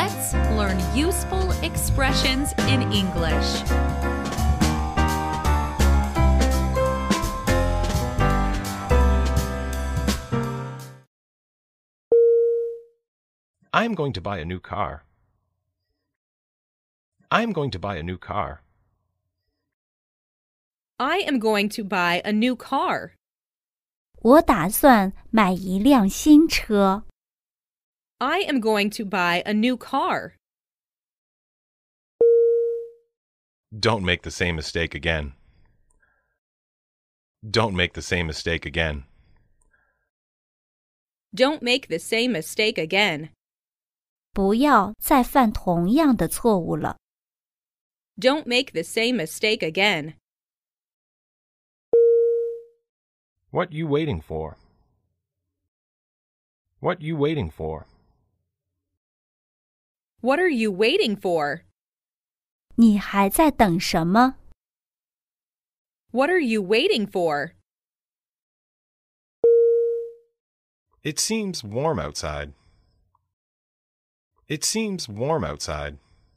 Let's learn useful expressions in English. I'm going to buy a new car. I'm going to buy a new car. I am going to buy a new car. 我打算买一辆新车。 I am going to buy a new car. Don't make the same mistake again. Don't make the same mistake again. Don't make the same mistake again. 不要再犯同样的错误了。 Don't make the same mistake again. What you waiting for? What you waiting for? What are you waiting for? 你还在等什么？ What are you waiting for? It seems warm outside. It seems warm outside.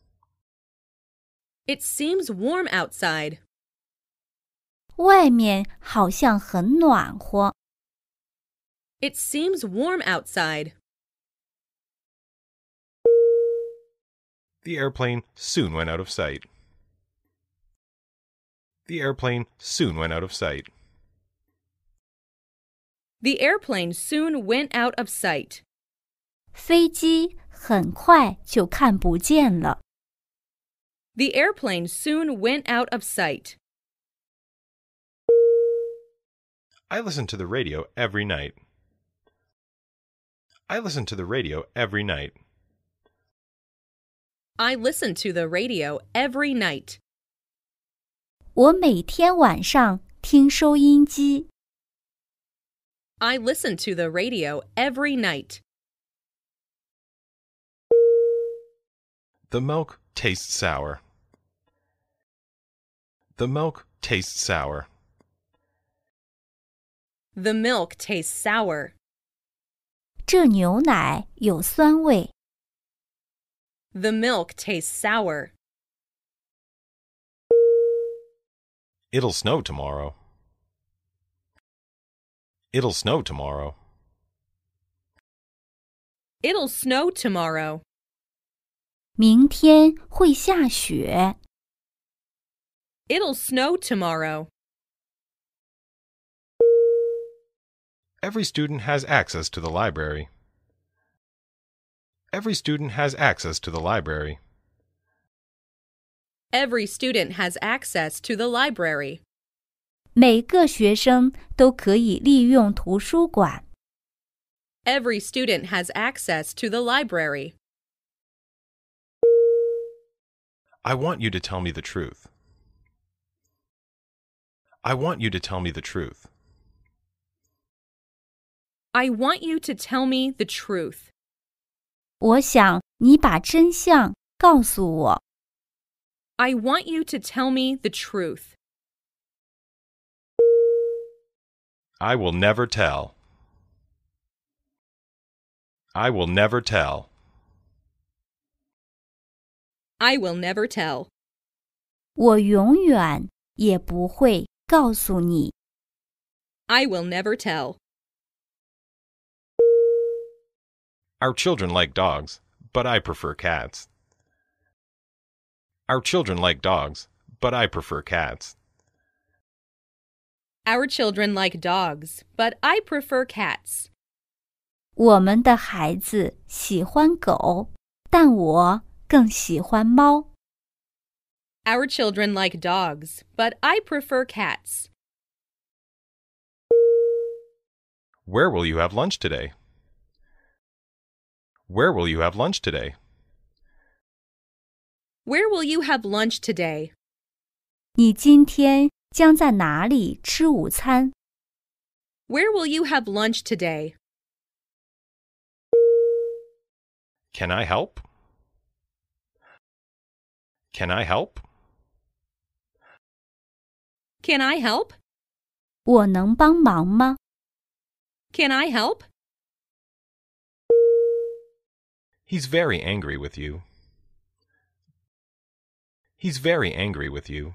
It seems warm outside. 外面好像很暖和。 It seems warm outside. The airplane soon went out of sight. The airplane soon went out of sight. The airplane soon went out of sight. 飞机很快就看不见了。 The airplane soon went out of sight. I listen to the radio every night. I listen to the radio every night. I listen to the radio every night. 我每天晚上听收音机。 I listen to the radio every night. The milk tastes sour. The milk tastes sour. The milk tastes sour. 这牛奶有酸味。 The milk tastes sour. It'll snow tomorrow. It'll snow tomorrow. It'll snow tomorrow. 明天会下雪。 It'll snow tomorrow. Every student has access to the library. Every student has access to the library. Every student has access to the library. 每个学生都可以利用图书馆。 Every student has access to the library. I want you to tell me the truth. I want you to tell me the truth. I want you to tell me the truth. 我想你把真相告诉我。 I want you to tell me the truth. I will never tell. I will never tell. I will never tell. 我永远也不会告诉你。 I will never tell. Our children like dogs, but I prefer cats. Our children like dogs, but I prefer cats. Our children like dogs, but I prefer cats. 我们的孩子喜欢狗，但我更喜欢猫。 Our children like dogs, but I prefer cats. Where will you have lunch today? Where will you have lunch today? Where will you have lunch today? 你今天将在哪里吃午餐？ Where will you have lunch today? Can I help? Can I help? Can I help? 我能帮忙吗？ Can I help? He's very angry with you. He's very angry with you.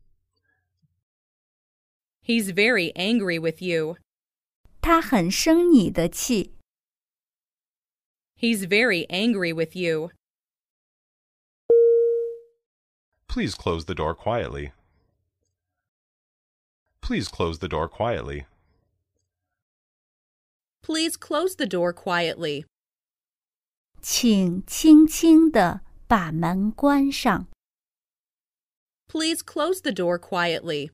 He's very angry with you. 他很生你的气。 He's very angry with you. Please close the door quietly. Please close the door quietly. Please close the door quietly. 请轻轻地把门关上。 Please close the door quietly.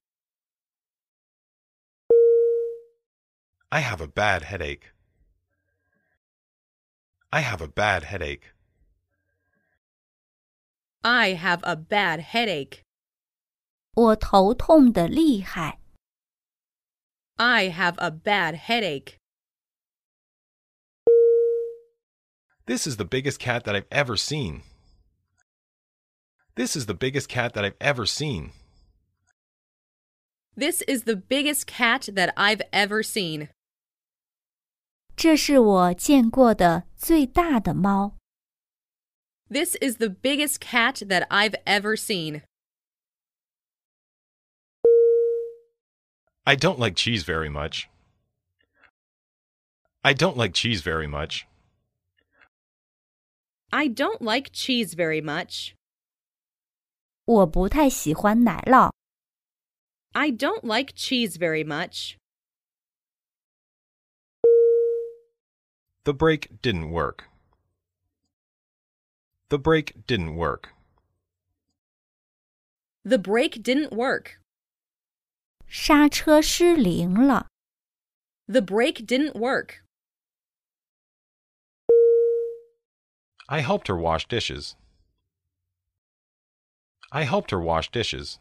I have a bad headache. I have a bad headache. I have a bad headache. 我头痛得厉害。 I have a bad headache. This is the biggest cat that I've ever seen. This is the biggest cat that I've ever seen. This is the biggest cat that I've ever seen. 这是我见过的最大的猫。 This is the biggest cat that I've ever seen. I don't like cheese very much. I don't like cheese very much. I don't like cheese very much. 我不太喜欢奶酪。 I don't like cheese very much. The brake didn't work. The brake didn't work. The brake didn't work. 刹车失灵了。 The brake didn't work. I helped her wash dishes. I helped her wash dishes.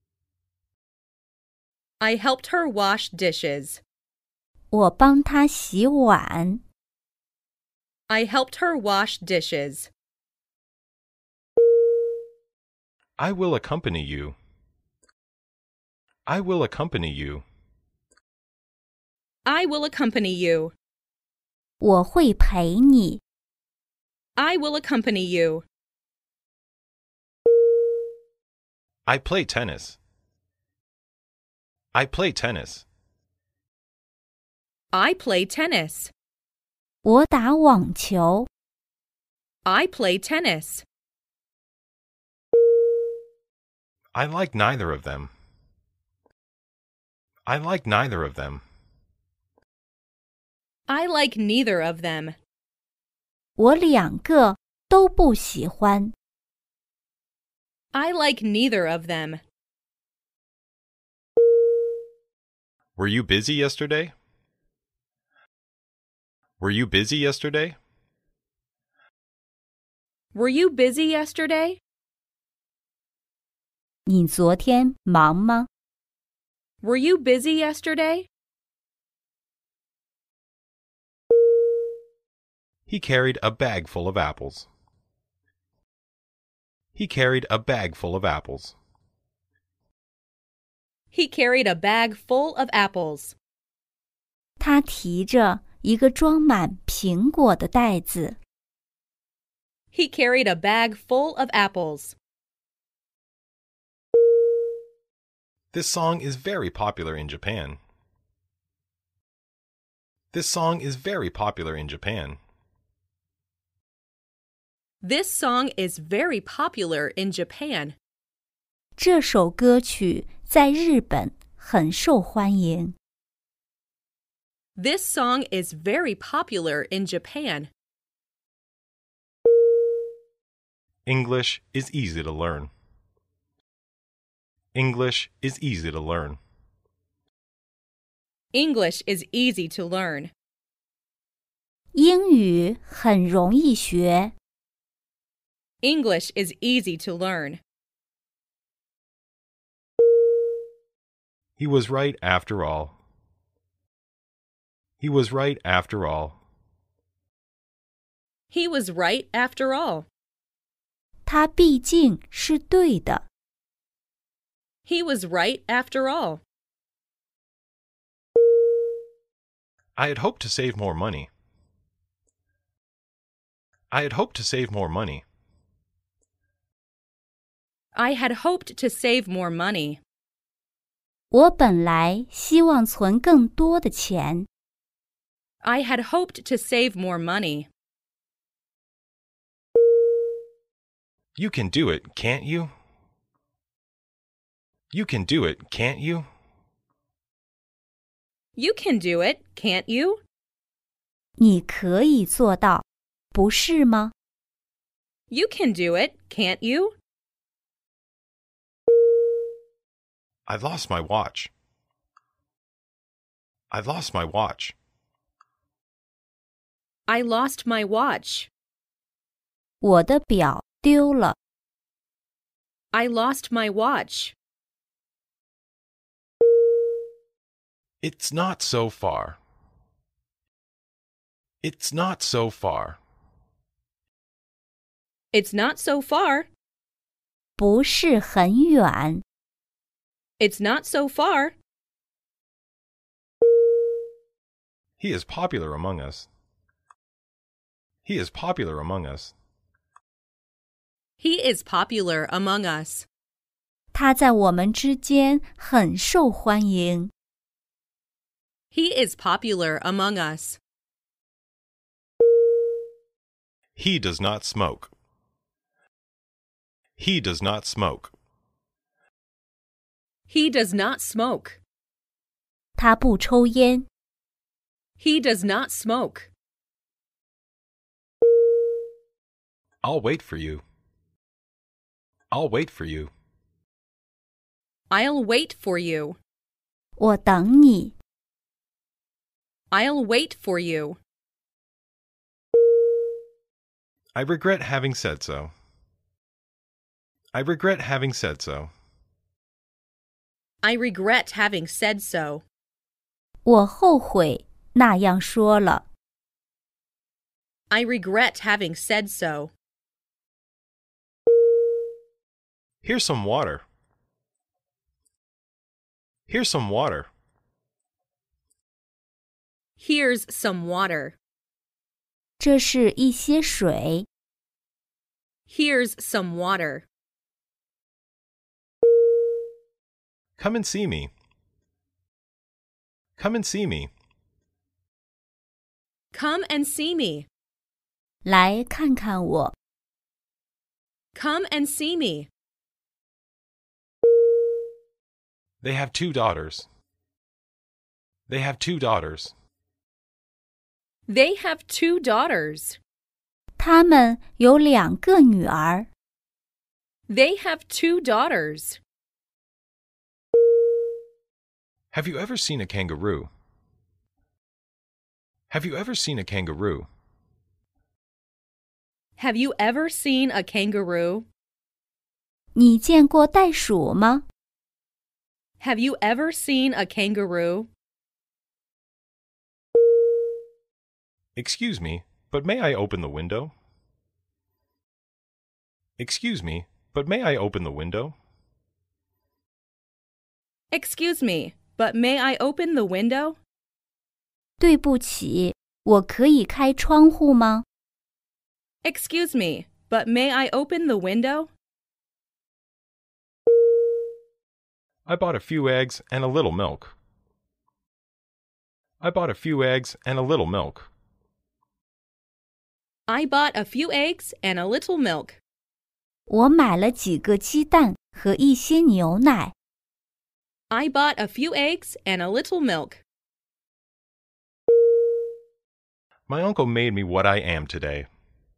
I helped her wash dishes. 我帮她洗碗。 I helped her wash dishes. I will accompany you. I will accompany you. I will accompany you. 我会陪你。 I will accompany you. I play tennis. I play tennis. I play tennis. 我打网球。 I play tennis. I like neither of them. I like neither of them. I like neither of them. 我两个都不喜欢。 I like neither of them. Were you busy yesterday? Were you busy yesterday? Were you busy yesterday? 你昨天忙吗？ Were you busy yesterday? He carried a bag full of apples. He carried a bag full of apples. He carried a bag full of apples. 他提着一个装满苹果的袋子。 He carried a bag full of apples. This song is very popular in Japan. This song is very popular in Japan. This song is very popular in Japan. 这首歌曲在日本很受欢迎。 This song is very popular in Japan. English is easy to learn. English is easy to learn. English is easy to learn. 英语很容易学。 English is easy to learn. He was right after all. He was right after all. He was right after all. 他毕竟是对的。 He was right after all. I had hoped to save more money. I had hoped to save more money. I had hoped to save more money. 我本来希望存更多的钱。 I had hoped to save more money. You can do it, can't you? You can do it, can't you? You can do it, can't you? 你可以做到，不是吗？ You can do it, can't you? I've lost my watch. I've lost my watch. I lost my watch. 我的表丢了。 I lost my watch. It's not so far. It's not so far. It's not so far. 不是很远。 It's not so far. He is popular among us. He is popular among us. He is popular among us. 他在我们之间很受欢迎。 He is popular among us. He does not smoke. He does not smoke. He does not smoke. 他不抽烟。 He does not smoke. I'll wait for you. I'll wait for you. I'll wait for you. 我等你。 I'll wait for you. I regret having said so. I regret having said so. I regret having said so. 我后悔那样说了。 I regret having said so. Here's some water. Here's some water. Here's some water. 这是一些水。 Here's some water. Come and see me. Come and see me. Come and see me. 来看看我。 Come and see me. They have 2 daughters. They have 2 daughters. They have 2 daughters. 他们有2个女儿。 They have 2 daughters. Have you ever seen a kangaroo? Have you ever seen a kangaroo? Have you ever seen a kangaroo? 你见过袋鼠吗？ Have you ever seen a kangaroo? Excuse me, but may I open the window? Excuse me, but may I open the window? Excuse me, but may I open the window? 对不起，我可以开窗户吗？ Excuse me, but may I open the window? I bought a few eggs and a little milk. I bought a few eggs and a little milk. I bought a few eggs and a little milk. 我买了几个鸡蛋和一些牛奶。 I bought a few eggs and a little milk. My uncle made me what I am today.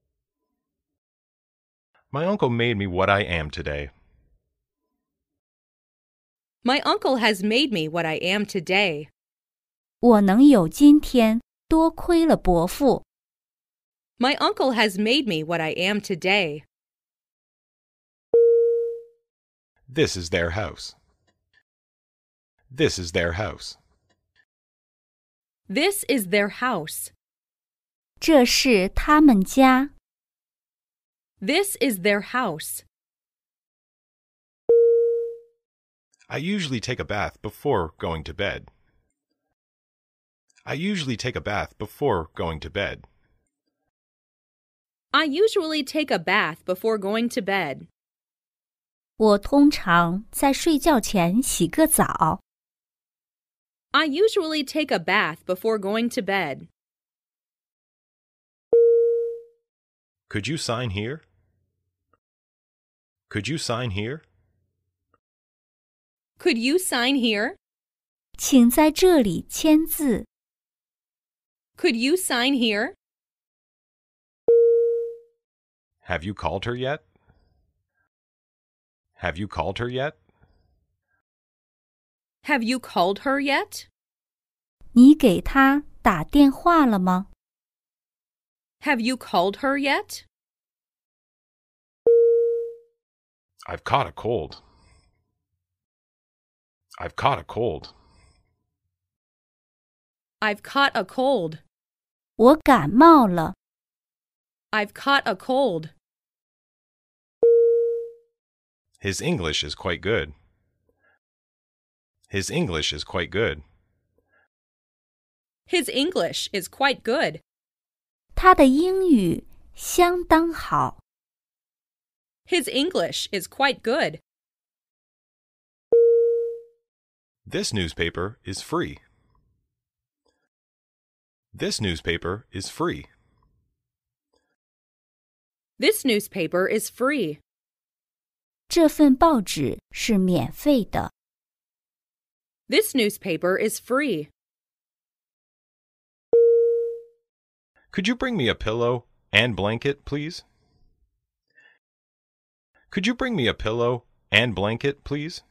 My uncle made me what I am today. My uncle has made me what I am today. 我能有今天，多亏了伯父。 My uncle has made me what I am today. This is their house. This is their house. This is their house. 这是他们家。 This is their house. I usually take a bath before going to bed. I usually take a bath before going to bed. I usually take a bath before going to bed. 我通常在睡觉前洗个澡。 I usually take a bath before going to bed. Could you sign here? Could you sign here? Could you sign here? 请在这里签字。 Could you sign here? Have you called her yet? Have you called her yet? Have you called her yet? 你给她打电话了吗？ Have you called her yet? I've caught a cold. I've caught a cold. I've caught a cold. 我感冒了。 I've caught a cold. His English is quite good. His English is quite good. His English is quite good. 他的英语相当好。 His English is quite good. This newspaper is free. This newspaper is free. This newspaper is free. 这份报纸是免费的。 This newspaper is free. Could you bring me a pillow and blanket, please? Could you bring me a pillow and blanket, please?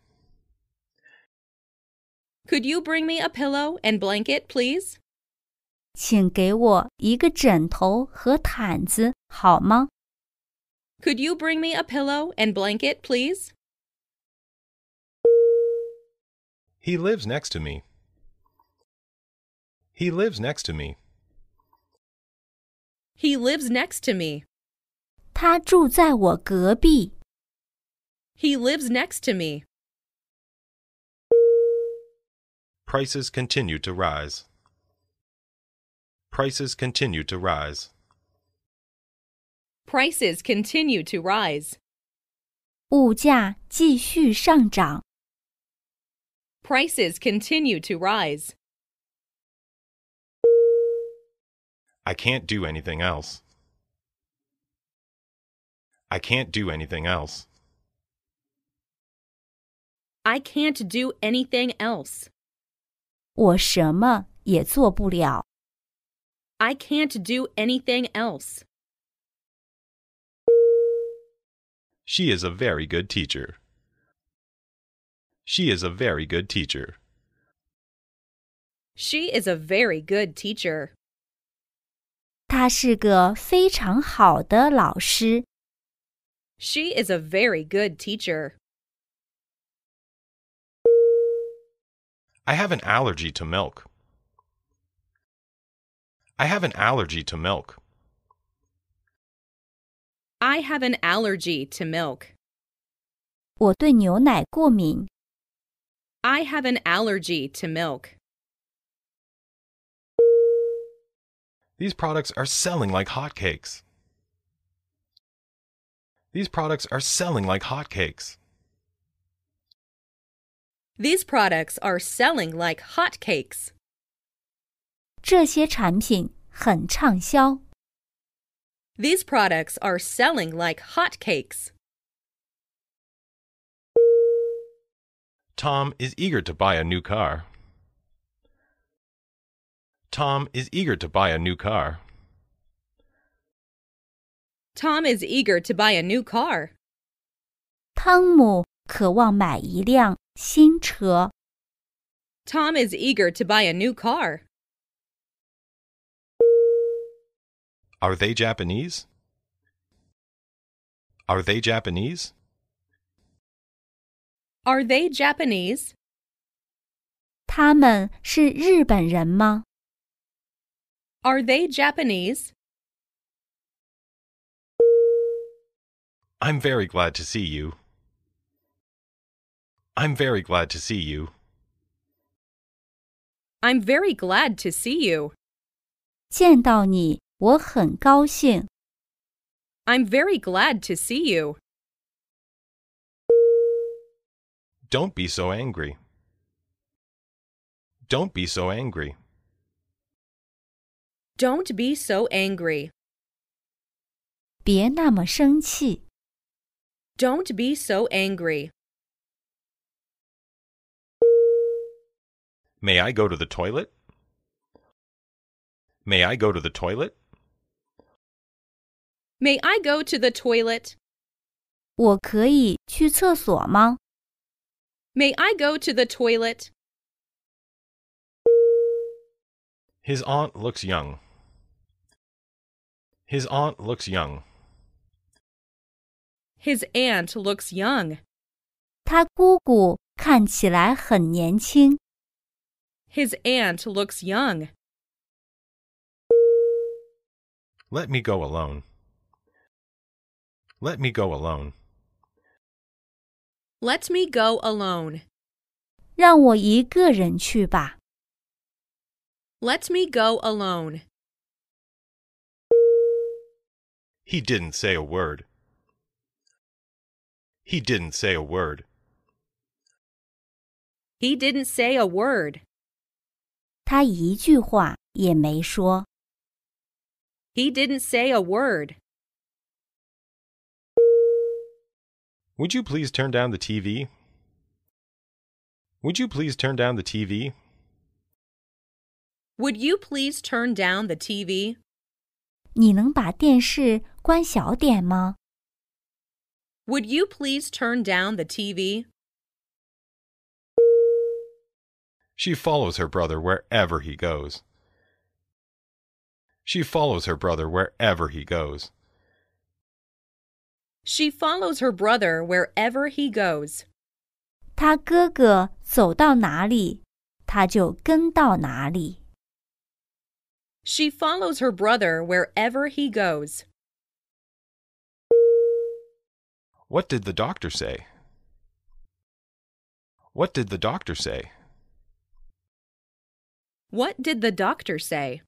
Could you bring me a pillow and blanket, please? 请给我一个枕头和毯子，好吗？ Could you bring me a pillow and blanket, please? He lives next to me. He lives next to me. He lives next to me. 他住在我隔壁。 He lives next to me. Prices continue to rise. Prices continue to rise. Prices continue to rise. 物价继续上涨。 Prices continue to rise. I can't do anything else. I can't do anything else. I can't do anything else. 我什么也做不了。 I can't do anything else. She is a very good teacher. She is a very good teacher. She is a very good teacher. 她是个非常好的老师。 She is a very good teacher. I have an allergy to milk. I have an allergy to milk. I have an allergy to milk. 我对牛奶过敏。 I have an allergy to milk. These products are selling like hotcakes. These products are selling like hotcakes. These products are selling like hotcakes. 这些产品很畅销。 These products are selling like hotcakes. Tom is eager to buy a new car. Tom is eager to buy a new car. Tom is eager to buy a new car. 汤姆渴望买一辆新车。 Tom is eager to buy a new car. Are they Japanese? Are they Japanese? Are they Japanese? 他们是日本人吗？ Are they Japanese? I'm very glad to see you. I'm very glad to see you. I'm very glad to see you. 见到你，我很高兴。 I'm very glad to see you. Don't be so angry. Don't be so angry. Don't be so angry. 别那么生气。 Don't be so angry. May I go to the toilet? May I go to the toilet? May I go to the toilet? 我可以去厕所吗？ May I go to the toilet? His aunt looks young. His aunt looks young. His aunt looks young. 他姑姑看起来很年轻。 His aunt looks young. Let me go alone. Let me go alone. Let me go alone. 让我一个人去吧。 Let me go alone. He didn't say a word. He didn't say a word. He didn't say a word. 他一句话也没说。 He didn't say a word. Would you please turn down the TV? Would you please turn down the TV? Would you please turn down the TV? 你能把电视关小点吗？ Would you please turn down the TV? She follows her brother wherever he goes. She follows her brother wherever he goes. She follows her brother wherever he goes. 他哥哥走到哪里，他就跟到哪里。 She follows her brother wherever he goes. What did the doctor say? What did the doctor say? What did the doctor say?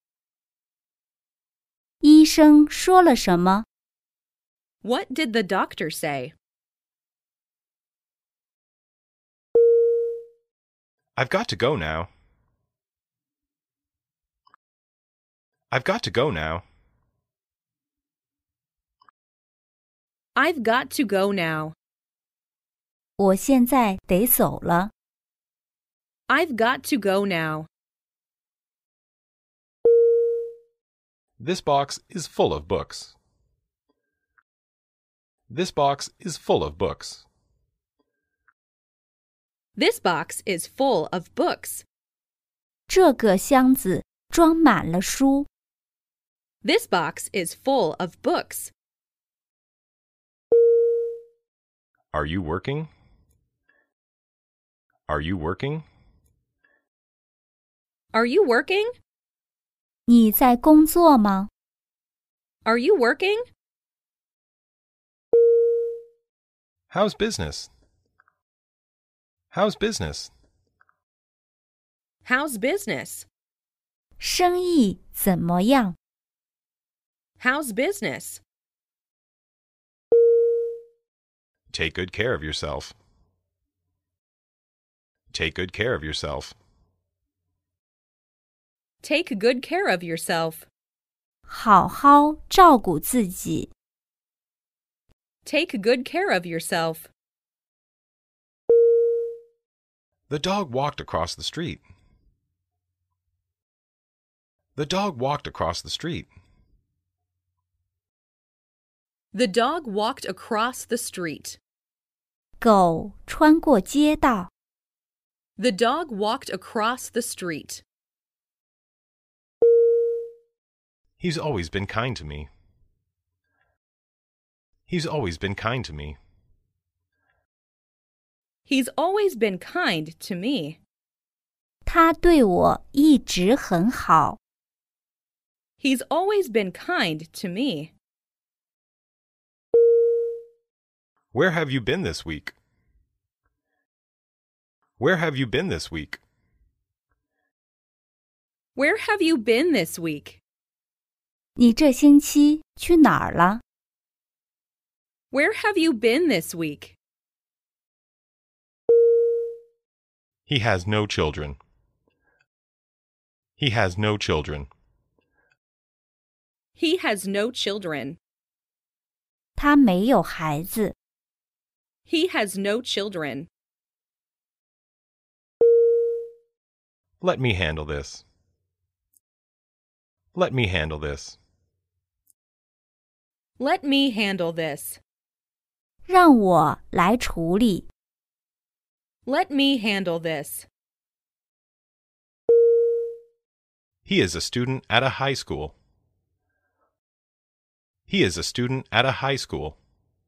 医生说了什么？ What did the doctor say? I've got to go now. I've got to go now. I've got to go now. 我现在得走了。 I've got to go now. This box is full of books. This box is full of books. This box is full of books. 这个箱子装满了书。 This box is full of books. Are you working? Are you working? Are you working? 你在工作吗？ Are you working? How's business? How's business? How's business? 生意怎么样？ How's business? Take good care of yourself. Take good care of yourself. Take good care of yourself. 好好照顾自己。 Take good care of yourself. The dog walked across the street. The dog walked across the street. The dog walked across the street. 狗穿过街道。 The dog walked across the street. He's always been kind to me. He's always been kind to me. He's always been kind to me. 他对我一直很好。 He's always been kind to me. Where have you been this week? Where have you been this week? Where have you been this week? 你这星期去哪儿了？ Where have you been this week? He has no children. He has no children. He has no children. 他没有孩子。 He has no children. Let me handle this. Let me handle this. Let me handle this. 让我来处理。 Let me handle this. He is a student at a high school. He is a student at a high school.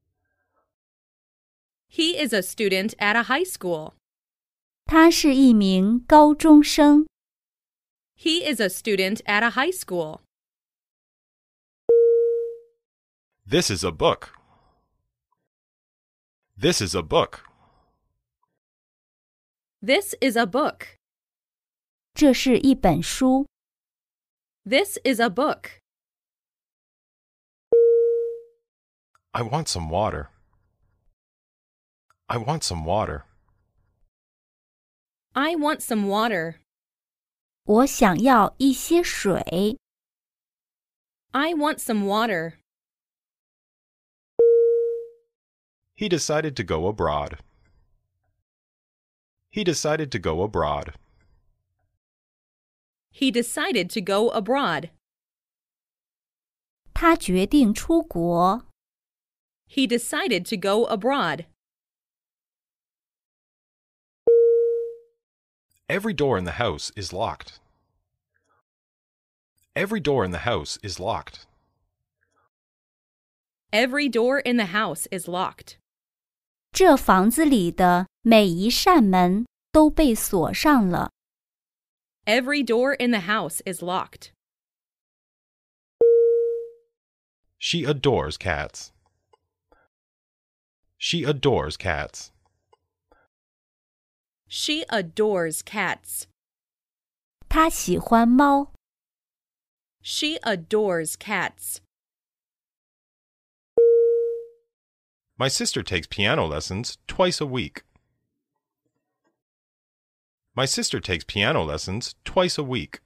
He is a student at a high school. 他是一名高中生。 He is a student at a high school. This is a book. This is a book. This is a book. 这是一本书。 This is a book. I want some water. I want some water. I want some water. 我想要一些水。 I want some water. He decided to go abroad. He decided to go abroad. He decided to go abroad. 他决定出国。 He decided to go abroad. Every door in the house is locked. Every door in the house is locked. Every door in the house is locked. 这房子里的每一扇门都被锁上了。 Every door in the house is locked. She adores cats. She adores cats. She adores cats. 他喜欢猫。 She adores cats. My sister takes piano lessons twice a week. My sister takes piano lessons twice a week.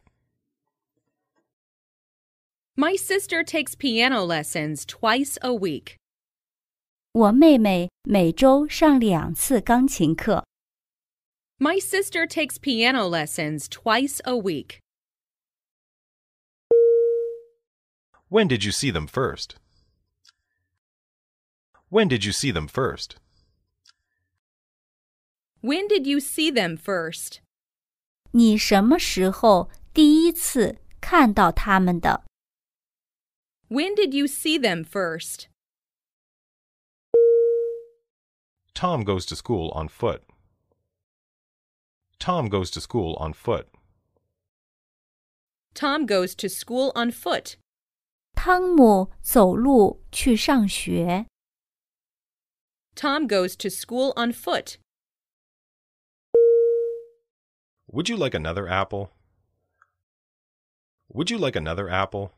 My sister takes piano lessons twice a week. 我妹妹每周上2次钢琴课。 My sister takes piano lessons twice a week. When did you see them first? When did you see them first? When did you see them first? 你什么时候第一次看到他们的？ When did you see them first? Tom goes to school on foot. Tom goes to school on foot. Tom goes to school on foot. 汤姆走路去上学。 Tom goes to school on foot. Would you like another apple? Would you like another apple?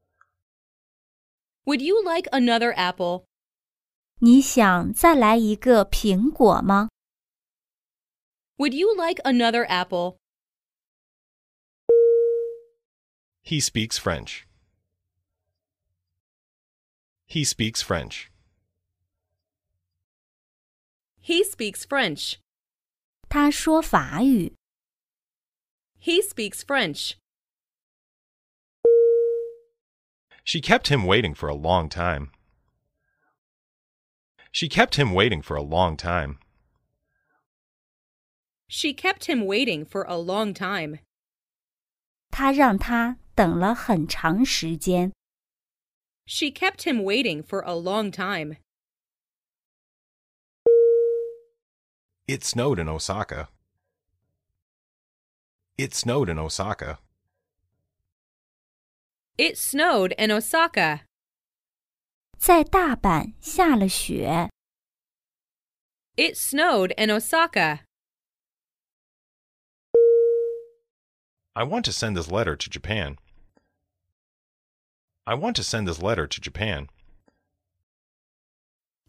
Would you like another apple? 你想再来一个苹果吗？ Would you like another apple? He speaks French. He speaks French. He speaks French. 他说法语。 He speaks French. She kept him waiting for a long time. She kept him waiting for a long time. She kept him waiting for a long time. 他让他等了很长时间。 She kept him waiting for a long time. It snowed in Osaka. It snowed in Osaka. It snowed in Osaka. 在大阪下了雪。 It snowed in Osaka. I want to send this letter to Japan. I want to send this letter to Japan.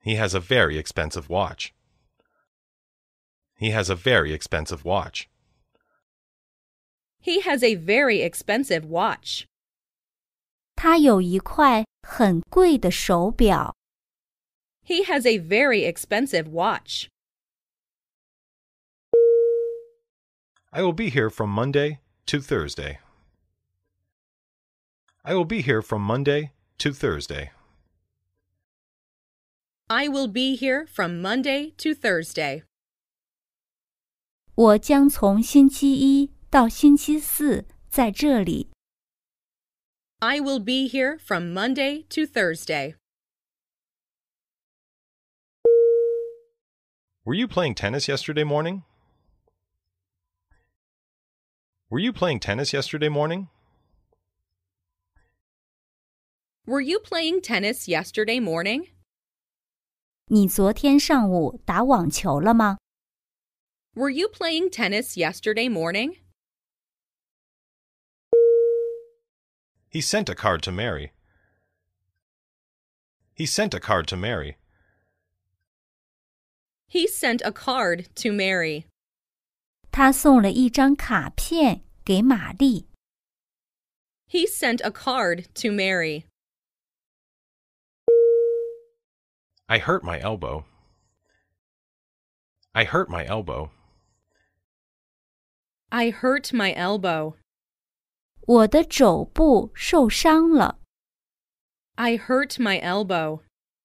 He has a very expensive watch. He has a very expensive watch. He has a very expensive watch. 他有一块很贵的手表。 He has a very expensive watch. I will be here from Monday to Thursday. I will be here from Monday to Thursday. I will be here from Monday to Thursday. 我将从星期一到星期四在这里。 I will be here from Monday to Thursday. Were you playing tennis yesterday morning? Were you playing tennis yesterday morning? Were you playing tennis yesterday morning? 你昨天上午打网球了吗？ Were you playing tennis yesterday morning? He sent a card to Mary. He sent a card to Mary. He sent a card to Mary. 他送了一张卡片给玛丽。 He sent a card to Mary. I hurt my elbow. I hurt my elbow. I hurt my elbow. 我的肘部受伤了。 I hurt my elbow.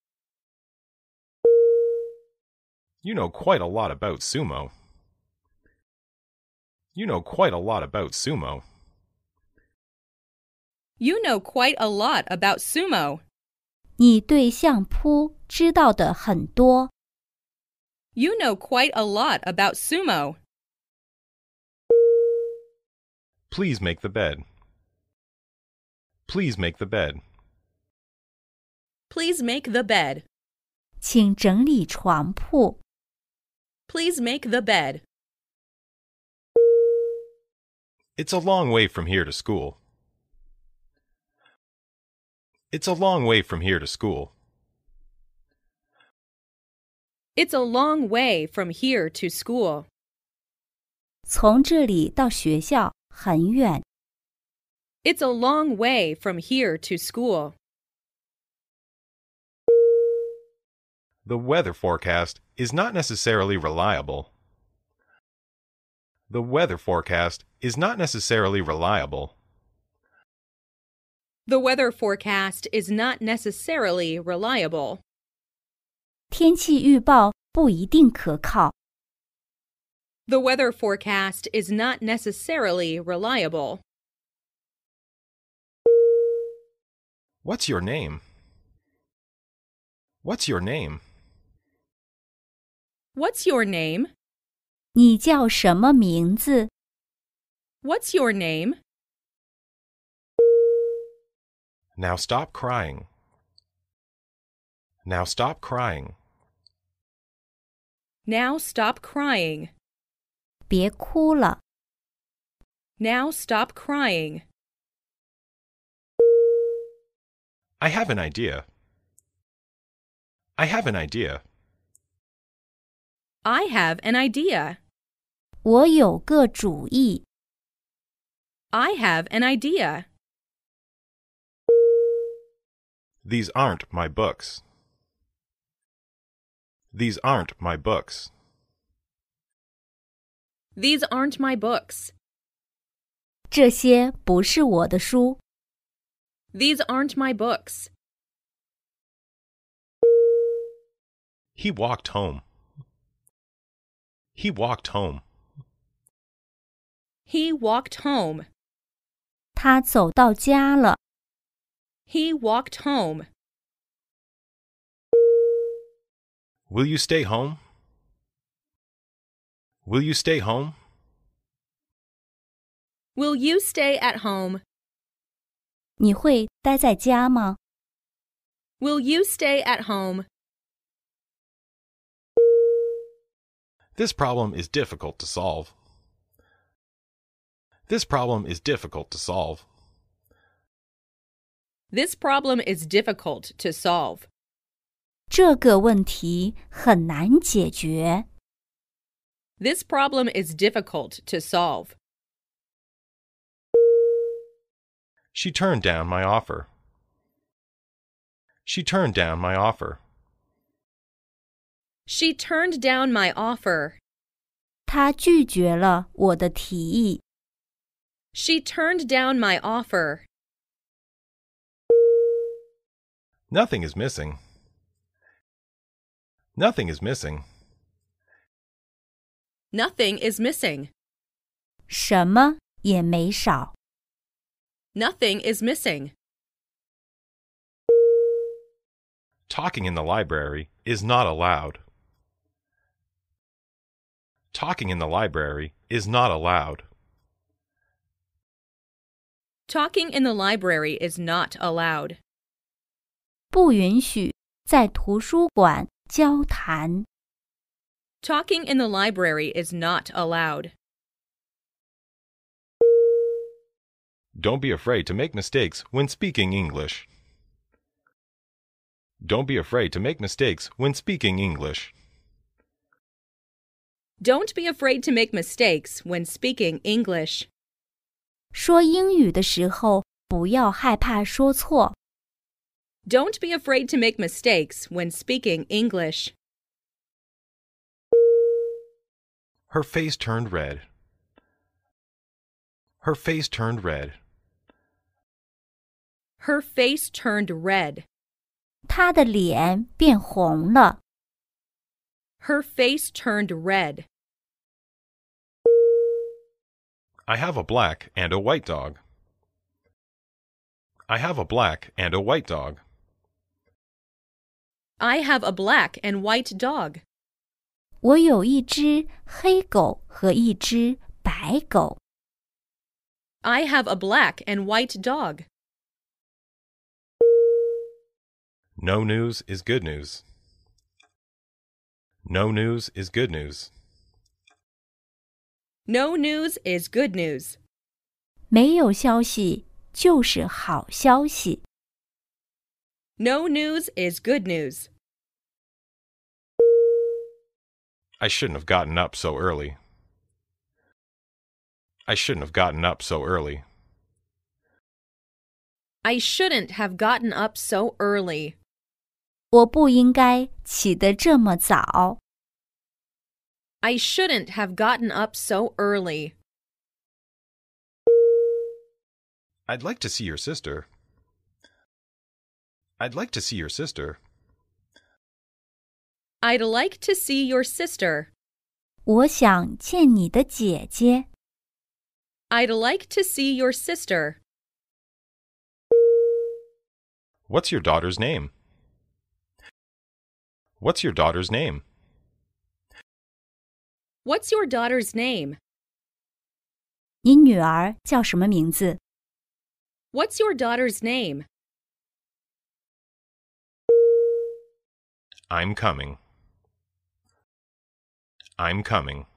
You know quite a lot about sumo. You know quite a lot about sumo. You know quite a lot about sumo. 你对相扑知道的很多。 You know quite a lot about sumo. Please make the bed. Please make the bed. Please make the bed. 请整理床铺。 Please make the bed. It's a long way from here to school. It's a long way from here to school. It's a long way from here to school. 从这里到学校很远。 It's a long way from here to school. The weather forecast is not necessarily reliable. The weather forecast is not necessarily reliable. The weather forecast is not necessarily reliable. 天气预报不一定可靠。 The weather forecast is not necessarily reliable. What's your name? What's your name? What's your name? 你叫什么名字？ What's your name? Now stop crying. Now stop crying. Now stop crying. 别哭了。 Now stop crying. I have an idea. I have an idea. I have an idea. 我有个主意。 I have an idea. These aren't my books. These aren't my books. These aren't my books. 这些不是我的书。 These aren't my books. He walked home. He walked home. He walked home. 他走到家了。 He walked home. Will you stay home? Will you stay home? Will you stay at home? 你会待在家吗？ Will you stay at home? This problem is difficult to solve. This problem is difficult to solve. This problem is difficult to solve. 这个问题很难解决。 This problem is difficult to solve. She turned down my offer. She turned down my offer. She turned down my offer. 她拒绝了我的提议。 She turned down my offer. Nothing is missing. Nothing is missing. Nothing is missing. 什么也没少。 Nothing is missing. Talking in the library is not allowed. Talking in the library is not allowed. Talking in the library is not allowed. 不允许在图书馆交谈。 Talking in the library is not allowed. Don't be afraid to make mistakes when speaking English. Don't be afraid to make mistakes when speaking English. Don't be afraid to make mistakes when speaking English. 说英语的时候，不要害怕说错。 Don't be afraid to make mistakes when speaking English. Her face turned red. Her face turned red. Her face turned red. 她的脸变红了。 Her face turned red. I have a black and a white dog. I have a black and a white dog. I have a black and white dog. 我有一只黑狗和一只白狗。 I have a black and white dog. No news is good news. No news is good news. No news is good news. 没有消息就是好消息。 No news is good news. I shouldn't have gotten up so early. I shouldn't have gotten up so early. I shouldn't have gotten up so early. 我不应该起得这么早。 I shouldn't have gotten up so early. I'd like to see your sister. I'd like to see your sister. I'd like to see your sister. 我想见你的姐姐。 I'd like to see your sister. What's your daughter's name? What's your daughter's name? What's your daughter's name? 你女儿叫什么名字？ What's your daughter's name? I'm coming. I'm coming.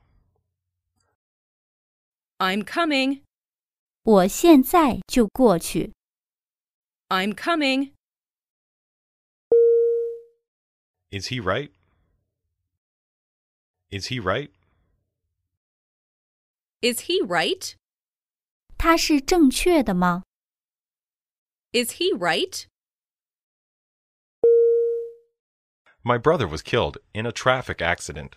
I'm coming. 我现在就过去。 I'm coming. Is he right? Is he right? Is he right? 他是正确的吗？ Is he right? My brother was killed in a traffic accident.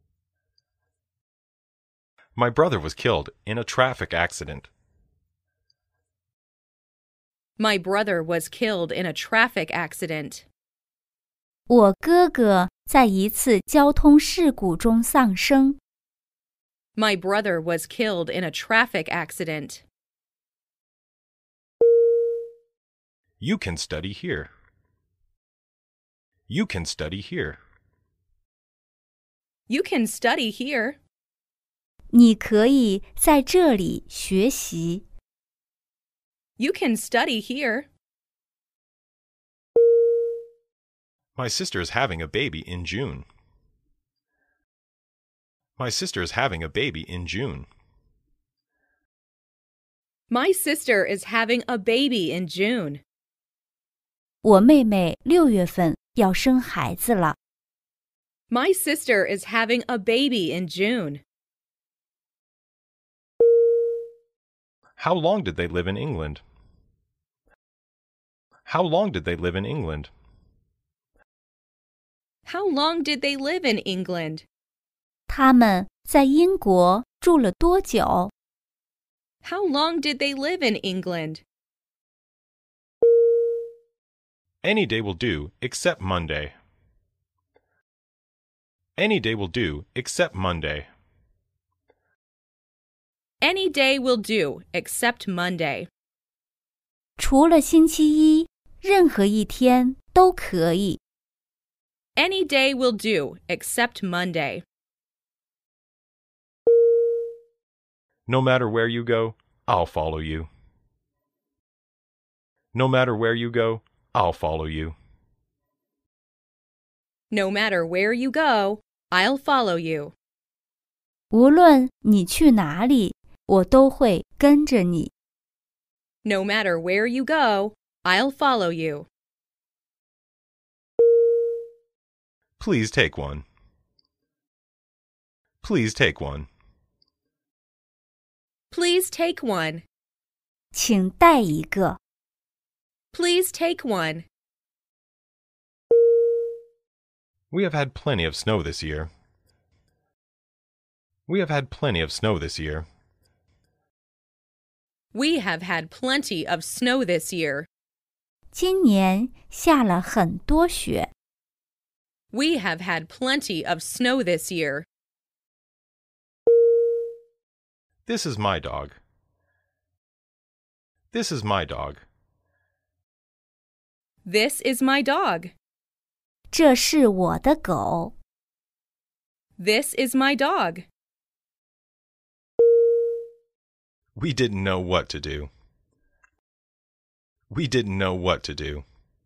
My brother was killed in a traffic accident. My brother was killed in a traffic accident. 我哥哥在一次交通事故中丧生。 My brother was killed in a traffic accident. You can study here. You can study here. You can study here. 你可以在这里学习。 You can study here. My sister is having a baby in June. My sister is having a baby in June. My sister is having a baby in June. 我妹妹6月份要生孩子了。 My sister is having a baby in June. How long did they live in England? How long did they live in England? How long did they live in England? 他们在英国住了多久？ How long did they live in England? Any day will do, except Monday. Any day will do, except Monday. Any day will do, except Monday. 除了星期一，任何一天都可以。 Any day will do, except Monday. No matter where you go, I'll follow you. No matter where you go, I'll follow you. No matter where you go, I'll follow you. 无论你去哪里，我都会跟着你。 No matter where you go, I'll follow you. Please take one. Please take one. Please take one. 请带一个。 Please take one. We have had plenty of snow this year. We have had plenty of snow this year. We have had plenty of snow this year. 今年下了很多雪。 We have had plenty of snow this year. This is my dog. This is my dog. This is my dog. 这是我的狗。 This is my dog. We didn't know what to do. We didn't know what to do.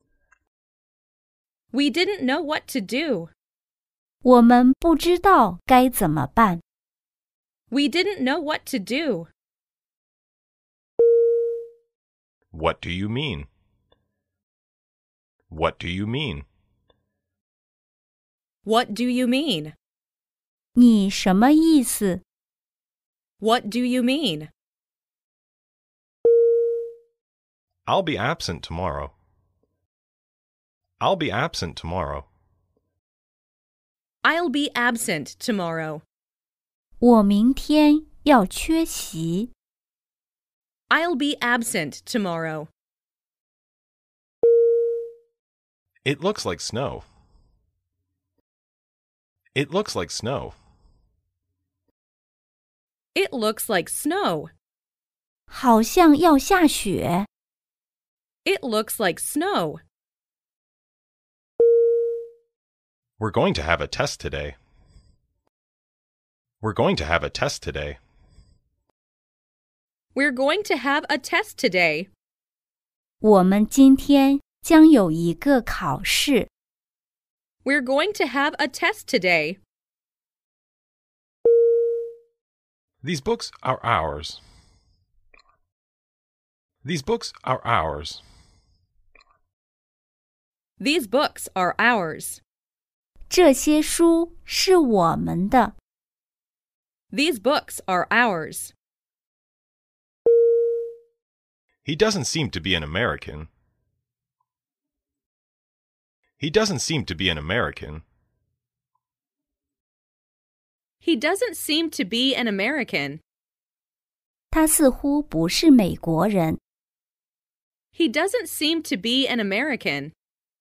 We didn't know what to do. 我们不知道该怎么办。 We didn't know what to do. What do you mean? What do you mean? What do you mean? 你什么意思？ What do you mean? I'll be absent tomorrow. I'll be absent tomorrow. I'll be absent tomorrow. 我明天要缺席。 I'll be absent tomorrow. It looks like snow. It looks like snow. It looks like snow. 好像要下雪。 It looks like snow. We're going to have a test today. We're going to have a test today. We're going to have a test today. 我们今天将有一个考试。 We're going to have a test today. These books are ours. These books are ours. These books are ours. 这些书是我们的。 These books are ours. He doesn't seem to be an American. He doesn't seem to be an American. He doesn't seem to be an American. 他似乎不是美国人。 He doesn't seem to be an American.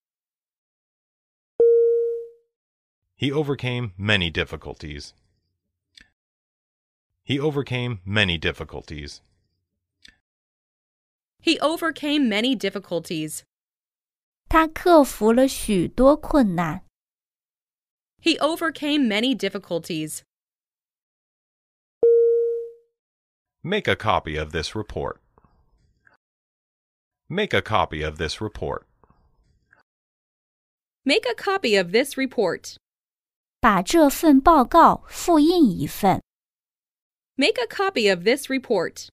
He overcame many difficulties. He overcame many difficulties. He overcame many difficulties. 他克服了许多困难。 He overcame many difficulties. Make a copy of this report. Make a copy of this report. Make a copy of this report. 把这份报告复印一份。 Make a copy of this report.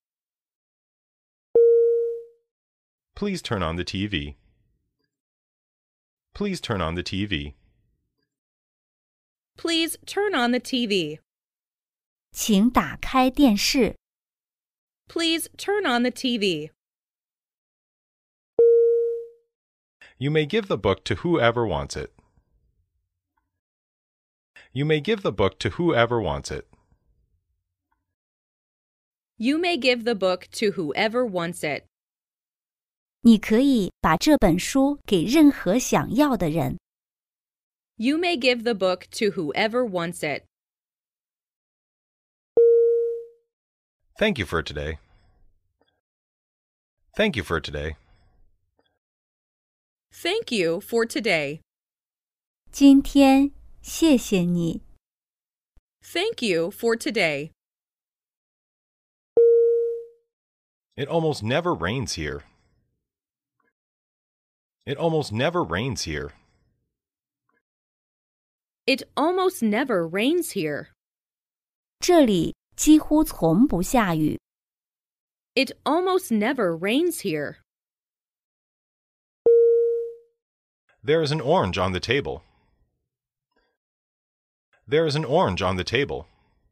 Please turn on the TV. Please turn on the TV. Please turn on the TV. 请打开电视。 Please turn on the TV. You may give the book to whoever wants it. You may give the book to whoever wants it. You may give the book to whoever wants it. 你可以把这本书给任何想要的人。 You may give the book to whoever wants it. Thank you for today. Thank you for today. Thank you for today. 今天谢谢你。 Thank you for today. It almost never rains here. It almost never rains here. It almost never rains here. 这里几乎从不下雨。 It almost never rains here. There is an orange on the table. There is an orange on the table.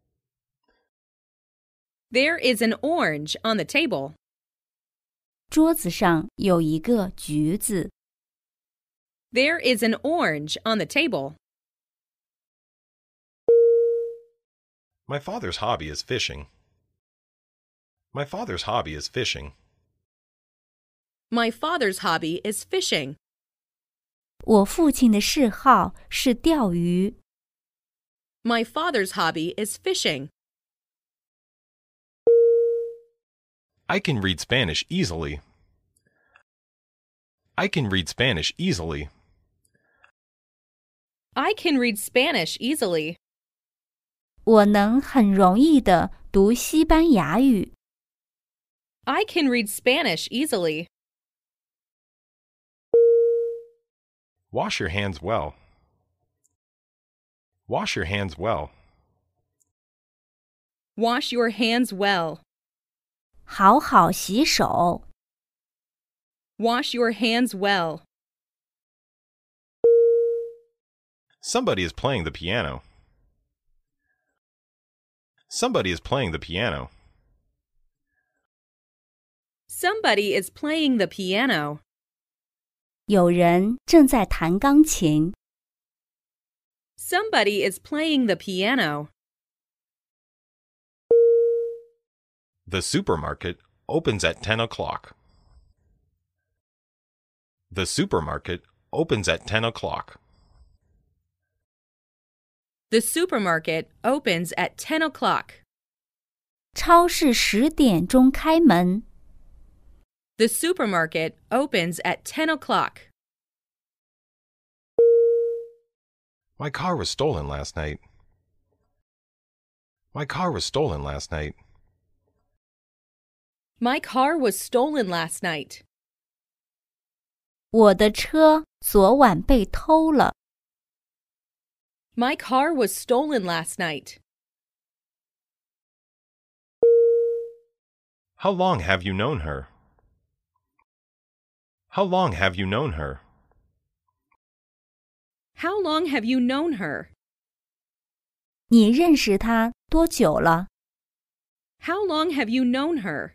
There is an orange on the table. 桌子上有一个橘子。 There is an orange on the table. My father's hobby is fishing. My father's hobby is fishing. My father's hobby is fishing. 我父亲的嗜好是钓鱼。 My father's hobby is fishing. I can read Spanish easily. I can read Spanish easily. I can read Spanish easily. 我能很容易地读西班牙语。 I can read Spanish easily. Wash your hands well. Wash your hands well. Wash your hands well. 好好洗手。 Wash your hands well. Somebody is playing the piano. Somebody is playing the piano. Somebody is playing the piano. 有人正在弹钢琴。 Somebody is playing the piano. The supermarket opens at 10 o'clock. The supermarket opens at 10 o'clock. The supermarket opens at 10 o'clock. 超市10点钟开门。 The supermarket opens at 10 o'clock. My car was stolen last night. My car was stolen last night. My car was stolen last night. 我的车昨晚被偷了。 My car was stolen last night. How long have you known her? How long have you known her? How long have you known her? 你认识她多久了？ How long have you known her?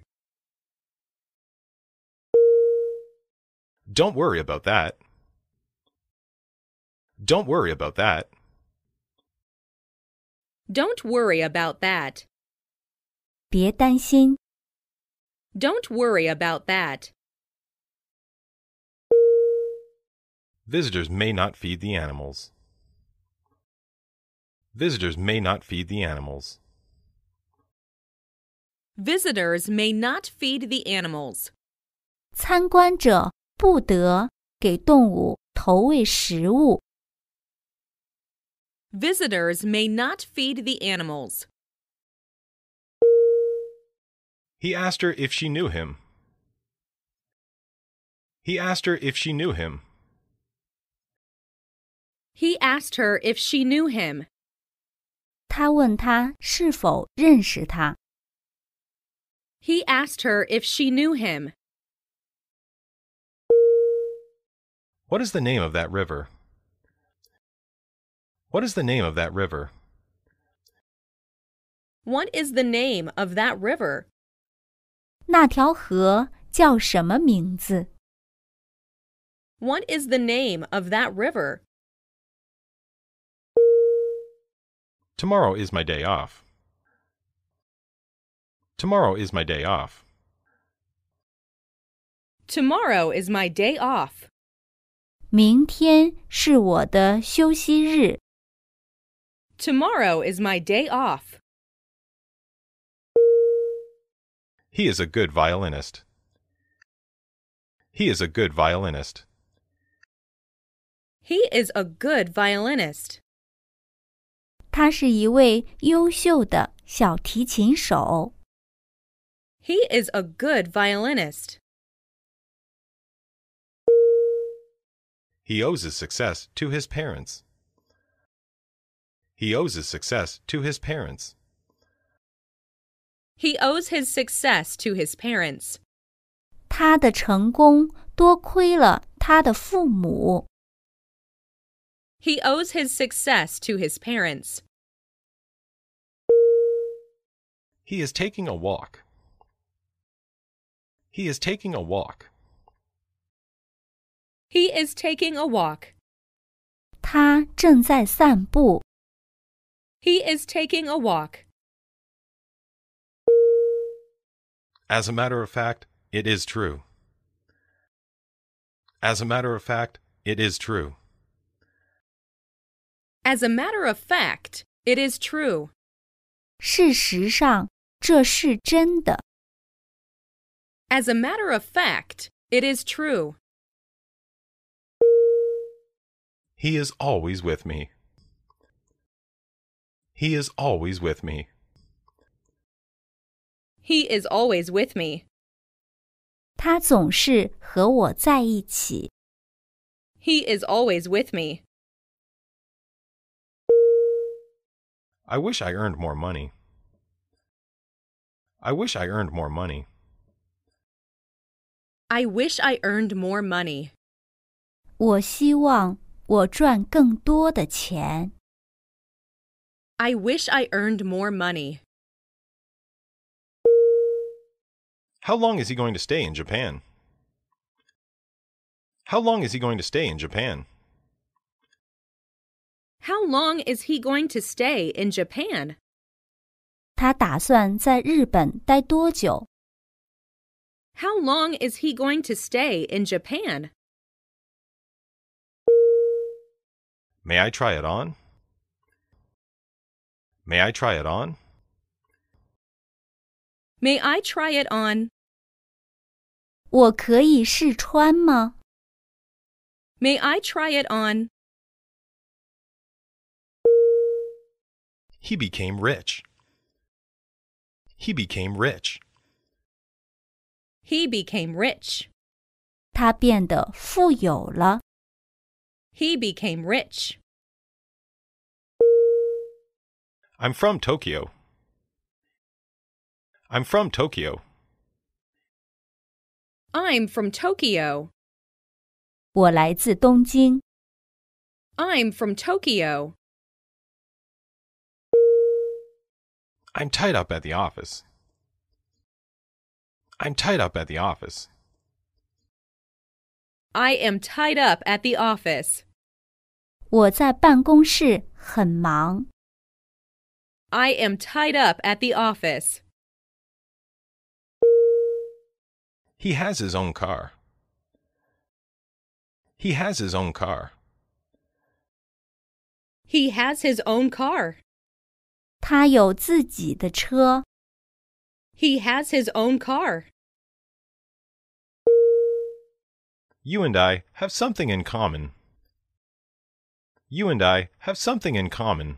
Don't worry about that. Don't worry about that. Don't worry about that. 别担心。 Don't worry about that. Visitors may not feed the animals. Visitors may not feed the animals. Visitors may not feed the animals. 参观者不得给动物投喂食物。 Visitors may not feed the animals. He asked her if she knew him. He asked her if she knew him. He asked her if she knew him. 他问她是否认识他。 He asked her if she knew him. What is the name of that river? What is the name of that river? What is the name of that river? 那条河叫什么名字？ What is the name of that river? Tomorrow is my day off. Tomorrow is my day off. Tomorrow is my day off. 明天是我的休息日。 Tomorrow is my day off. He is a good violinist. He is a good violinist. He is a good violinist. 他是一位优秀的小提琴手。 He is a good violinist. He owes his success to his parents. He owes his success to his parents. He owes his success to his parents. 他的成功多亏了他的父母。 He owes his success to his parents. He is taking a walk. He is taking a walk. He is taking a walk. 他正在散步。 He is taking a walk. As a matter of fact, it is true. As a matter of fact, it is true. As a matter of fact, it is true. 事实上，这是真的。 As a matter of fact, it is true. He is always with me. He is always with me. He is always with me. 他总是和我在一起。 He is always with me. I wish I earned more money. I wish I earned more money. I wish I earned more money. 我希望我赚更多的钱。 I wish I earned more money. How long is he going to stay in Japan? How long is he going to stay in Japan? How long is he going to stay in Japan? 他打算在日本待多久？ How long is he going to stay in Japan? May I try it on? May I try it on? May I try it on? 我可以试穿吗？ May I try it on? He became rich. He became rich. He became rich. 他变得富有了。 He became rich. I'm from Tokyo. I'm from Tokyo. I'm from Tokyo. 我来自东京。 I'm from Tokyo. I'm tied up at the office. I'm tied up at the office. I am tied up at the office. 我在办公室很忙。 I am tied up at the office. He has his own car. He has his own car. He has his own car. 他有自己的车。 He has his own car. You and I have something in common. You and I have something in common.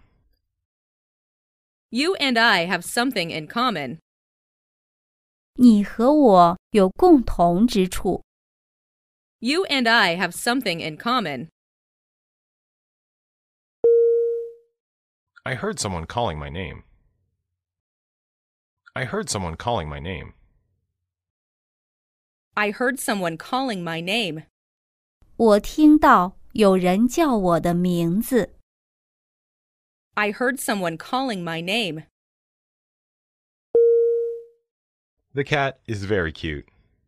You and I have something in common. 你和我有共同之处。 You and I have something in common. I heard someone calling my name. I heard someone calling my name. I heard someone calling my name. 我听到有人叫我的名字。 I heard someone calling my name. The cat is very cute.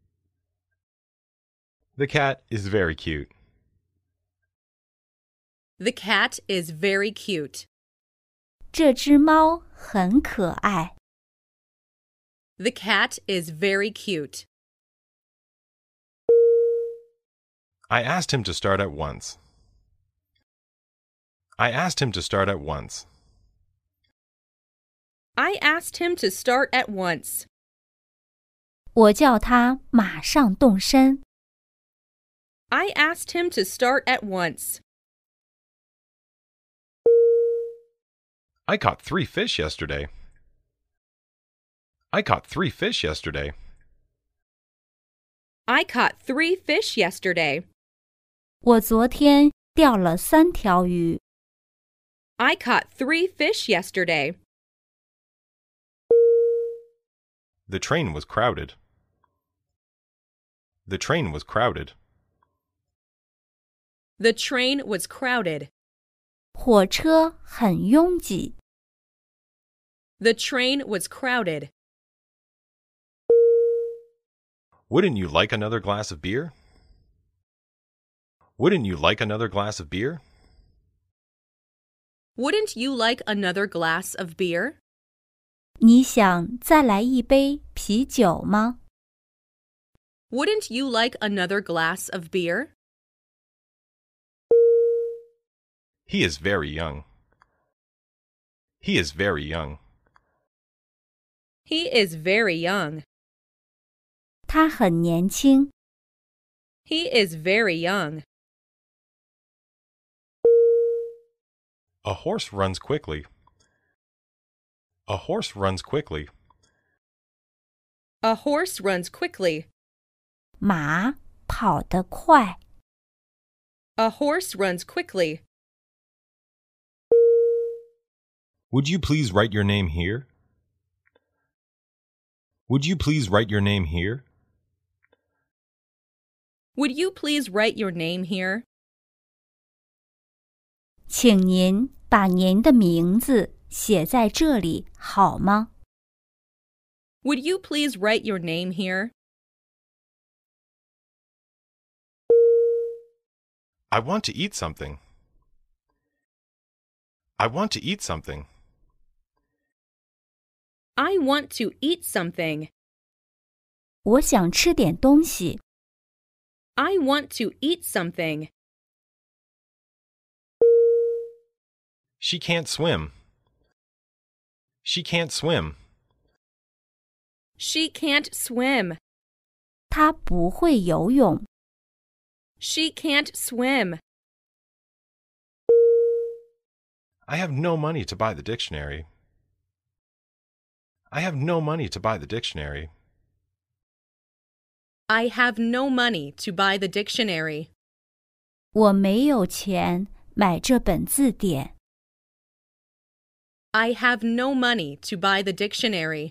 The cat is very cute. The cat is very cute. 这只猫很可爱。 The cat is very cute. I asked him to start at once. I asked him to start at once. I asked him to start at once. 我叫他马上动身。 I asked him to start at once. I caught 3 fish yesterday. I caught 3 fish yesterday. I caught 3 fish yesterday. 我昨天钓了3条鱼。 I caught 3 fish yesterday. The train was crowded. The train was crowded. The train was crowded. 火车很拥挤。 The train was crowded. Wouldn't you like another glass of beer? Wouldn't you like another glass of beer? Wouldn't you like another glass of beer? 你想再来一杯啤酒吗？ Wouldn't you like another glass of beer? He is very young. He is very young. He is very young. 他很年轻。 He is very young. A horse runs quickly. A horse runs quickly. A horse runs quickly. 马跑得快。 A horse runs quickly. Would you please write your name here? Would you please write your name here? Would you please write your name here? 请您把您的名字写在这里好吗？ Would you please write your name here? I want to eat something. I want to eat something. I want to eat something. 我想吃点东西。 I want to eat something. She can't swim. She can't swim. She can't swim. 他不会游泳。 She can't swim. I have no money to buy the dictionary. I have no money to buy the dictionary. I have no money to buy the dictionary. 我没有钱买这本字典。 I have no money to buy the dictionary.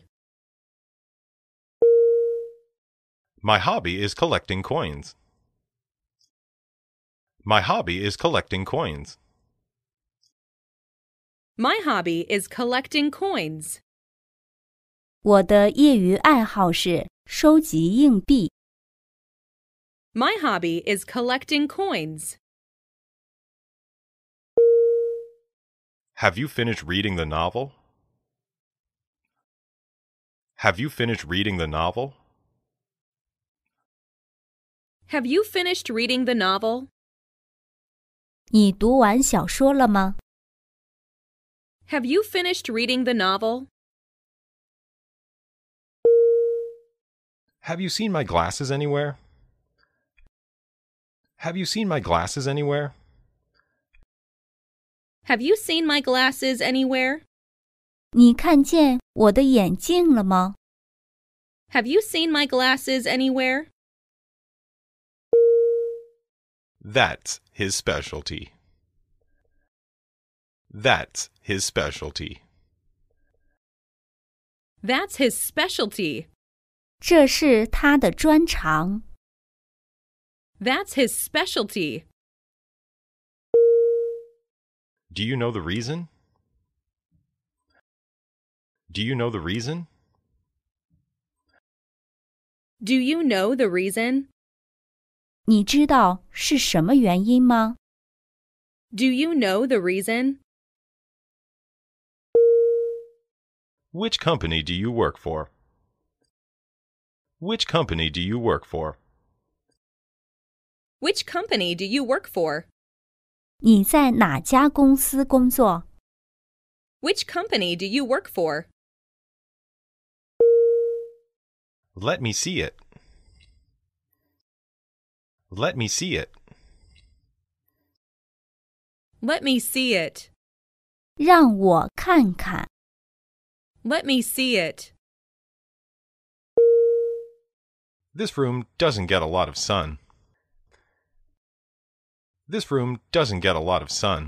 My hobby is collecting coins. My hobby is collecting coins. My hobby is collecting coins. 我的业余爱好是收集硬币。 My hobby is collecting coins. Have you finished reading the novel? Have you finished reading the novel? Have you finished reading the novel? 你读完小说了吗？ Have you finished reading the novel? Have you seen my glasses anywhere? Have you seen my glasses anywhere? Have you seen my glasses anywhere? 你看见我的眼镜了吗？ Have you seen my glasses anywhere? That's his specialty. That's his specialty. That's his specialty. 这是他的专长。 That's his specialty. Do you know the reason? Do you know the reason? Do you know the reason? 你知道是什么原因吗？ Do you know the reason? Which company do you work for? Which company do you work for? Which company do you work for? 你在哪家公司工作？ Which company do you work for? Let me see it. Let me see it. Let me see it. 让我看看。 Let me see it. This room doesn't get a lot of sun. This room doesn't get a lot of sun.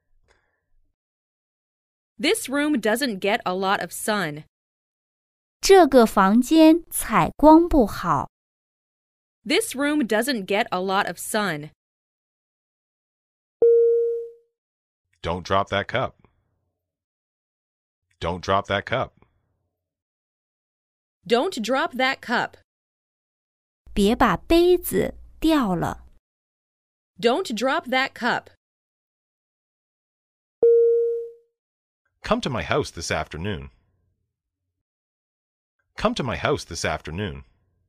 This room doesn't get a lot of sun. 这个房间采光不好。 This room doesn't get a lot of sun. Don't drop that cup. Don't drop that cup. Don't drop that cup. 别把杯子掉了。 Don't drop that cup. Come to my house this afternoon. Come to my house this afternoon.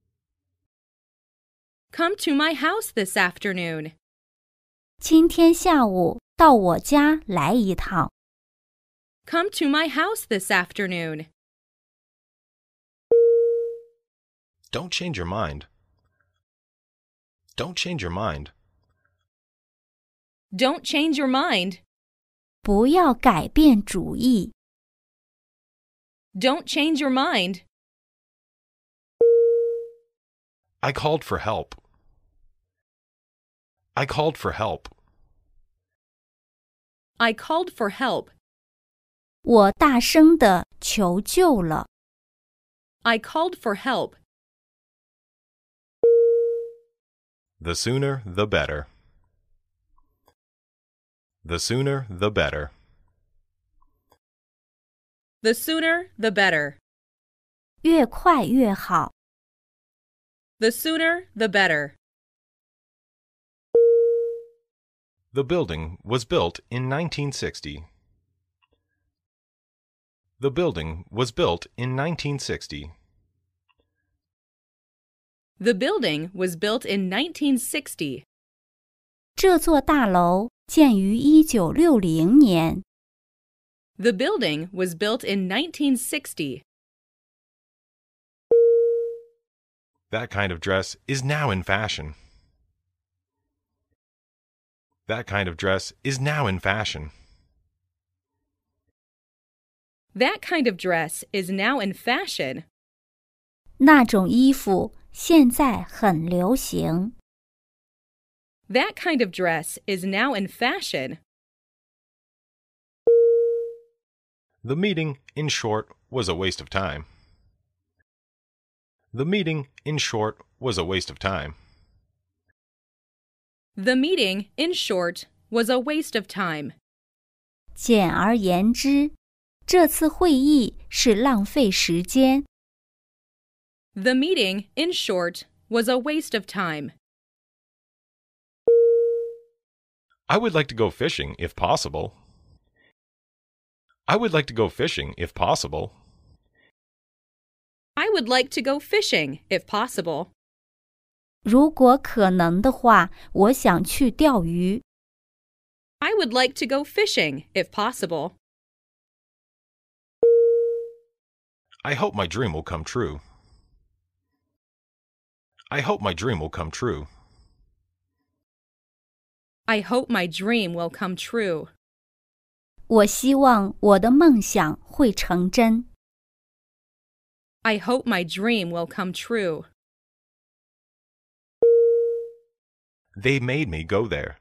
Come to my house this afternoon. 今天下午到我家来一趟。 Come to my house this afternoon. Don't change your mind. Don't change your mind. Don't change your mind. 不要改变主意。 Don't change your mind. I called for help. I called for help. I called for help. 我大声地求救了。 I called for help. The sooner, the better. The sooner, the better. The sooner, the better. 越快越好。 The sooner, the better. The building was built in 1960. The building was built in 1960. The building was built in 1960. 这座大楼建于1960年。 The building was built in 1960. That kind of dress is now in fashion. That kind of dress is now in fashion. That kind of dress is now in fashion. 那种衣服现在很流行。 That kind of dress is now in fashion. The meeting, in short, was a waste of time. The meeting, in short, was a waste of time. The meeting, in short, was a waste of time. 简而言之，这次会议是浪费时间。 The meeting, in short, was a waste of time. I would like to go fishing if possible. I would like to go fishing if possible. I would like to go fishing, if possible. 如果可能的话，我想去钓鱼。 I would like to go fishing, if possible. I hope my dream will come true. I hope my dream will come true. I hope my dream will come true. 我希望我的梦想会成真。 I hope my dream will come true. They made me go there.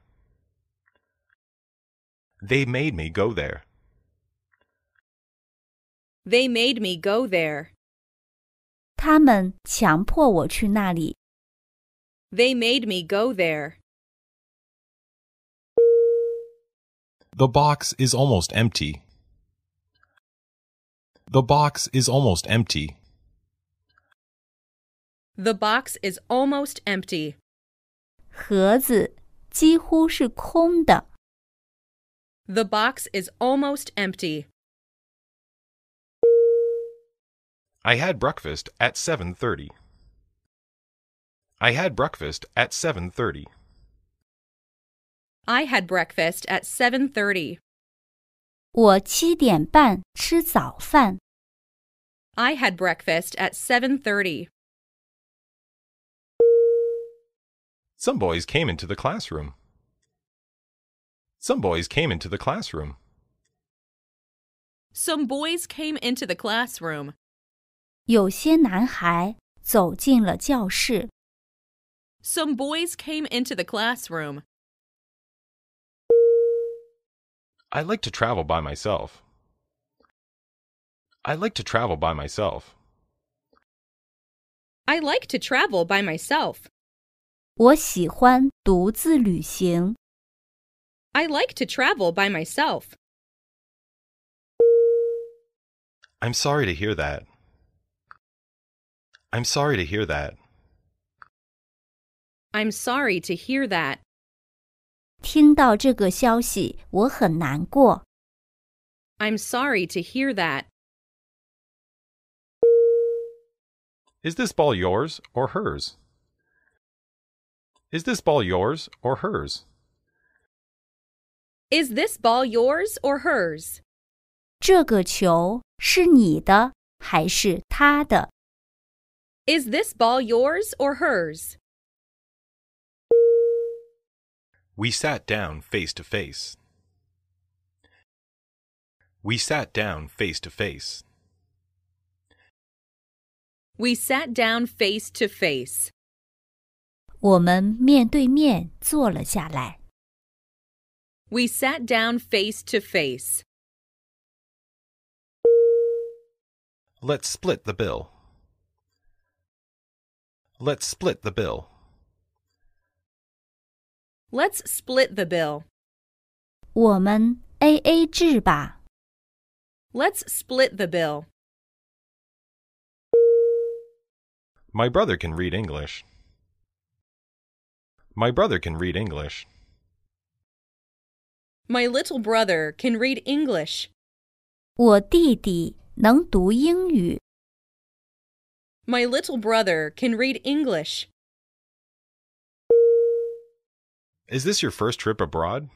They made me go there. They made me go there. 他们强迫我去那里。 They made me go there. The box is almost empty. The box is almost empty. The box is almost empty. 盒子几乎是空的。 The box is almost empty. I had breakfast at 7:30. I had breakfast at 7:30. I had breakfast at 7:30. 我7点半吃早饭。 I had breakfast at 7:30. Some boys came into the classroom. Some boys came into the classroom. Some boys came into the classroom. 有些男孩走进了教室。 Some boys came into the classroom. I like to travel by myself. I like to travel by myself. I like to travel by myself. 我喜欢独自旅行。 I like to travel by myself. I'm sorry to hear that. I'm sorry to hear that. I'm sorry to hear that. 听到这个消息，我很难过。 I'm sorry to hear that. Is this ball yours or hers? Is this ball yours or hers? Is this ball yours or hers? 这个球是你的还是他的？ Is this ball yours or hers? We sat down face to face. We sat down face to face. We sat down face to face. 我们面对面坐了下来。 We sat down face to face. Let's split the bill. Let's split the bill. Let's split the bill. 我们 AA 制吧。 Let's split the bill. My brother can read English. My brother can read English. My little brother can read English. 我弟弟能读英语。 My little brother can read English. Is this your first trip abroad?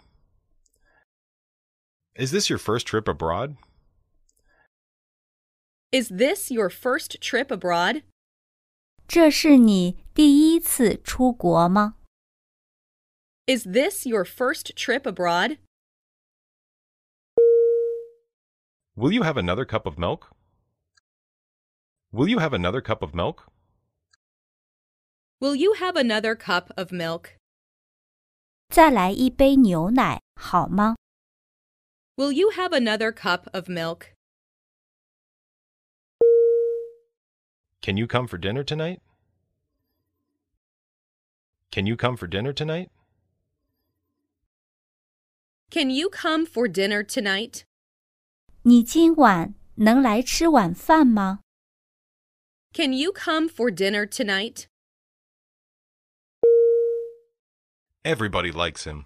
Is this your first trip abroad? Is this your first trip abroad? 这是你第一次出国吗？ Is this your first trip abroad? Will you have another cup of milk? Will you have another cup of milk? Will you have another cup of milk? 再来一杯牛奶好吗？ Will you have another cup of milk? Can you come for dinner tonight? Can you come for dinner tonight? Can you come for dinner tonight? 你今晚能来吃晚饭吗？ Can you come for dinner tonight? Everybody likes him.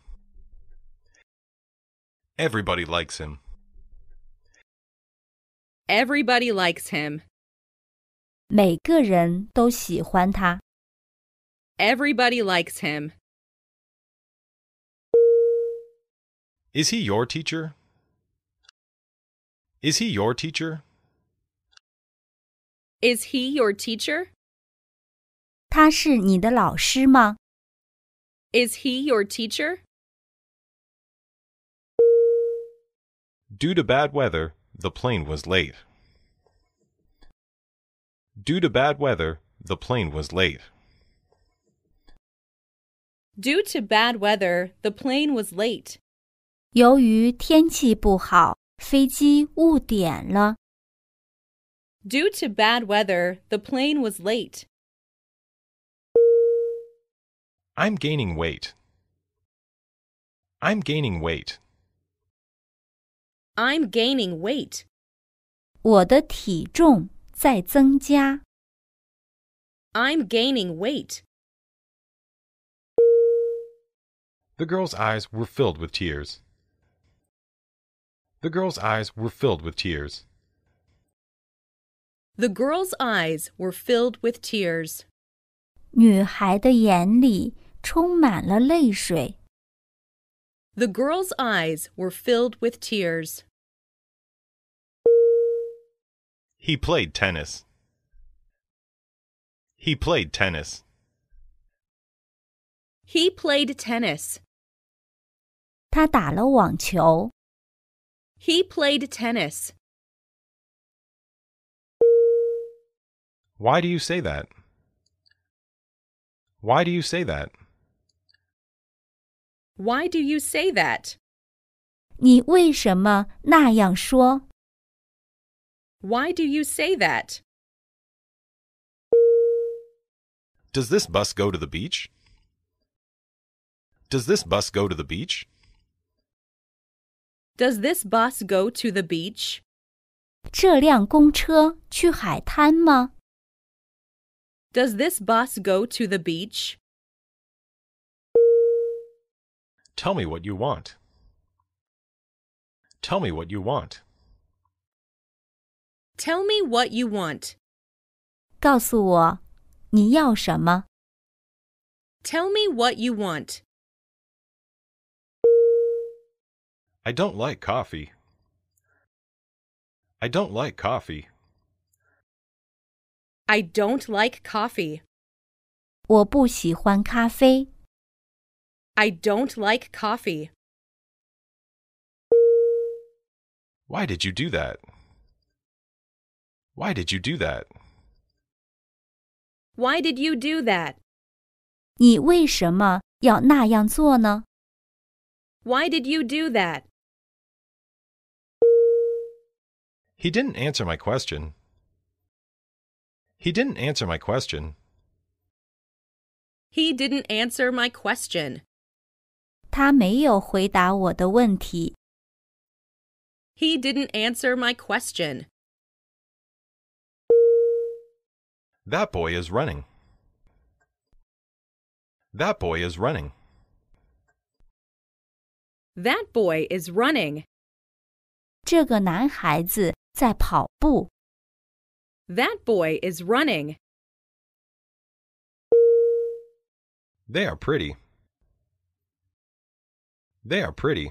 Everybody likes him. Everybody likes him. 每个人都喜欢他。 Everybody likes him. Is he your teacher? Is he your teacher? Is he your teacher? 他是你的老师吗？ Is he your teacher? Due to bad weather, the plane was late. Due to bad weather, the plane was late. Due to bad weather, the plane was late. 由于天气不好，飞机误点了。 Due to bad weather, the plane was late. I'm gaining weight. I'm gaining weight. I'm gaining weight. 我的体重在增加。 I'm gaining weight. The girl's eyes were filled with tears. The girl's eyes were filled with tears. The girl's eyes were filled with tears. 女孩的眼里充满了泪水。 The girl's eyes were filled with tears. He played tennis. He played tennis. He played tennis. 他打了网球。 He played tennis. Why do you say that? Why do you say that? Why do you say that? 你为什么那样说？ Why do you say that? Does this bus go to the beach? Does this bus go to the beach? Does this bus go to the beach? 这辆公车去海滩吗？ Does this bus go to the beach? Tell me what you want. Tell me what you want. Tell me what you want. 告诉我你要什么？ Tell me what you want. I don't like coffee. I don't like coffee. I don't like coffee. 我不喜欢咖啡。 I don't like coffee. Why did you do that? Why did you do that? Why did you do that? 你为什么要那样做呢？ Why did you do that? He didn't answer my question. He didn't answer my question. He didn't answer my question. 他没有回答我的问题。 He didn't answer my question. That boy is running. That boy is running. That boy is running. 这个男孩子在跑步。 That boy is running. They are pretty. They are pretty.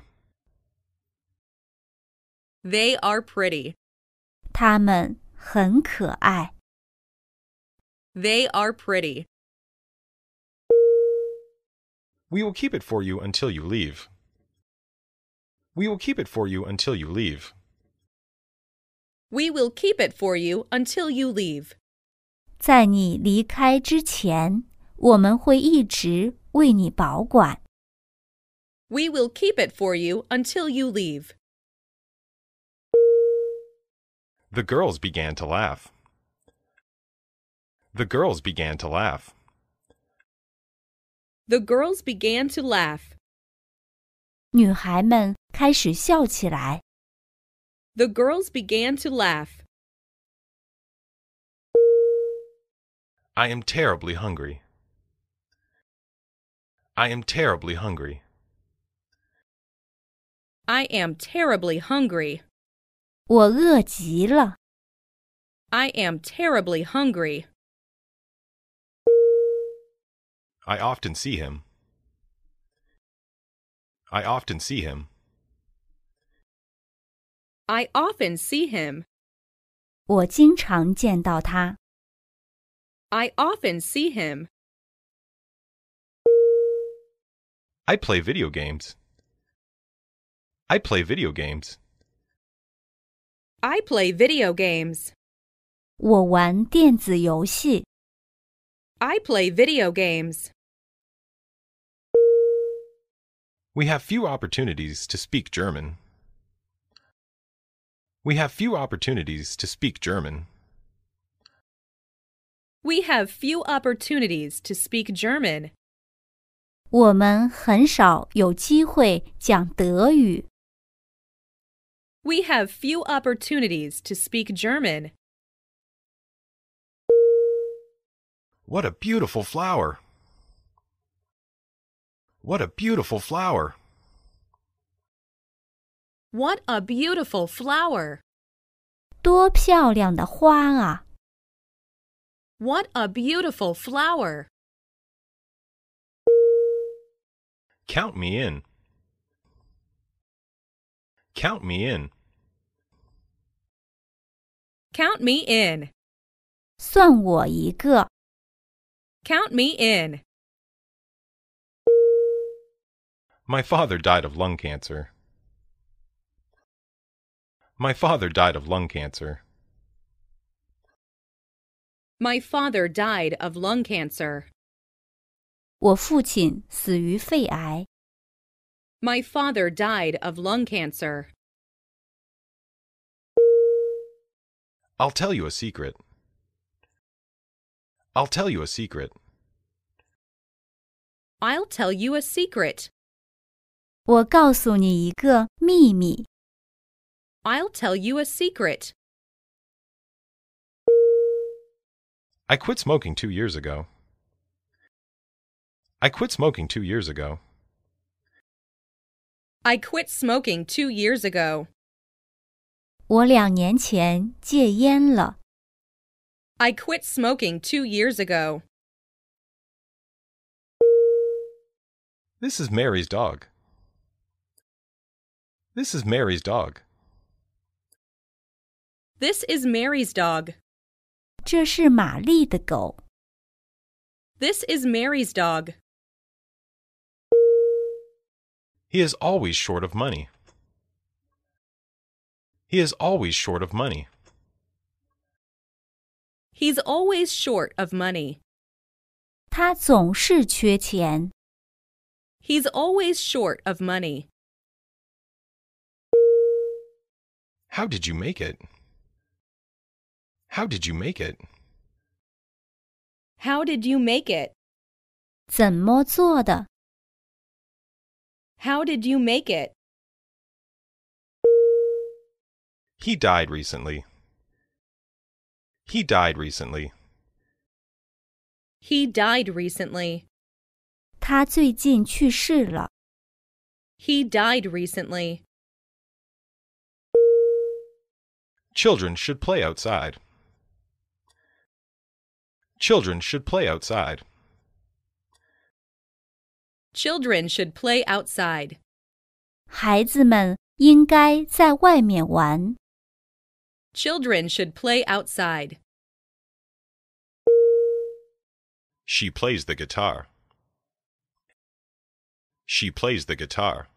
They are pretty. 他们很可爱。 They are pretty. We will keep it for you until you leave. We will keep it for you until you leave. We will keep it for you until you leave. 在你离开之前，我们会一直为你保管。 We will keep it for you until you leave. The girls began to laugh. The girls began to laugh. The girls began to laugh. 女孩们开始笑起来。 The girls began to laugh. I am terribly hungry. I am terribly hungry. I am terribly hungry. 我饿极了。 I am terribly hungry. I often see him. I often see him. I often see him. 我经常见到他。 I often see him. I play video games. I play video games. I play video games. 我玩电子游戏。 I play video games. We have few opportunities to speak German. We have few opportunities to speak German. We have few opportunities to speak German. 我们很少有机会讲德语。 We have few opportunities to speak German. What a beautiful flower! What a beautiful flower! What a beautiful flower! 多漂亮的花啊！ What a beautiful flower! Count me in. Count me in. Count me in. 算我一个。 Count me in. My father died of lung cancer. My father died of lung cancer. My father died of lung cancer. 我父亲死于肺癌。 My father died of lung cancer. I'll tell you a secret. I'll tell you a secret. I'll tell you a secret. 我告诉你一个秘密。 I'll tell you a secret. I quit smoking 2 years ago. I quit smoking 2 years ago. I quit smoking 2 years ago. 我2年前戒烟了。 I quit smoking 2 years ago. This is Mary's dog. This is Mary's dog. This is Mary's dog. 这是玛丽的狗。 This is Mary's dog. He is always short of money. He is always short of money. He's always short of money. 他总是缺钱。 He's always short of money. How did you make it? How did you make it? How did you make it? 怎么做的？ How did you make it? He died recently. He died recently. He died recently. 他最近去世了。 He died recently. Children should play outside. Children should play outside. Children should play outside. 孩子们应该在外面玩。 Children should play outside. She plays the guitar. She plays the guitar.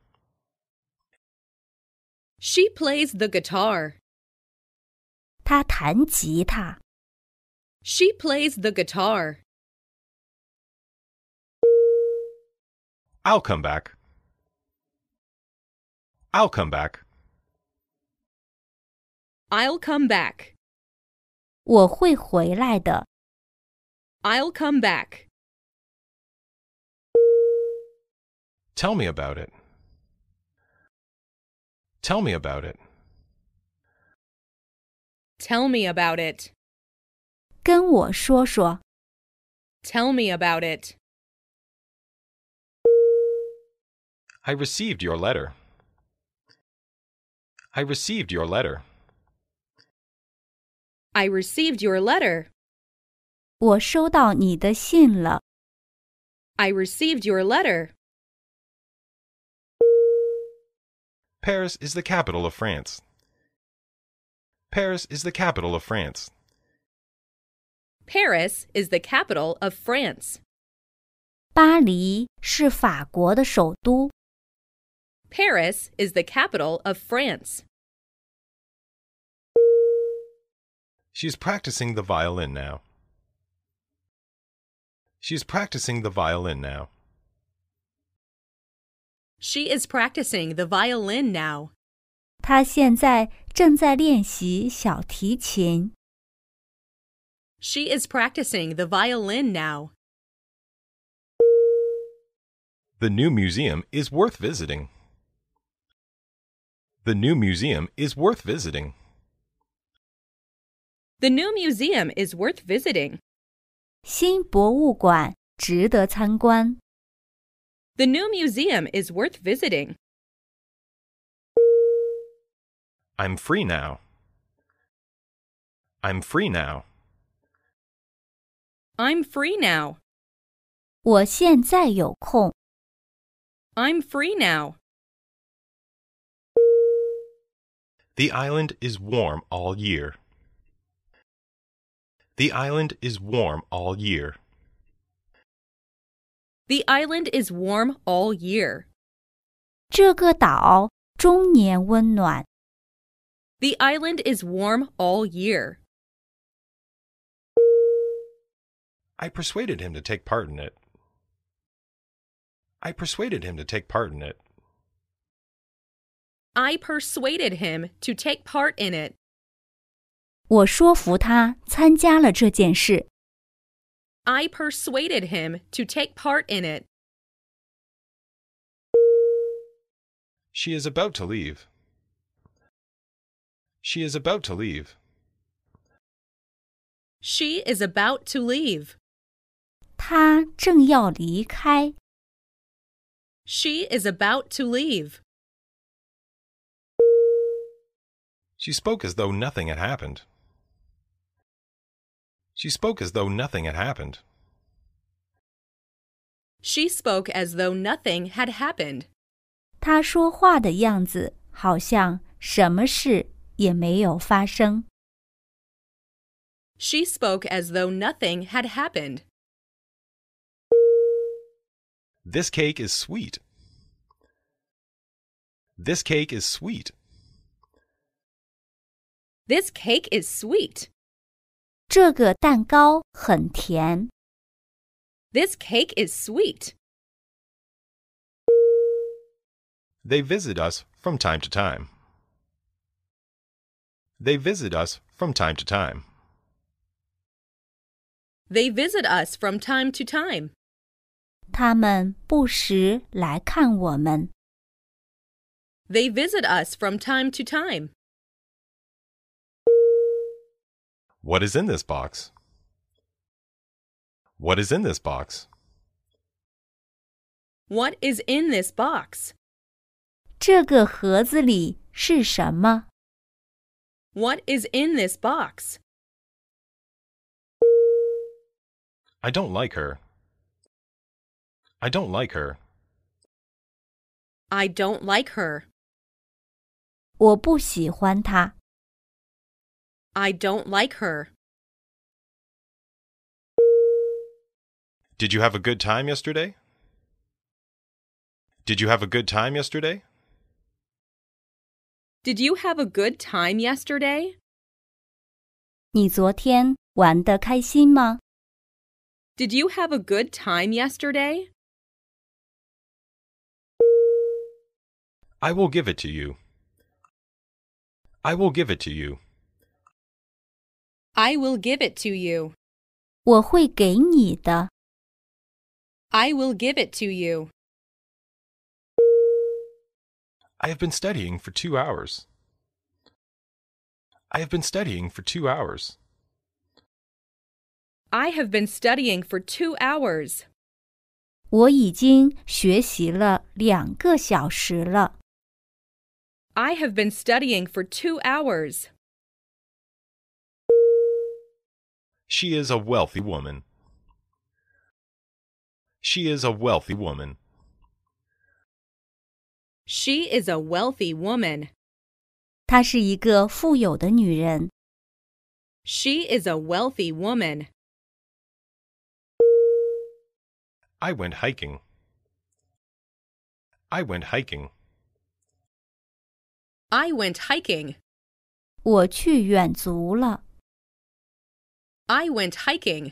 She plays the guitar. 他弹吉他。 She plays the guitar. I'll come back. I'll come back. I'll come back. 我会回来的。 I'll come back. Tell me about it. Tell me about it. Tell me about it. 跟我说说。 Tell me about it. I received your letter. I received your letter. I received your letter. 我收到你的信了。 I received your letter. Paris is the capital of France. Paris is the capital of France. Paris is the capital of France. 巴黎是法国的首都。 Paris is the capital of France. She's practicing the violin now. She's practicing the violin now. She is practicing the violin now. 她现在正在练习小提琴。 She is practicing the violin now. The new museum is worth visiting. The new museum is worth visiting. The new museum is worth visiting. 新博物馆值得参观。 The new museum is worth visiting. I'm free now. I'm free now. I'm free now. 我现在有空。 I'm free now. The island is warm all year. The island is warm all year. The island is warm all year. 这个岛终年温暖。 The island is warm all year. I persuaded him to take part in it. I persuaded him to take part in it. I persuaded him to take part in it. 我说服他参加了这件事。 I persuaded him to take part in it. She is about to leave. She is about to leave. She is about to leave. 他正要离开。 She is about to leave. She spoke as though nothing had happened. She spoke as though nothing had happened. She spoke as though nothing had happened. 他说话的样子好像什么事也没有发生。 She spoke as though nothing had happened. This cake is sweet. This cake is sweet. This cake is sweet. 这个蛋糕很甜。 This cake is sweet. They visit us from time to time. They visit us from time to time. They visit us from time to time. 他们不时来看我们。 They visit us from time to time. What is in this box? What is in this box? What is in this box? 这个盒子里是什么？ What is in this box? I don't like her. I don't like her. I don't like her. 我不喜欢她。 I don't like her. Did you have a good time yesterday? Did you have a good time yesterday? Did you have a good time yesterday? 你昨天玩得开心吗？ Did you have a good time yesterday? I will give it to you. I will give it to you. I will give it to you. 我会给你的。 I will give it to you. I have been studying for 2 hours. I have been studying for 2 hours. I have been studying for 2 hours. 我已经学习了2个小时了。 I have been studying for 2 hours. She is a wealthy woman. She is a wealthy woman. She is a wealthy woman. 她是一个富有的女人。 She is a wealthy woman. I went hiking. I went hiking. I went hiking. 我去远足了。 I went hiking.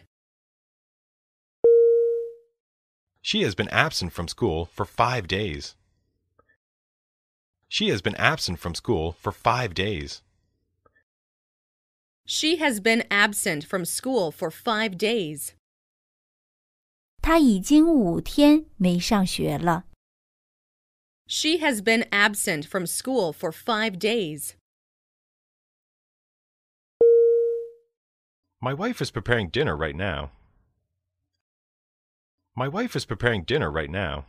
She has been absent from school for 5 days. She has been absent from school for 5 days. She has been absent from school for 5 days. 她已经5天没上学了。 She has been absent from school for 5 days. My wife is preparing dinner right now. My wife is preparing dinner right now.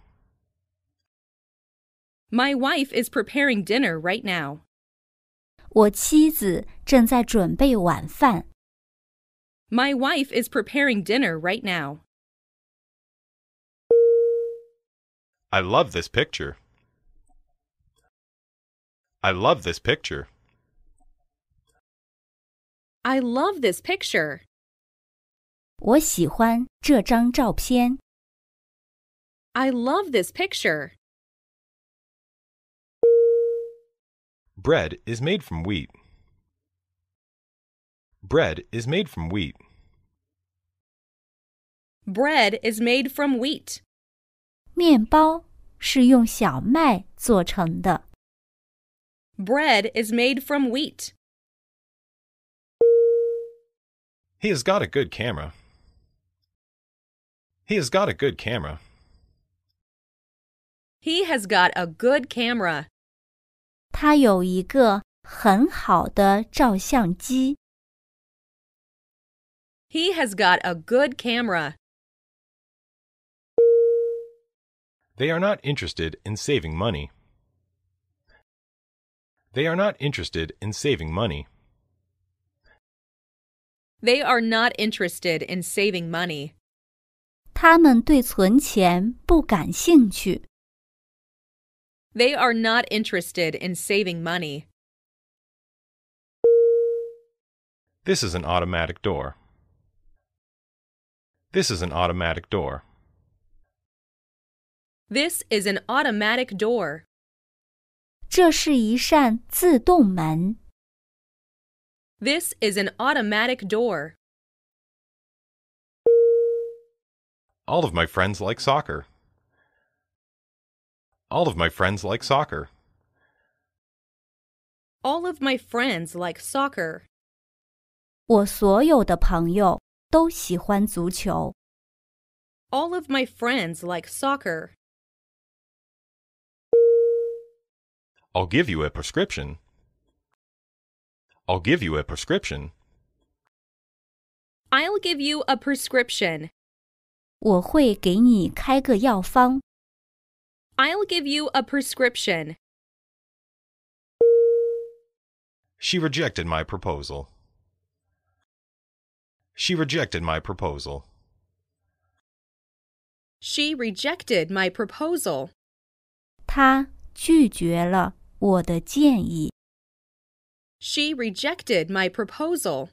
My wife is preparing dinner right now. 我妻子正在准备晚饭。 My wife is preparing dinner right now. I love this picture. I love this picture. I love this picture. 我喜欢这张照片。 I love this picture. Bread is made from wheat. Bread is made from wheat. Bread is made from wheat. 面包是用小麦做成的。 Bread is made from wheat. He has got a good camera. He has got a good camera. He has got a good camera. 他有一个很好的照相机。 He has got a good camera. They are not interested in saving money. They are not interested in saving money. They are not interested in saving money. 他们对存钱不感兴趣。 They are not interested in saving money. This is an automatic door. This is an automatic door. This is an automatic door. 这是一扇自动门。 This is an automatic door. All of my friends like soccer. All of my friends like soccer. All of my friends like soccer. 我所有的朋友都喜欢足球。 All of my friends like soccer. I'll give you a prescription. I'll give you a prescription. I'll give you a prescription. 我会给你开个药方。 I'll give you a prescription. She rejected my proposal. She rejected my proposal. She rejected my proposal. 她拒绝了我的建议。 She rejected my proposal.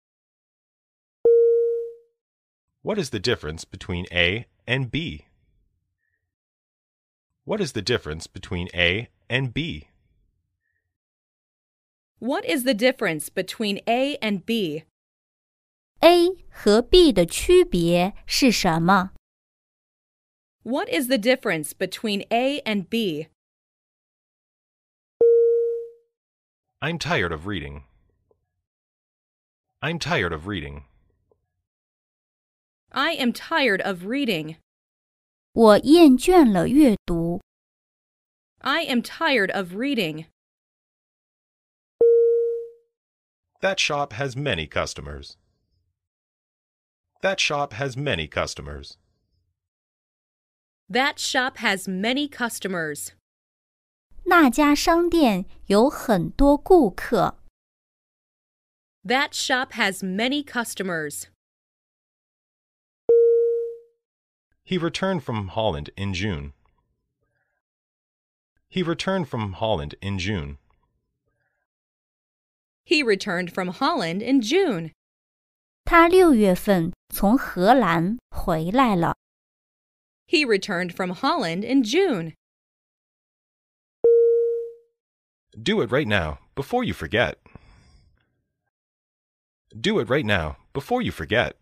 What is the difference between A and B? What is the difference between A and B? What is the difference between A and B? A 和 B 的区别是什么？ What is the difference between A and B? I'm tired of reading. I'm tired of reading. I am tired of reading. 我厌倦了阅读。 I am tired of reading. That shop has many customers. That shop has many customers. That shop has many customers. 那家商店有很多顾客。 That shop has many customers. He returned from Holland in June. He returned from Holland in June. He returned from Holland in June. 他6月份从荷兰回来了。 He returned from Holland in June. Do it right now, before you forget. Do it right now, before you forget.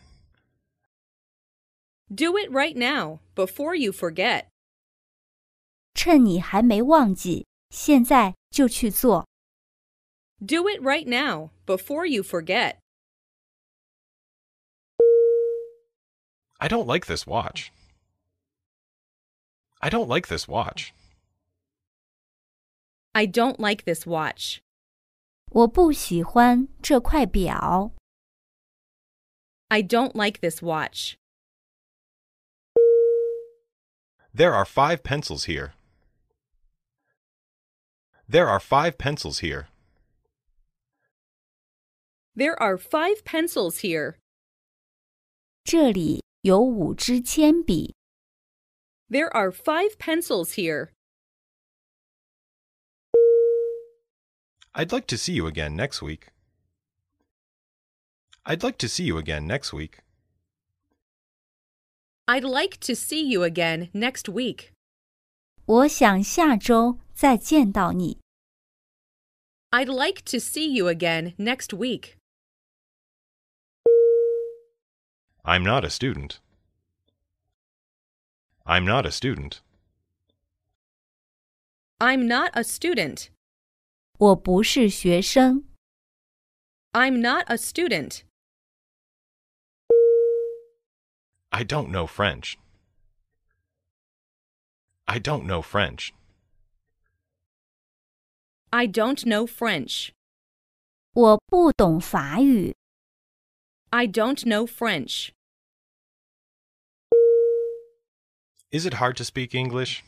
Do it right now, before you forget. 趁你还没忘记，现在就去做。 Do it right now, before you forget. I don't like this watch. I don't like this watch. I don't like this watch. 我不喜欢这块表。 I don't like this watch. There are 5 pencils here. There are 5 pencils here. There are 5 pencils here. 这里有5支铅笔。 There are 5 pencils here. I'd like to see you again next week. I'd like to see you again next week. I'd like to see you again next week. 我想下周再见到你。 I'd like to see you again next week. I'm not a student. I'm not a student. I'm not a student. 我不是学生。 I'm not a student. I don't know French. I don't know French. I don't know French. 我不懂法语。 I don't know French. Is it hard to speak English?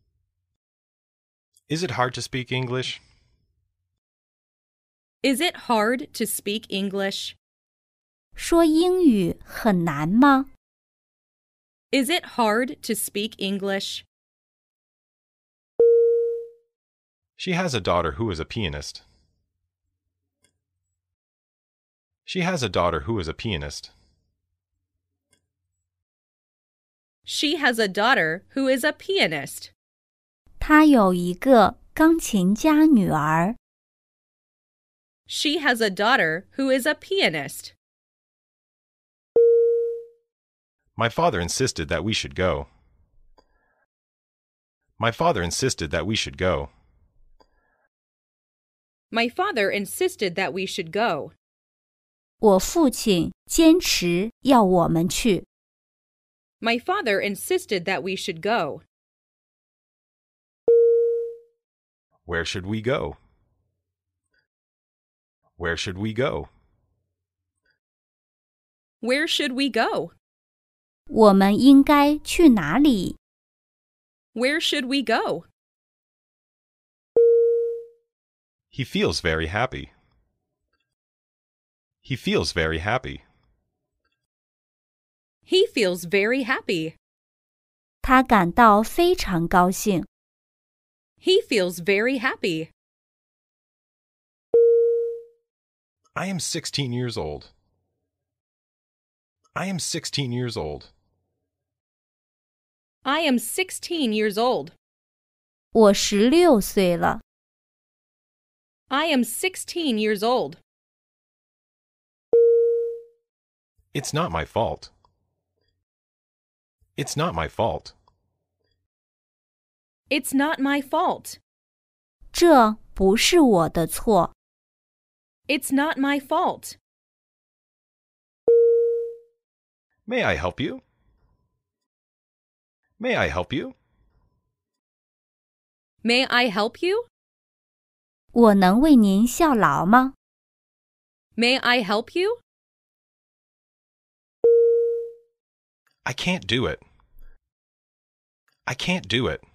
Is it hard to speak English? Is it hard to speak English? 说英语很难吗？ Is it hard to speak English? She has a daughter who is a pianist. She has a daughter who is a pianist. She has a daughter who is a pianist. 她有一个钢琴家女儿。 She has a daughter who is a pianist. My father insisted that we should go. My father insisted that we should go. My father insisted that we should go. 我父亲坚持要我们去。 My father insisted that we should go. Where should we go? Where should we go? Where should we go? 我们应该去哪里？ Where should we go? He feels very happy. He feels very happy. He feels very happy. 他感到非常高兴。 He feels very happy. I am 16 years old. I am 16 years old. I am 16 years old. 我16岁了。 I am 16 years old. It's not my fault. It's not my fault. It's not my fault. 这不是我的错。 It's not my fault. May I help you? May I help you? May I help you? 我能为您效劳吗？ May I help you? I can't do it. I can't do it.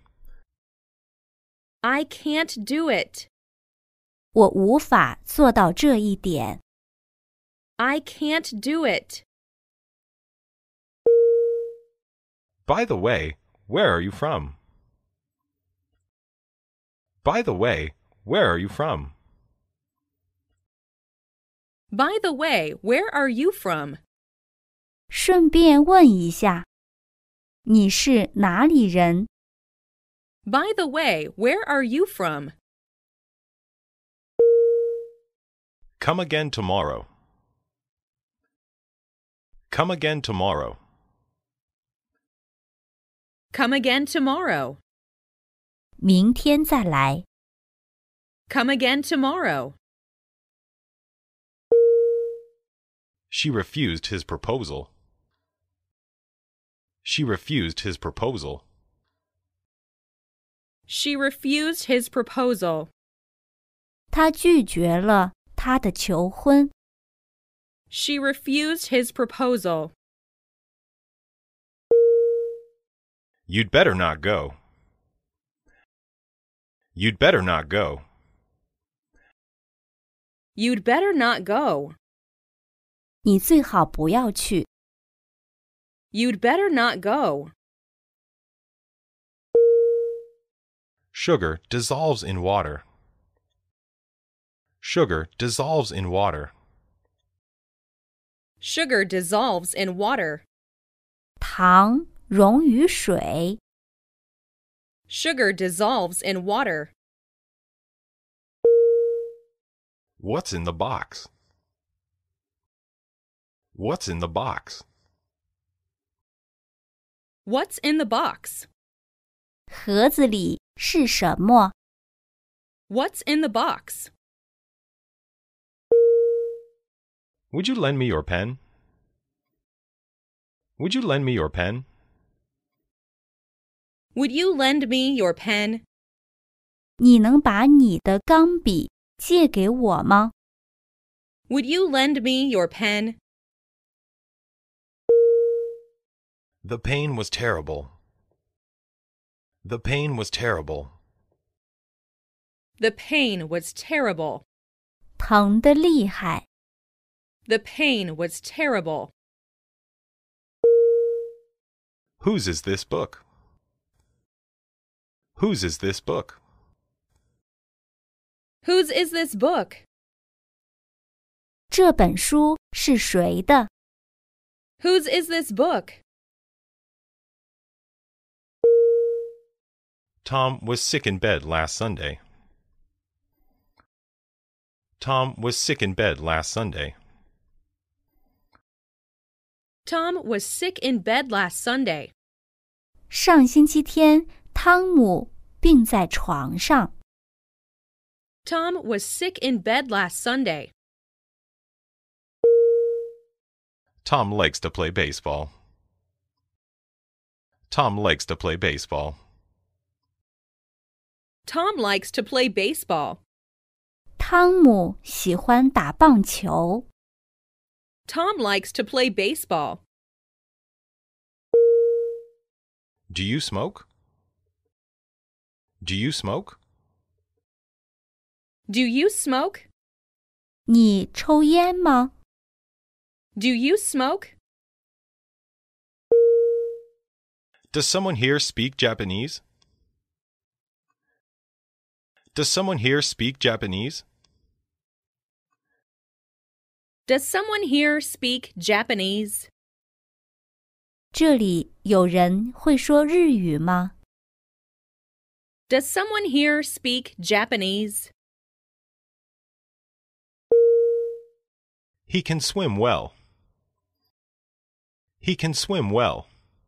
I can't do it. 我无法做到这一点。 I can't do it. By the way, where are you from? By the way, where are you from? By the way, where are you from? 顺便问一下，你是哪里人？ By the way, where are you from? Come again tomorrow. Come again tomorrow. Come again tomorrow. 明天再来。 Come again tomorrow. She refused his proposal. She refused his proposal. She refused his proposal. 她拒绝了他的求婚。 She refused his proposal. You'd better not go. You'd better not go. You'd better not go. 你最好不要去。 You'd better not go. Sugar dissolves in water. Sugar dissolves in water. Sugar dissolves in water. 糖溶于水。 Sugar dissolves in water. What's in the box? What's in the box? What's in the box? 盒子里是什么？ What's in the box? Would you lend me your pen? Would you lend me your pen? Would you lend me your pen? 你能把你的钢笔借给我吗？ Would you lend me your pen? The pain was terrible. The pain was terrible. The pain was terrible. 疼得厉害。 The pain was terrible. Whose is this book? Whose is this book? Whose is this book? 这本书是谁的？ Whose is this book? Tom was sick in bed last Sunday. Tom was sick in bed last Sunday. Tom was sick in bed last Sunday. 上星期天，汤姆病在床上。 Tom was sick in bed last Sunday. Tom likes to play baseball. Tom likes to play baseball. Tom likes to play baseball. 汤姆喜欢打棒球。 Tom likes to play baseball. Do you smoke? Do you smoke? Do you smoke? 你抽烟吗？ Do you smoke? Does someone here speak Japanese? Does someone here speak Japanese? Does someone here speak Japanese? 这里有人会说日语吗？ Does someone here speak Japanese? He can swim well. He can swim well.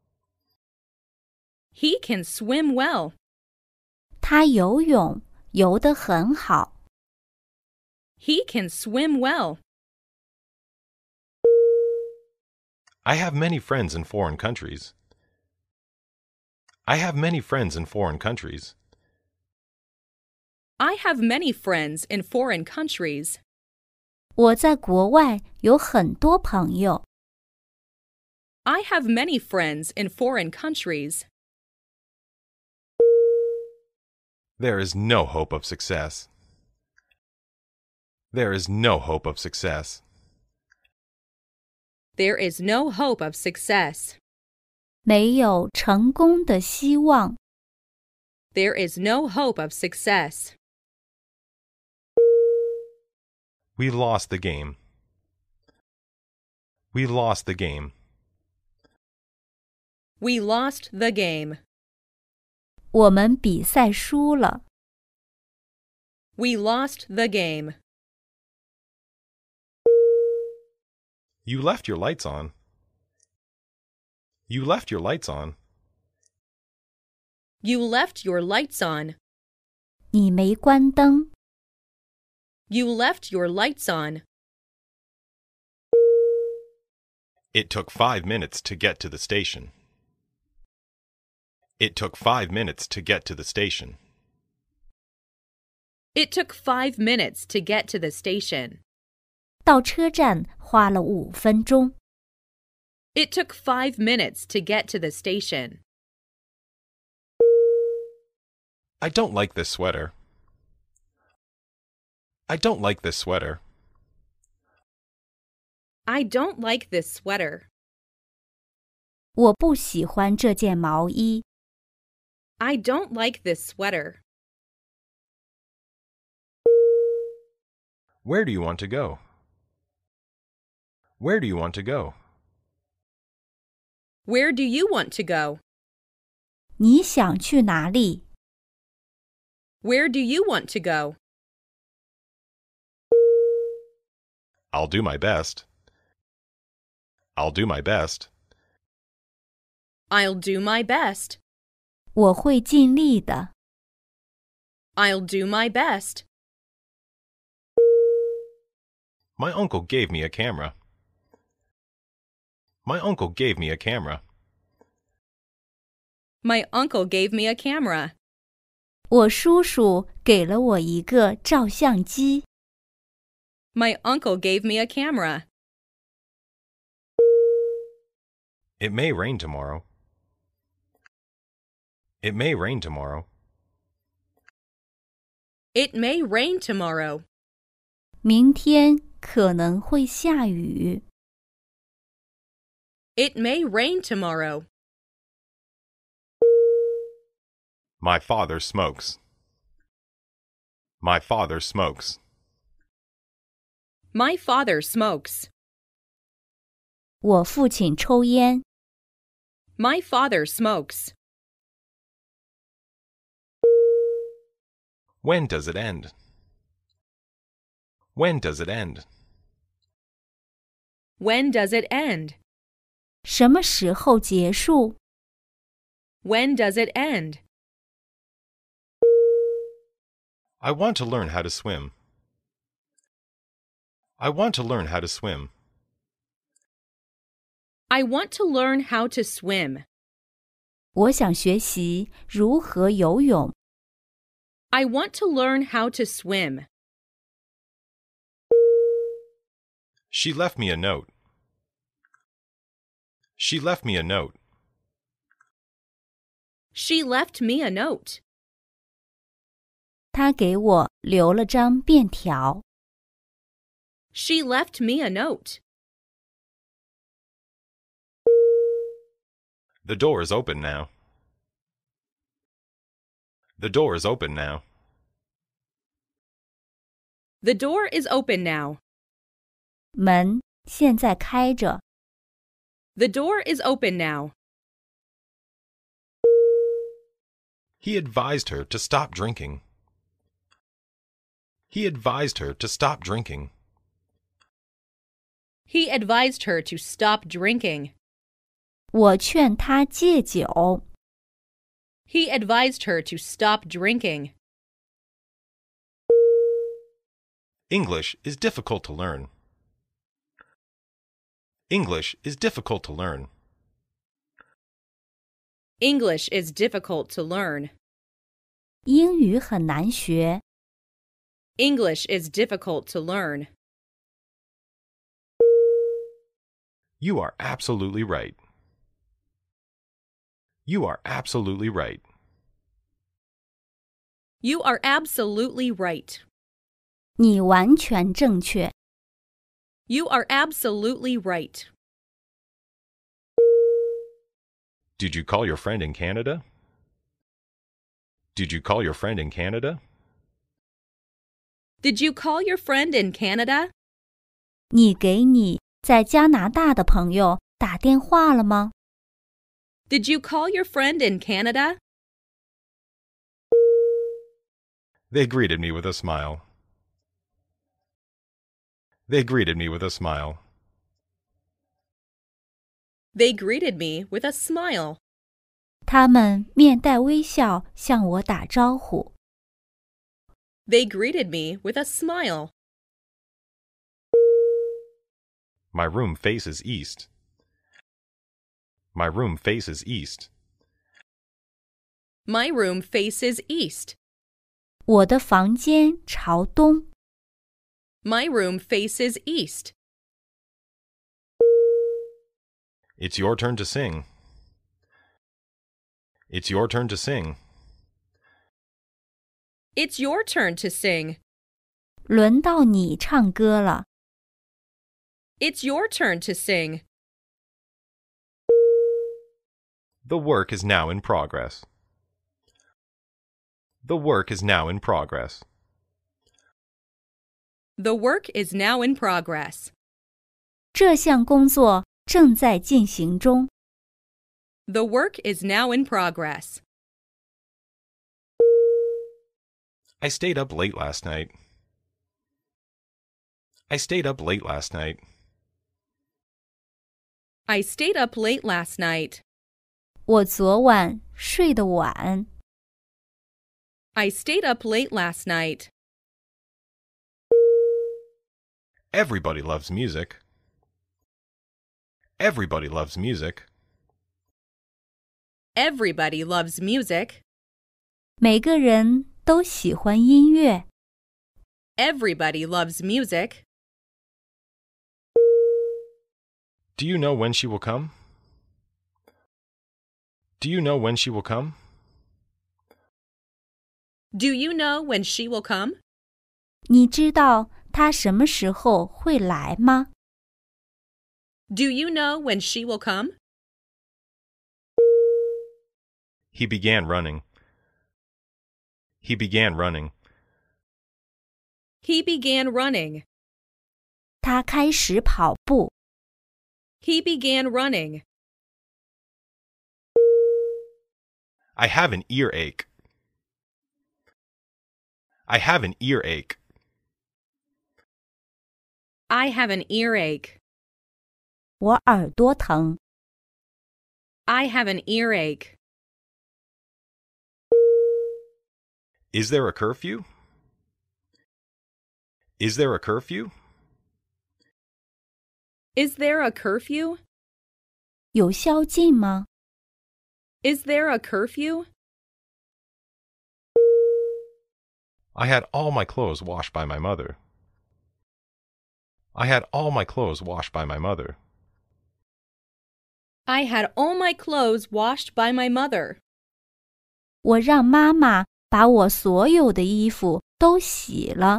He can swim well. 他游泳游得很好。 He can swim well. I have many friends in foreign countries. I have many friends in foreign countries. I have many friends in foreign countries. 我在国外有很多朋友。 I have many friends in foreign countries. There is no hope of success. There is no hope of success. There is no hope of success. 没有成功的希望。 There is no hope of success. We lost the game. We lost the game. We lost the game. 我们比赛输了。 We lost the game. You left your lights on. You left your lights on. You left your lights on. 你没关灯。 You left your lights on. It took 5 minutes to get to the station. It took 5 minutes to get to the station. It took 5 minutes to get to the station. 到车站花了5分钟。 It took 5 minutes to get to the station. I don't like this sweater. I don't like this sweater. I don't like this sweater. 我不喜欢这件毛衣。 I don't like this sweater. Where do you want to go? Where do you want to go? Where do you want to go? 你想去哪里？ Where do you want to go? I'll do my best. I'll do my best. I'll do my best. 我会尽力的。 I'll do my best. My uncle gave me a camera. My uncle gave me a camera. My uncle gave me a camera. 我叔叔给了我一个照相机。 My uncle gave me a camera. It may rain tomorrow. It may rain tomorrow. It may rain tomorrow. 明天可能会下雨。 It may rain tomorrow. My father smokes. My father smokes. My father smokes. 我父亲抽烟。 My father smokes. When does it end? When does it end? When does it end? 什么时候结束？ When does it end? I want to learn how to swim. I want to learn how to swim. I want to learn how to swim. 我想学习如何游泳。 I want to learn how to swim. She left me a note. She left me a note. She left me a note. 他给我留了张便条。 She left me a note. The door is open now. The door is open now. The door is open now. 门现在开着。 The door is open now. He advised her to stop drinking. He advised her to stop drinking. He advised her to stop drinking. 我劝他戒酒。 He advised her to stop drinking. English is difficult to learn. English is difficult to learn. English is difficult to learn. 英语很难学。 English is difficult to learn. You are absolutely right. You are absolutely right. You are absolutely right. 你完全正确。 You are absolutely right. Did you call your friend in Canada? Did you call your friend in Canada? Did you call your friend in Canada? 你给你在加拿大的朋友打电话了吗？ Did you call your friend in Canada? They greeted me with a smile. They greeted me with a smile. They greeted me with a smile. 他们面带微笑向我打招呼。 They greeted me with a smile. My room faces east. My room faces east. My room faces east. 我的房间朝东。 My room faces east. It's your turn to sing. It's your turn to sing. It's your turn to sing. 轮到你唱歌了。 It's your turn to sing. The work is now in progress. The work is now in progress. The work is now in progress. 这项工作正在进行中。 The work is now in progress. I stayed up late last night. I stayed up late last night. I stayed up late last night. 我昨晚睡得晚。 I stayed up late last night. Everybody loves music. Everybody loves music. Everybody loves music. 每个人都喜欢音乐。 Everybody loves music. Do you know when she will come? Do you know when she will come? Do you know when she will come? 你知道她什么时候会来吗？ Do you know when she will come? He began running. He began running. He began running. 她开始跑步。 He began running. I have an earache. I have an earache. I have an earache. 我耳朵疼。 I have an earache. Is there a curfew? Is there a curfew? Is there a curfew? 有宵禁吗？ Is there a curfew? I had all my clothes washed by my mother. I had all my clothes washed by my mother. I had all my clothes washed by my mother. 我让妈妈把我所有的衣服都洗了。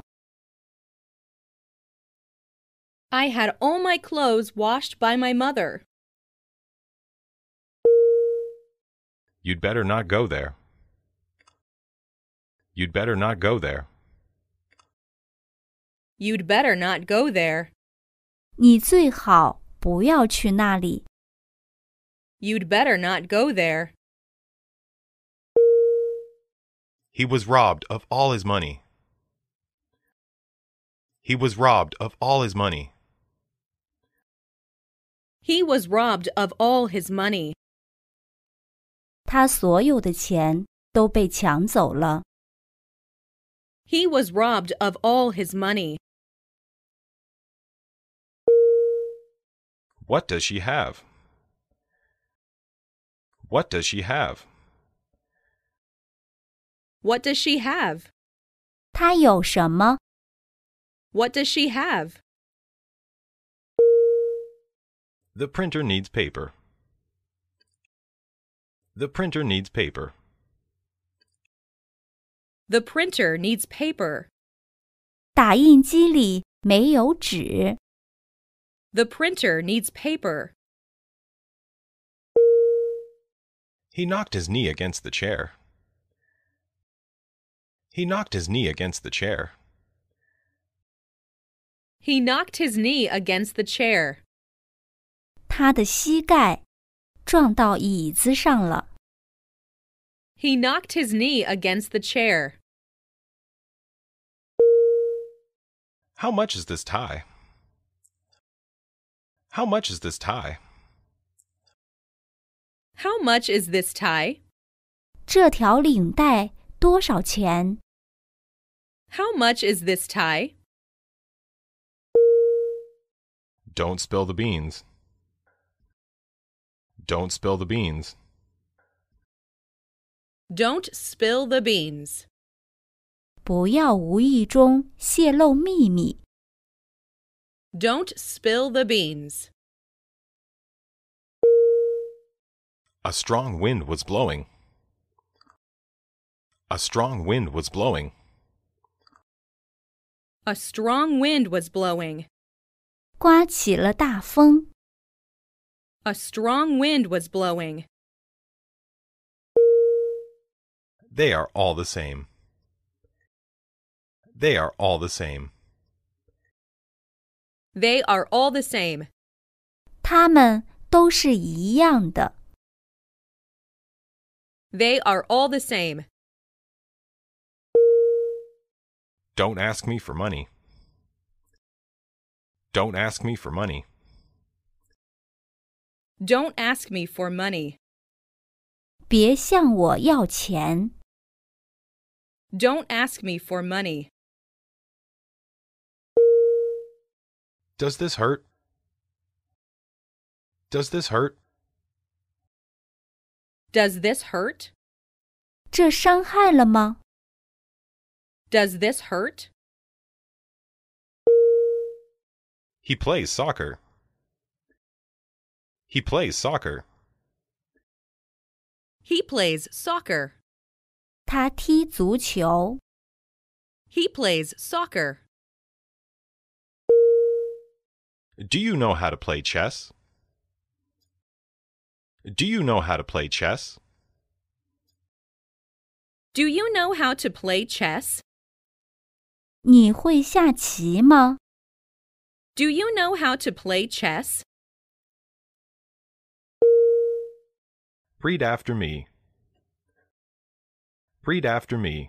I had all my clothes washed by my mother. You'd better not go there. You'd better not go there. You'd better not go there. 你最好不要去那里。 You'd better not go there. He was robbed of all his money. He was robbed of all his money. He was robbed of all his money. 他所有的钱都被抢走了。 He was robbed of all his money. What does she have? What does she have? What does she have? 他有什么？ What does she have? The printer needs paper. The printer needs paper. The printer needs paper. 打印机里没有纸。 The printer needs paper. He knocked his knee against the chair. He knocked his knee against the chair. He knocked his knee against the chair. 他的膝盖撞到椅子上了。 He knocked his knee against the chair. How much is this tie? How much is this tie? How much is this tie? 这条领带多少钱？ How much is this tie? Don't spill the beans. Don't spill the beans. Don't spill the beans. 不要无意中泄露秘密。 Don't spill the beans. A strong wind was blowing. A strong wind was blowing. A strong wind was blowing. 刮起了大风。 A strong wind was blowing. They are all the same. They are all the same. They are all the same. 它们都是一样的。 They are all the same. Don't ask me for money. Don't ask me for money. Don't ask me for money. 别向我要钱。 Don't ask me for money. Does this hurt? Does this hurt? Does this hurt? 这伤害了吗？ Does this hurt? He plays soccer. He plays soccer. He plays soccer. 他踢足球。 He plays soccer. Do you know how to play chess? Do you know how to play chess? Do you know how to play chess? 你会下棋吗？ Do you know how to play chess? Read after me. Read after me.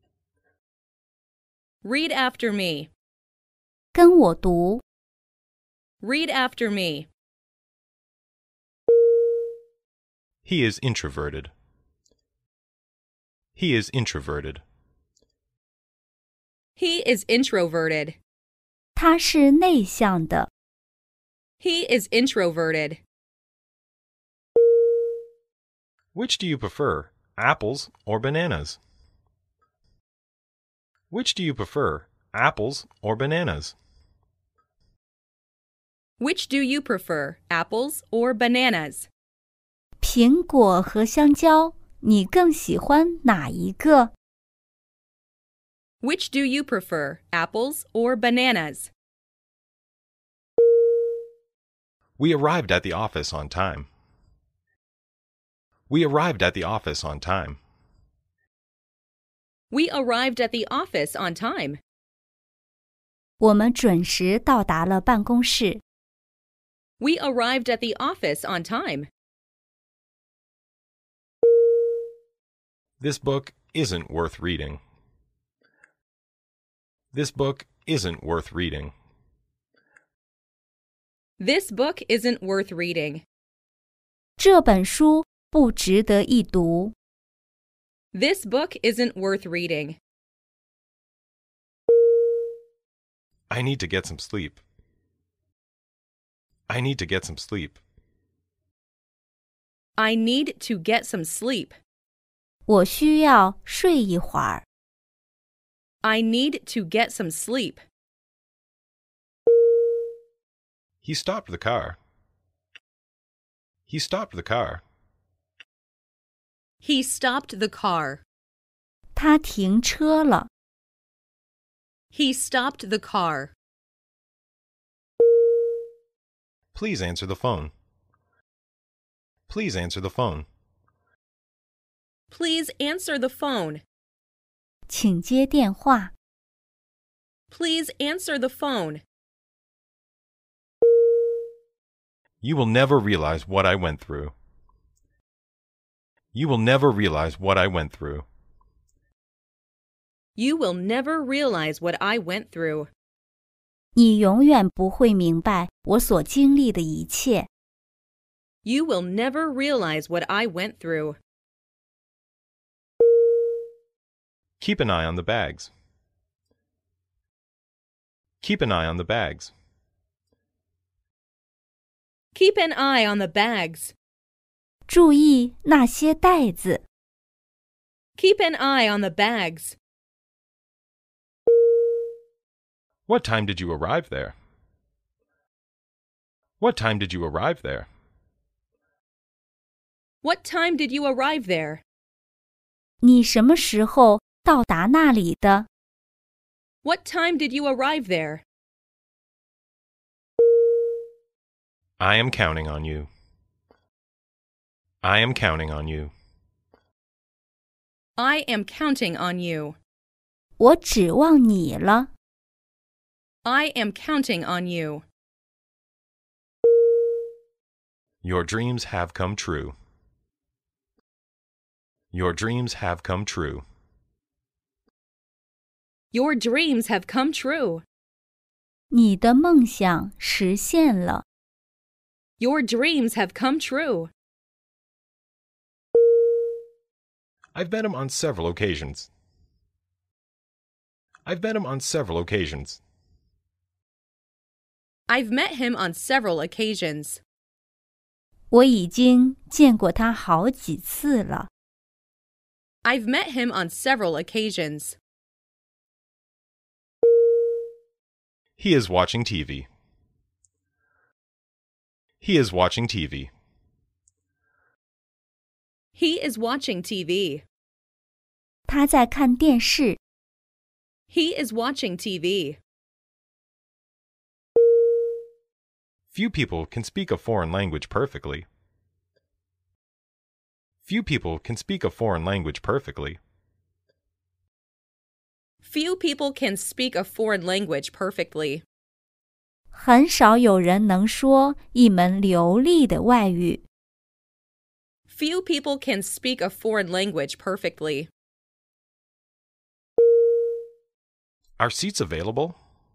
Read after me. 跟我读。 Read after me. He is introverted. He is introverted. He is introverted. 他是内向的。 He is introverted. Which do you prefer, apples or bananas? Which do you prefer, apples or bananas? Which do you prefer, apples or bananas? 苹果和香蕉，你更喜欢哪一个？ Which do you prefer, apples or bananas? We arrived at the office on time. We arrived at the office on time. We arrived at the office on time. 我们准时到达了办公室。 We arrived at the office on time. This book isn't worth reading. This book isn't worth reading. This book isn't worth reading. 这本书不值得一读。 This book isn't worth reading. I need to get some sleep. I need to get some sleep. I need to get some sleep. 我需要睡一会儿。 I need to get some sleep. He stopped the car. He stopped the car. He stopped the car. 他停车了。 He stopped the car. Please answer the phone. Please answer the phone. Please answer the phone. 请接电话。 Please answer the phone. You will never realize what I went through. You will never realize what I went through. You will never realize what I went through. 你永远不会明白我所经历的一切。 You will never realize what I went through. Keep an eye on the bags. Keep an eye on the bags. Keep an eye on the bags. 注意那些袋子。 Keep an eye on the bags. What time did you arrive there? What time did you arrive there? What time did you arrive there? 你什么时候到达那里的？ What time did you arrive there? I am counting on you. I am counting on you. I am counting on you. 我指望你了。 I am counting on you. Your dreams have come true. Your dreams have come true. Your dreams have come true. 你的梦想实现了。 Your dreams have come true. I've met him on several occasions. I've met him on several occasions. I've met him on several occasions. 我已经见过他好几次了。 I've met him on several occasions. He is watching TV. He is watching TV. He is watching TV. 他在看电视。 He is watching TV. Few people can speak a foreign language perfectly. Few people can speak a foreign language perfectly. Few people can speak a foreign language perfectly. 很少有人能说一门流利的外语。 Few people can speak a foreign language perfectly. Are seats available?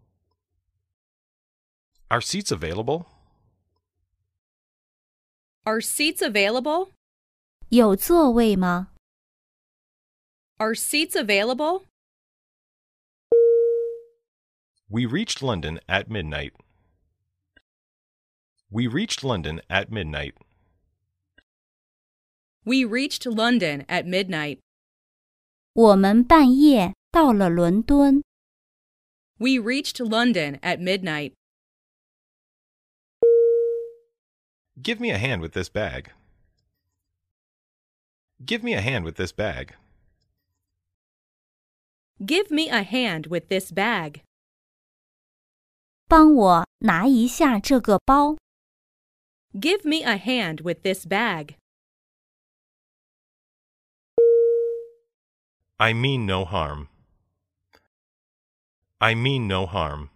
Are seats available? Are seats available? 有座位吗？ Are seats available? We reached London at midnight. We reached London at midnight. We reached London at midnight. 我们半夜到了伦敦。 We reached London at midnight. Give me a hand with this bag. Give me a hand with this bag. Give me a hand with this bag. 帮我拿一下这个包。 Give me a hand with this bag. I mean no harm. I mean no harm.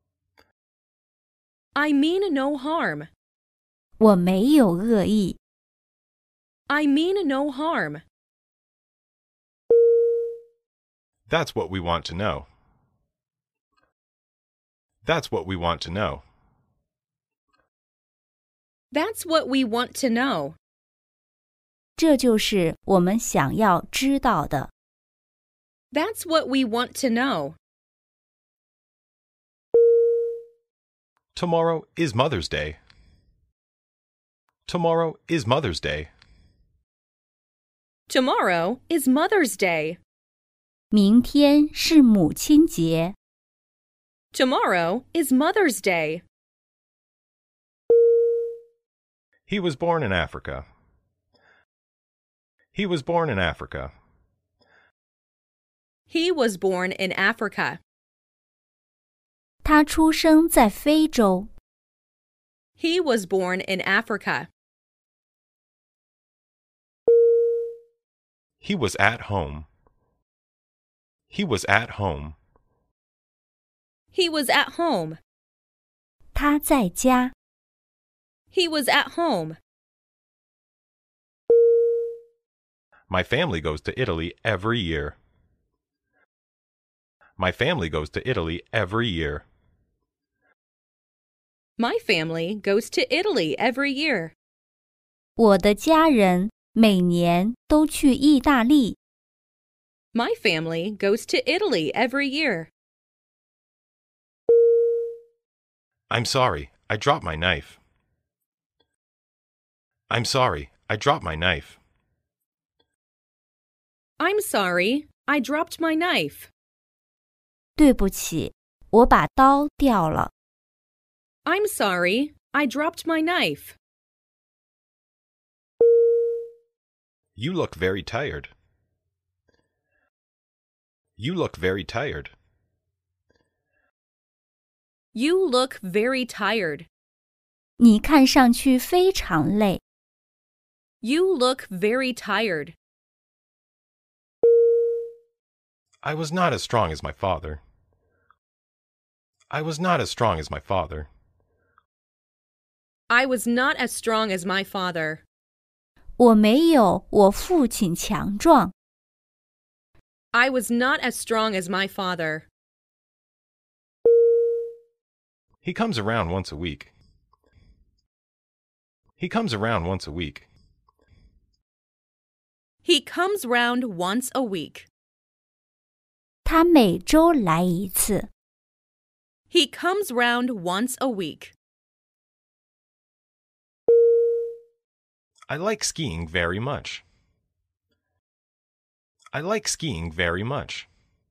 I mean no harm. 我没有恶意。 I mean no harm. That's what we want to know. That's what we want to know. That's what we want to know. 这就是我们想要知道的。 That's what we want to know. Tomorrow is Mother's Day. Tomorrow is Mother's Day. Tomorrow is Mother's Day. 明天是母亲节。 Tomorrow is Mother's Day. He was born in Africa. He was born in Africa. He was born in Africa. 他出生在非洲。 He was born in Africa. He was at home. He was at home. He was at home. 他在家。 He was at home. My family goes to Italy every year. My family goes to Italy every year. My family goes to Italy every year. 我的家人每年都去意大利。 My family goes to Italy every year. I'm sorry, I dropped my knife. I'm sorry, I dropped my knife. I'm sorry, I dropped my knife. 对不起，我把刀掉了。 I'm sorry, I dropped my knife. You look very tired. You look very tired. You look very tired. 你看上去非常累。 You look very tired. I was not as strong as my father. I was not as strong as my father. I was not as strong as my father. 我没有我父亲强壮。 I was not as strong as my father. He comes around once a week. He comes around once a week. He comes round once a week. 他每周来一次。 He comes round once a week. I like skiing very much. I like skiing very much.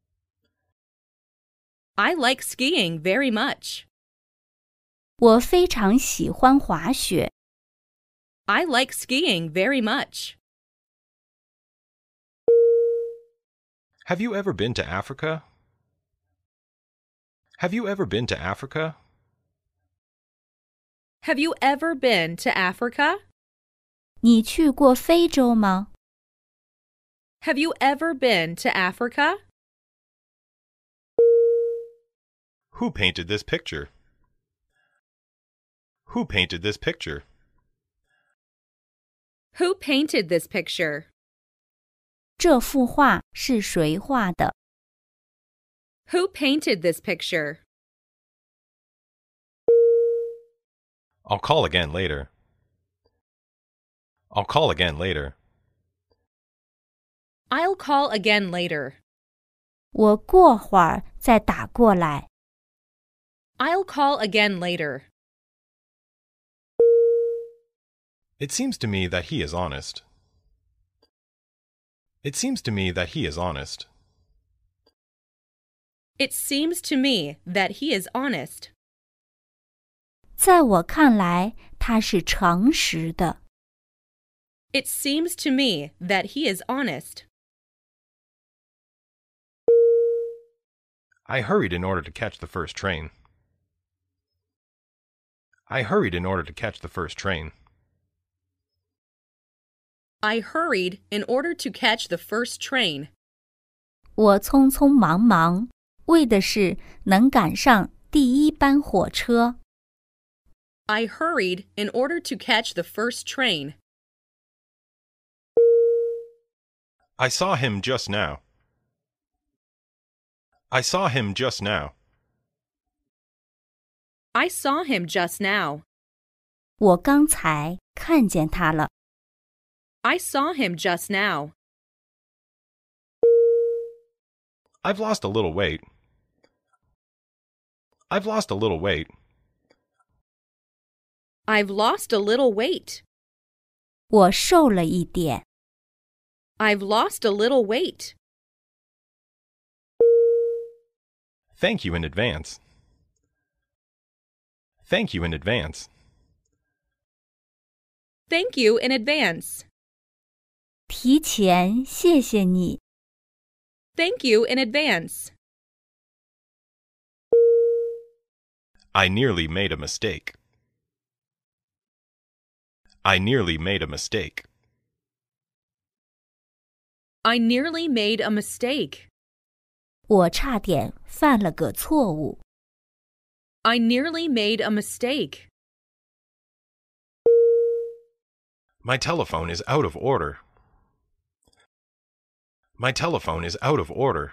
I like skiing very much. 我非常喜欢滑雪。 I like skiing very much. Have you ever been to Africa? Have you ever been to Africa? Have you ever been to Africa? 你去过非洲吗？ Have you ever been to Africa? Who painted this picture? Who painted this picture? Who painted this picture? 这幅画是谁画的？ Who painted this picture? I'll call again later. I'll call again later. I'll call again later. 我过会儿再打过来。 I'll call again later. It seems to me that he is honest. It seems to me that he is honest. It seems to me that he is honest. 在我看来，他是诚实的。 It seems to me that he is honest. I hurried in order to catch the first train. I hurried in order to catch the first train. I hurried in order to catch the first train. 我匆匆忙忙，为的是能赶上第一班火车。 I hurried in order to catch the first train. I saw him just now. I saw him just now. I saw him just now. 我刚才看见他了。 I saw him just now. I've lost a little weight. I've lost a little weight. I've lost a little weight. 我瘦了一点。 I've lost a little weight. Thank you in advance. Thank you in advance. Thank you in advance. 提前谢谢你。 Thank you in advance. I nearly made a mistake. I nearly made a mistake. I nearly made a mistake. 我差点犯了个错误。 I nearly made a mistake. My telephone is out of order. My telephone is out of order.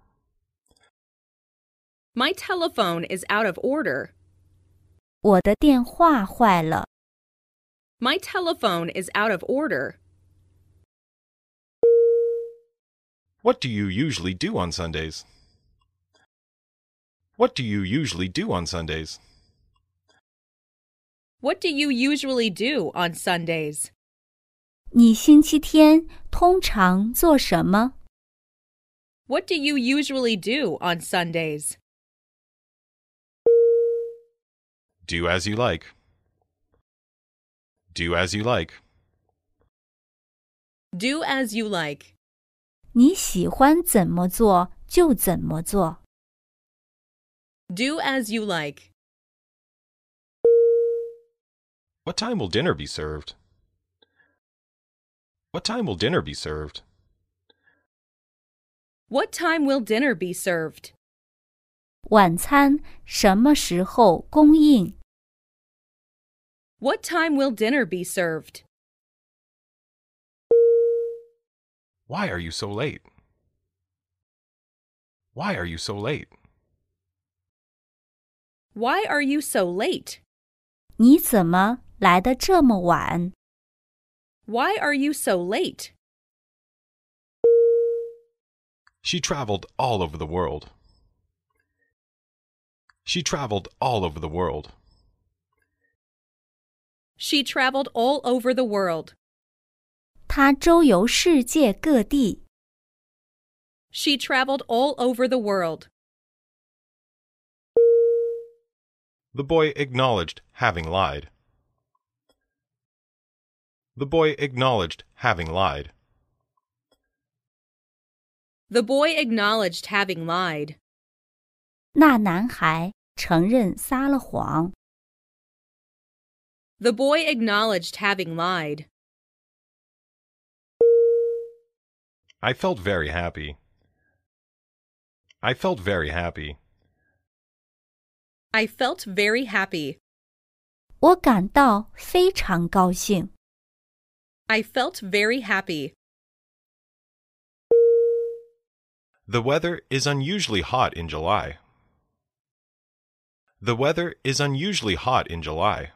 My telephone is out of order. 我的电话坏了。 My telephone is out of order. What do you usually do on Sundays? What do you usually do on Sundays? What do you usually do on Sundays? 你星期天通常做什么？ What do you usually do on Sundays? Do as you like. Do as you like. Do as you like. 你喜欢怎么做就怎么做。 Do as you like. What time will dinner be served? What time will dinner be served? What time will dinner be served? 晚餐什么时候供应？ What time will dinner be served? Why are you so late? Why are you so late? Why are you so late? 你怎么来得这么晚？ Why are you so late? She traveled all over the world. She traveled all over the world. She traveled all over the world. 她周游世界各地。 She traveled all over the world. The boy acknowledged having lied. The boy acknowledged having lied. The boy acknowledged having lied. 那男孩承认撒了谎。 The boy acknowledged having lied. I felt very happy. I felt very happy. I felt very happy. 我感到非常高兴。 I felt very happy. The weather is unusually hot in July. The weather is unusually hot in July.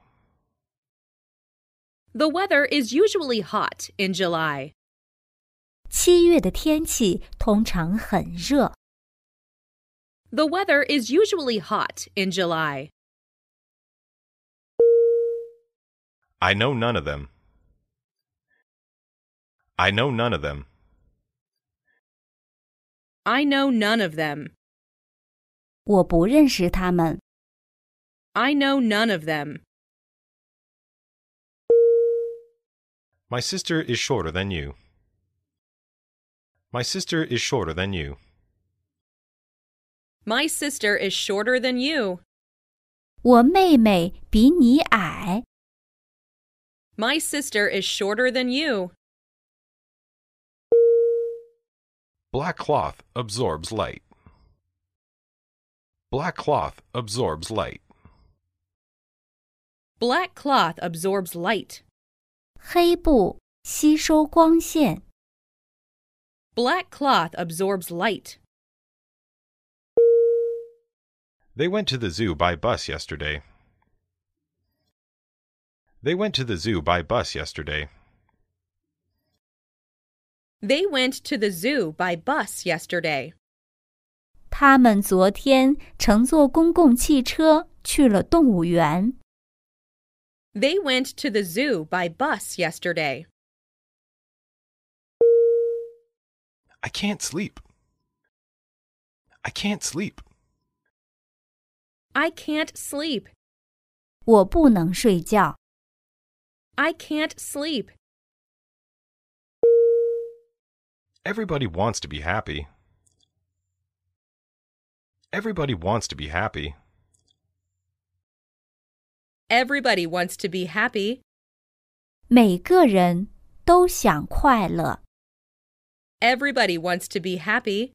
The weather is usually hot in July. 7月的天气通常很热。 The weather is usually hot in July. I know none of them. I know none of them. I know none of them. 我不认识他们。 I know none of them. My sister is shorter than you. My sister is shorter than you. My sister is shorter than you. 我妹妹比你矮。 My sister is shorter than you. Black cloth absorbs light. Black cloth absorbs light. Black cloth absorbs light. 黑布吸收光线。 Black cloth absorbs light. They went to the zoo by bus yesterday. They went to the zoo by bus yesterday. They went to the zoo by bus yesterday. 他们昨天乘坐公共汽车去了动物园。 They went to the zoo by bus yesterday. I can't sleep. I can't sleep. I can't sleep. 我不能睡觉。 I can't sleep. Everybody wants to be happy. Everybody wants to be happy. Everybody wants to be happy. 每个人都想快乐。 Everybody wants to be happy.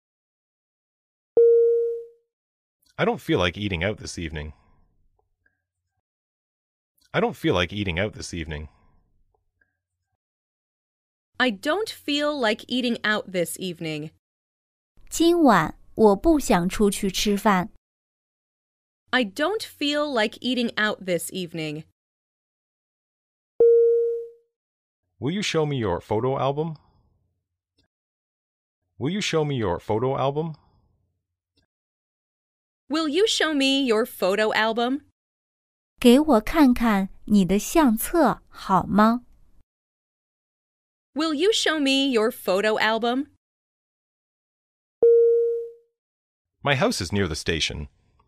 I don't feel like eating out this evening. I don't feel like eating out this evening. I don't feel like eating out this evening. 今晚我不想出去吃饭。 I don't feel like eating out this evening. Will you show me your photo album? Will you show me your photo album? Will you show me your photo album? 给我看看你的相册好吗？ Will you show me your photo album? My house is near the station.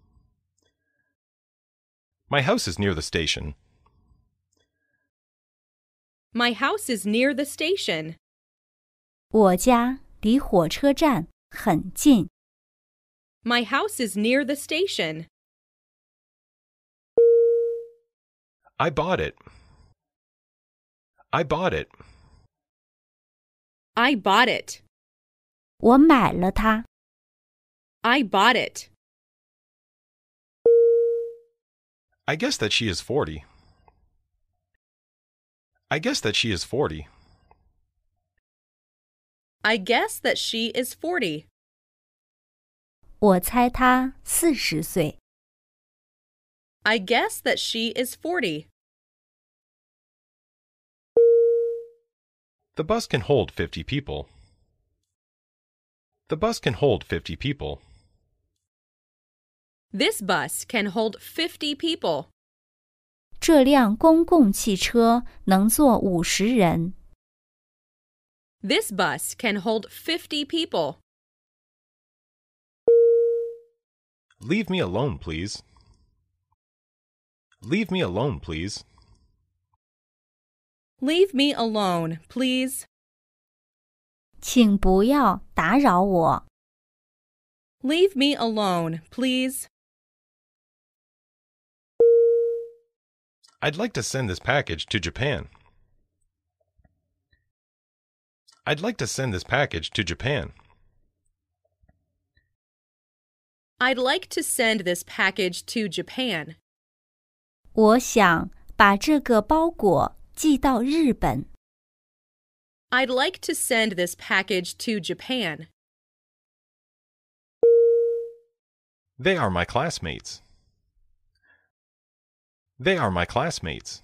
My house is near the station. My house is near the station. 我家离火车站很近。 My house is near the station. I bought it. I bought it. I bought it. 我买了它。 I bought it. I guess that she is 40. I guess that she is 40. I guess that she is 40. 我猜她40岁。 I guess that she is 40. The bus can hold 50 people. The bus can hold 50 people. This bus can hold 50 people. 这辆公共汽车能坐50人。 This bus can hold 50 people. Leave me alone, please. Leave me alone, please. Leave me alone, please. 请不要打扰我。 Leave me alone, please. I'd like to send this package to Japan. I'd like to send this package to Japan. I'd like to send this package to Japan. 我想把这个包裹寄到日本。 I'd like to send this package to Japan. They are my classmates. They are my classmates.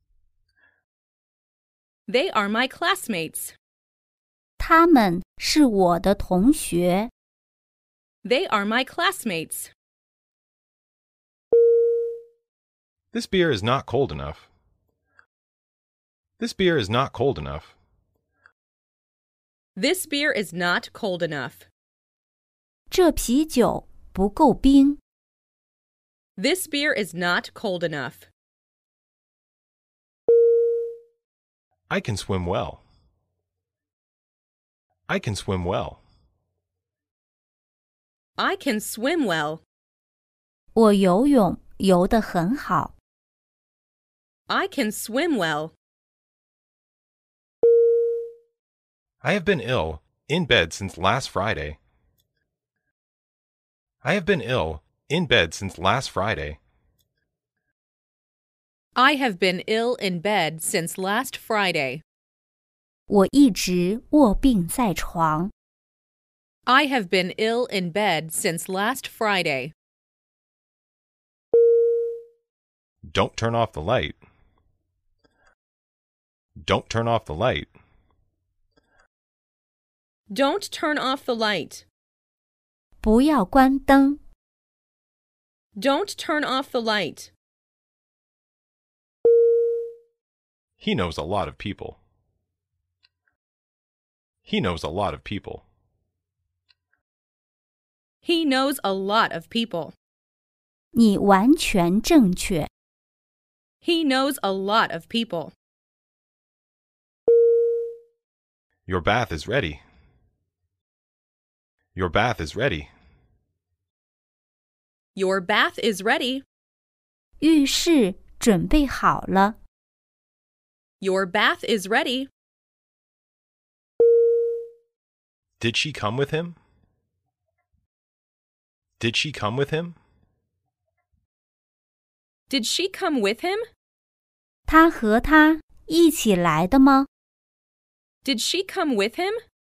They are my classmates. 他们是我的同学。 They are my classmates. This beer is not cold enough. This beer is not cold enough. This beer is not cold enough. 这啤酒不够冰。 This beer is not cold enough. I can swim well. I can swim well. I can swim well. 我游泳游得很好。 I can swim well. I have been ill, in bed since last Friday. I have been ill, in bed since last Friday. I have been ill in bed since last Friday. 我一直卧病在床。 I have been ill in bed since last Friday. Don't turn off the light. Don't turn off the light. Don't turn off the light. 不要关灯。 Don't turn off the light. He knows a lot of people. He knows a lot of people. He knows a lot of people. 你完全正确。 He knows a lot of people. Your bath is ready. Your bath is ready. Your bath is ready. 浴室准备好了。 Your bath is ready. Did she come with him? Did she come with him? Did she come with him? 他和他一起来的吗？ Did she come with him?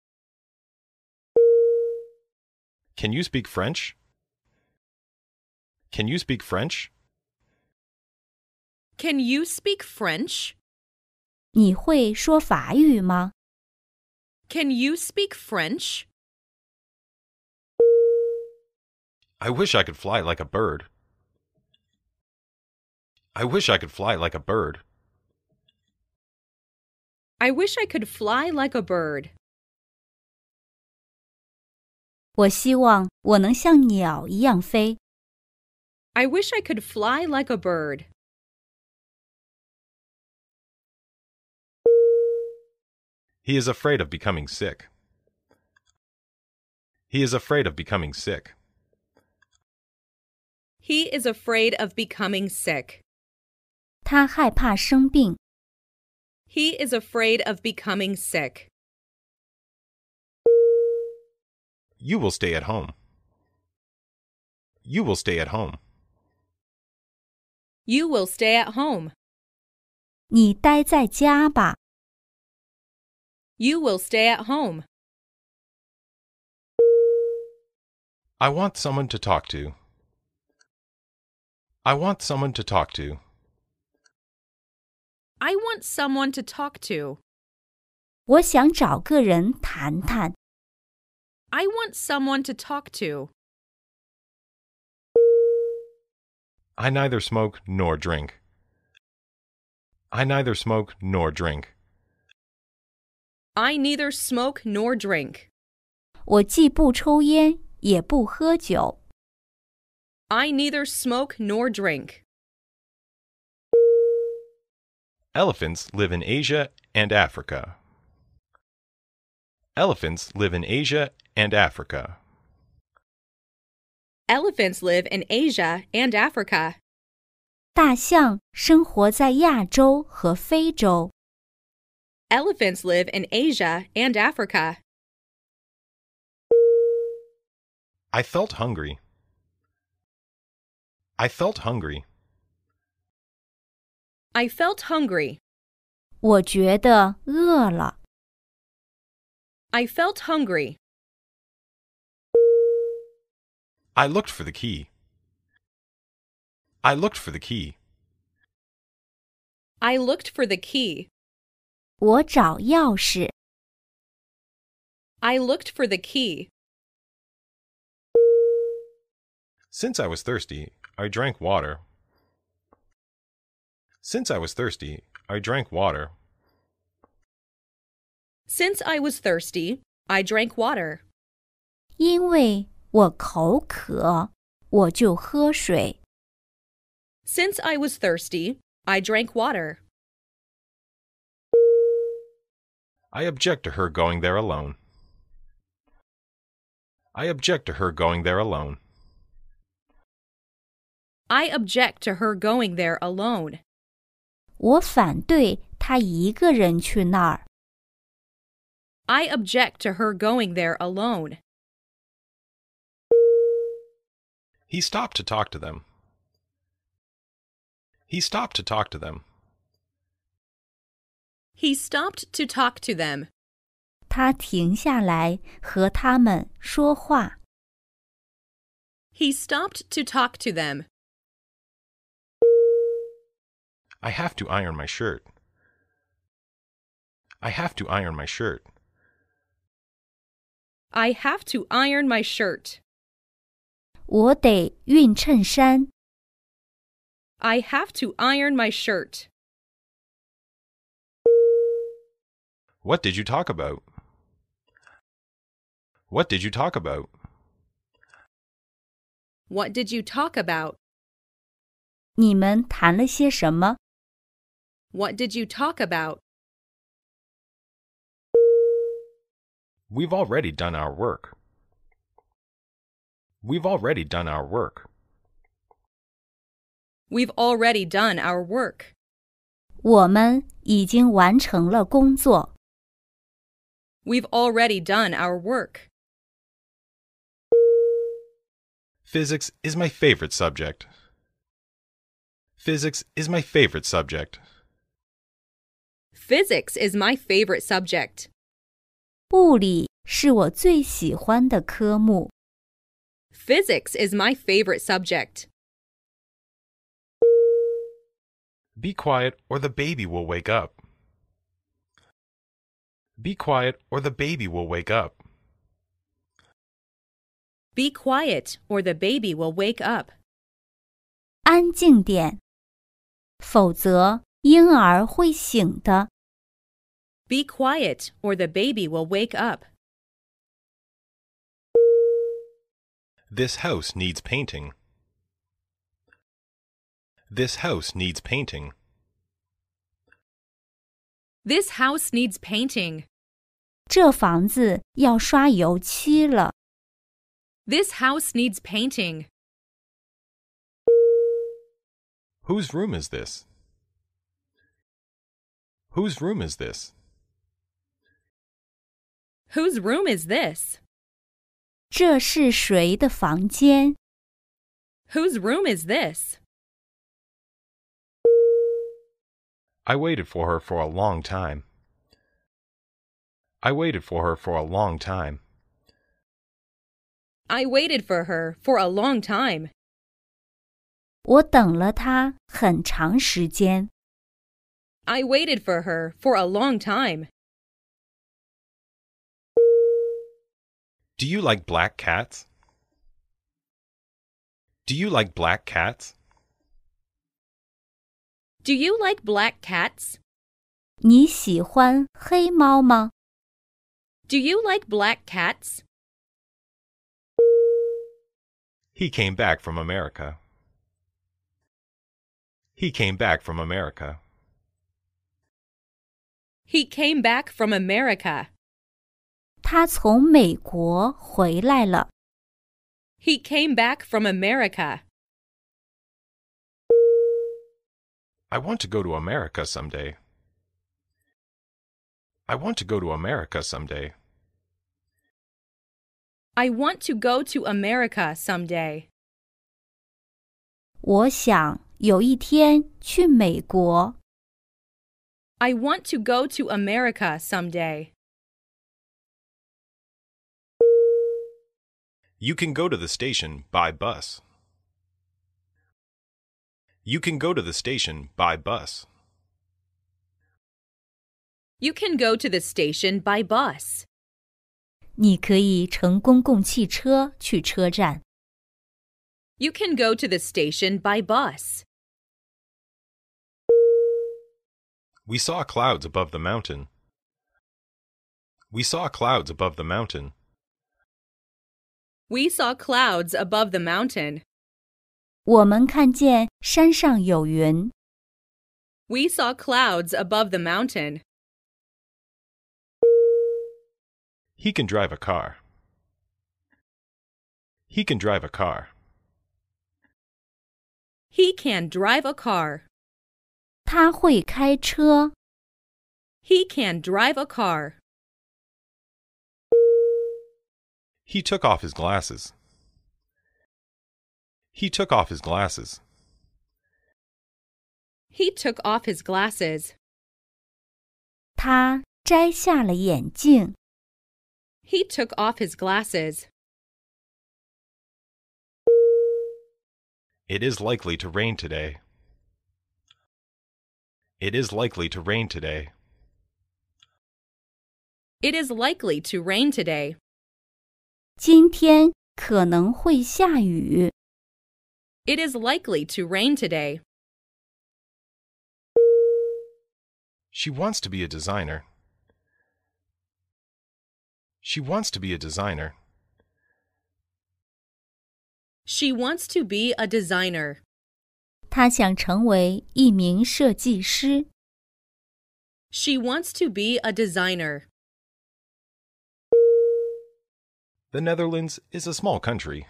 Can you speak French? Can you speak French? Can you speak French? 你会说法语吗？ Can you speak French? I wish I could fly like a bird. I wish I could fly like a bird. I wish I could fly like a bird. 我希望我能像鸟一样飞。 I wish I could fly like a bird. He is afraid of becoming sick. He is afraid of becoming sick. He is afraid of becoming sick. 他害怕生病。 He is afraid of becoming sick. You will stay at home. You will stay at home. You will stay at home. 你待在家吧。 You will stay at home. I want someone to talk to. I want someone to talk to. I want someone to talk to. 我想找个人谈谈。 I want someone to talk to. I neither smoke nor drink. I neither smoke nor drink. I neither smoke nor drink. 我既不抽烟，也不喝酒。 I neither smoke nor drink. Elephants live in Asia and Africa. Elephants live in Asia and Africa. Elephants live in Asia and Africa. 大象生活在亚洲和非洲。 Elephants live in Asia and Africa. I felt hungry. I felt hungry. I felt hungry. 我觉得饿了。 I felt hungry. I looked for the key. I looked for the key. I looked for the key. 我找钥匙。 I looked for the key. Since I was thirsty, I drank water. Since I was thirsty, I drank water. Since I was thirsty, I drank water. 因为我口渴，我就喝水。 Since I was thirsty, I drank water. I object to her going there alone. I object to her going there alone. I object to her going there alone. 我反对她一个人去那儿。 I object to her going there alone. He stopped to talk to them. He stopped to talk to them. He stopped to talk to them. 他停下来和他们说话。 He stopped to talk to them. I have to iron my shirt. I have to iron my shirt. I have to iron my shirt. 我得熨衬衫。 I have to iron my shirt. What did you talk about? What did you talk about? What did you talk about? 你们谈了些什么？ What did you talk about? We've already done our work. We've already done our work. We've already done our work. 我们已经完成了工作。 We've already done our work. Physics is my favorite subject. Physics is my favorite subject. Physics is my favorite subject. 物理是我最喜欢的科目。 Physics is my favorite subject. Be quiet or the baby will wake up. Be quiet or the baby will wake up. Be quiet or the baby will wake up. 安静点，否则婴儿会醒的。 Be quiet or the baby will wake up. This house needs painting. This house needs painting. This house needs painting. 这房子要刷油漆了。 This house needs painting. Whose room is this? Whose room is this? Whose room is this? 这是谁的房间？ Whose room is this? I waited for her for a long time. I waited for her for a long time. I waited for her for a long time. 我等了她很长时间。 I waited for her for a long time. Do you like black cats? Do you like black cats? Do you like black cats? 你喜欢黑猫吗？ Do you like black cats? He came back from America. He came back from America. He came back from America. 他从美国回来了。 He came back from America. I want to go to America someday. I want to go to America someday. I want to go to America someday. 我想有一天去美国。 I want to go to America someday. You can go to the station by bus. You can go to the station by bus. You can go to the station by bus. 你可以乘公共汽车去车站。 You can go to the station by bus. We saw clouds above the mountain. We saw clouds above the mountain. We saw clouds above the mountain. 我们看见山上有云。 We saw clouds above the mountain. He can drive a car. He can drive a car. He can drive a car. 他会开车。 He can drive a car. He took off his glasses. He took off his glasses. He took off his glasses. 他摘下了眼镜。 He took off his glasses. It is likely to rain today. It is likely to rain today. It is likely to rain today. 今天可能会下雨。 It is likely to rain today. She wants to be a designer. She wants to be a designer. She wants to be a designer. 他想成为一名设计师。 She wants to be a designer. The Netherlands is a small country.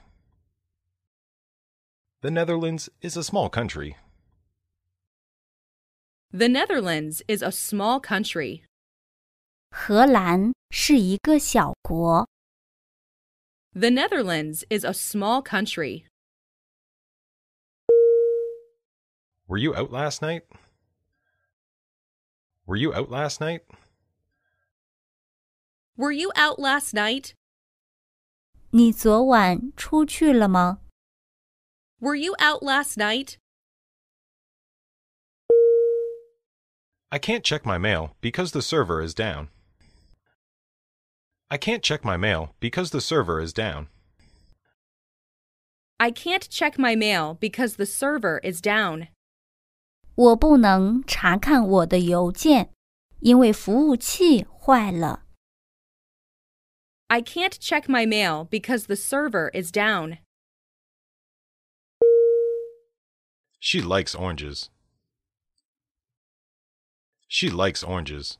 The Netherlands is a small country. The Netherlands is a small country. 荷兰是一个小国。 The Netherlands is a small country. Were you out last night? Were you out last night? Were you out last night? 你昨晚出去了吗？ Were you out last night? I can't check my mail because the server is down. I can't check my mail because the server is down. I can't check my mail because the server is down. 我不能查看我的邮件，因为服务器坏了。 I can't check my mail because the server is down. She likes oranges. She likes oranges.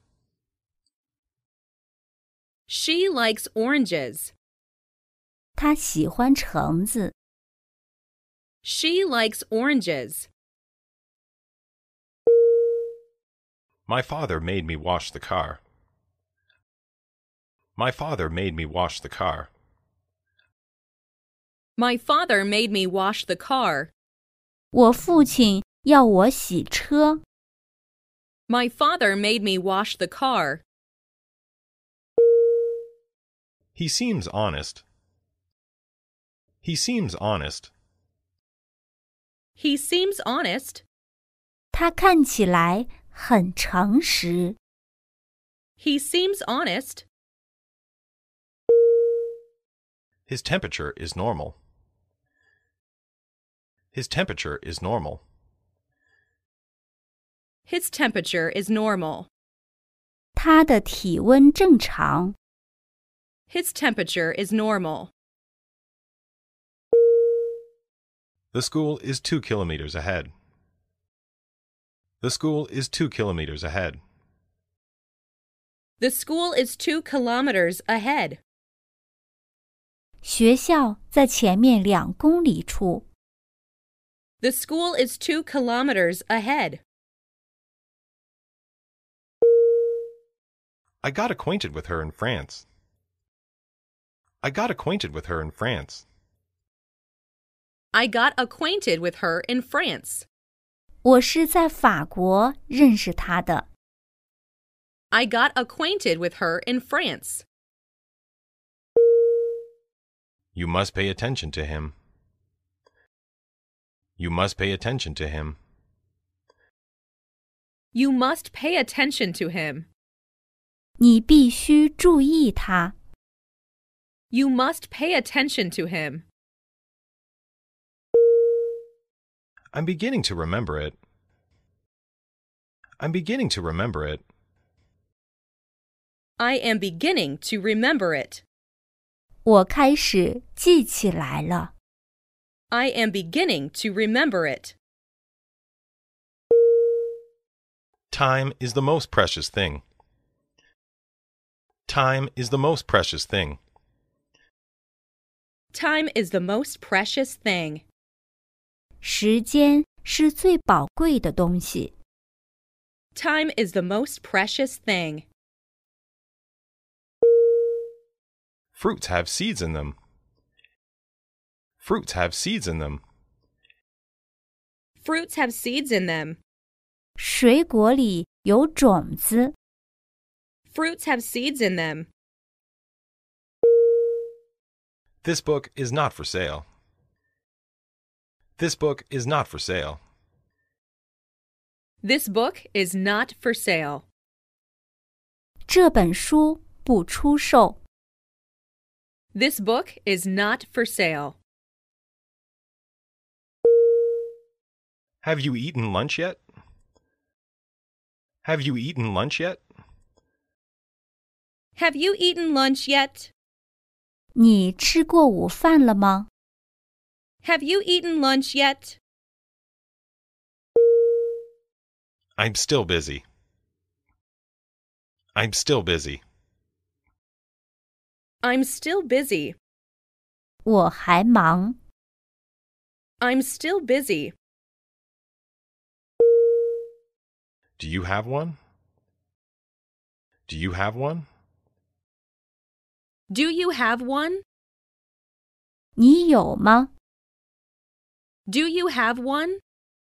She likes oranges. 她喜欢橙子。 She likes oranges. My father made me wash the car. My father made me wash the car. My father made me wash the car. 我父亲要我洗车。 My father made me wash the car. He seems honest. He seems honest. He seems honest. 他看起来很诚实。 He seems honest. His temperature is normal. His temperature is normal. His temperature is normal. 他的体温正常。 His temperature is normal. The school is 2 kilometers ahead. The school is 2 kilometers ahead. The school is 2 kilometers ahead. 学校在前面2公里处。 The school is 2 kilometers ahead. I got acquainted with her in France. I got acquainted with her in France. I got acquainted with her in France. 我是在法国认识她的。 I got acquainted with her in France. You must pay attention to him. You must pay attention to him. You must pay attention to him. 你必须注意他。 You must pay attention to him. I'm beginning to remember it. I'm beginning to remember it. I am beginning to remember it. 我开始记起来了。 I am beginning to remember it. Time is the most precious thing. Time is the most precious thing. Time is the most precious thing. 时间是最宝贵的东西。 Time is the most precious thing. Fruits have seeds in them. Fruits have seeds in them. Fruits have seeds in them. 水果里有种子。 Fruits have seeds in them. This book is not for sale. This book is not for sale. This book is not for sale. 这本书不出售。 This book is not for sale. Have you eaten lunch yet? Have you eaten lunch yet? Have you eaten lunch yet? 你吃过午饭了吗？ Have you eaten lunch yet? I'm still busy. I'm still busy. I'm still busy. 我还忙。 I'm still busy. Do you have one? Do you have one? Do you have one? 你有吗？ Do you have one?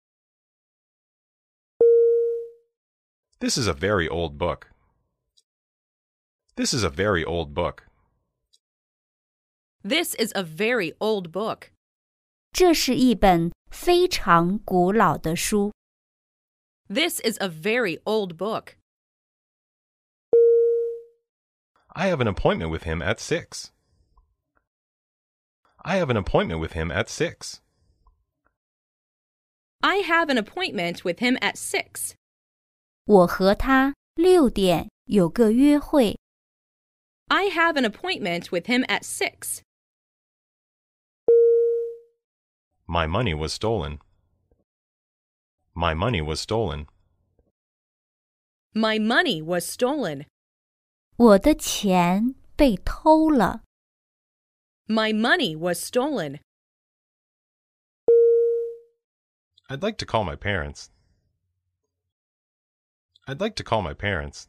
This is a very old book. This is a very old book. This is a very old book. 这是一本非常古老的书。 This is a very old book. I have an appointment with him at 6. I have an appointment with him at 6. I have an appointment with him at 6. 我和他6点有个约会。 I have an appointment with him at 6. My money was stolen. My money was stolen. My money was stolen. 我的钱被偷了。 My money was stolen. I'd like to call my parents. I'd like to call my parents.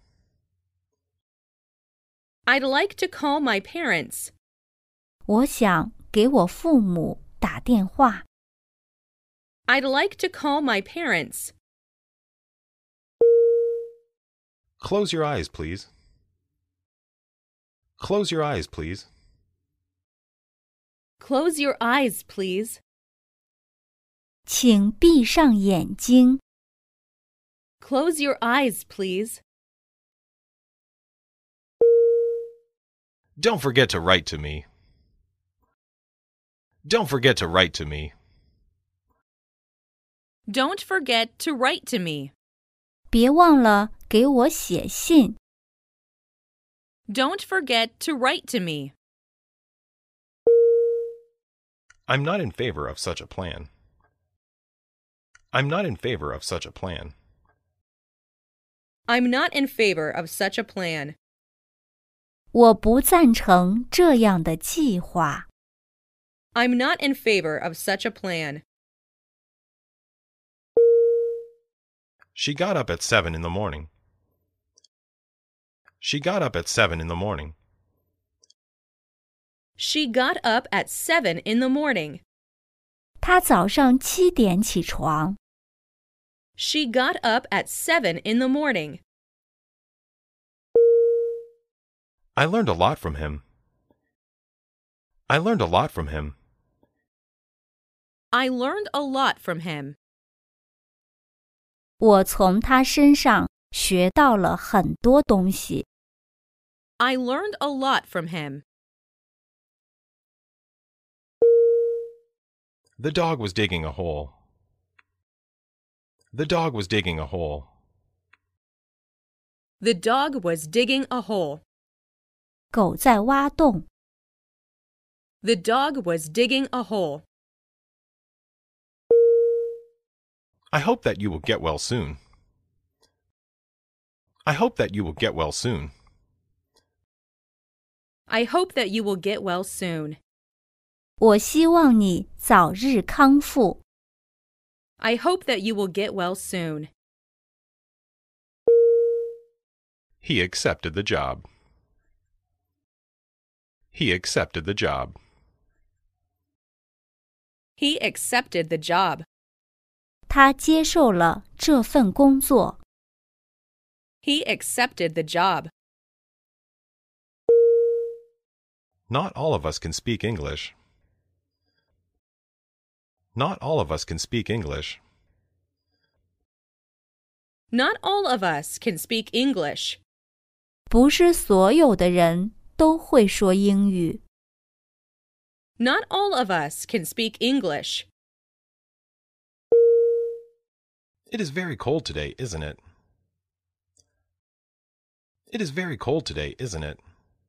I'd like to call my parents. 我想给我父母打电话。 I'd like to call my parents. Close your eyes, please. Close your eyes, please. Close your eyes, please. 请闭上眼睛。 Close your eyes, please. Don't forget to write to me. Don't forget to write to me. Don't forget to write to me. 别忘了给我写信。 Don't forget to write to me. I'm not in favor of such a plan. I'm not in favor of such a plan. I'm not in favor of such a plan. 我不赞成这样的计划。 I'm not in favor of such a plan. She got up at 7 in the morning. She got up at 7 in the morning. She got up at 7 in the morning. 她早上7点起床。 She got up at 7 in the morning. I learned a lot from him. I learned a lot from him. I learned a lot from him. 我从他身上学到了很多东西。 I learned a lot from him. The dog was digging a hole. The dog was digging a hole. The dog was digging a hole. 狗在挖洞。 The dog was digging a hole. I hope that you will get well soon. I hope that you will get well soon. I hope that you will get well soon. 我希望你早日康复。 I hope that you will get well soon. He accepted the job. He accepted the job. He accepted the job. 他接受了这份工作。 He accepted the job. Not all of us can speak English. Not all of us can speak English. Not all of us can speak English. 不是所有的人都会说英语。 Not all of us can speak English. It is very cold today, isn't it? It is very cold today, isn't it?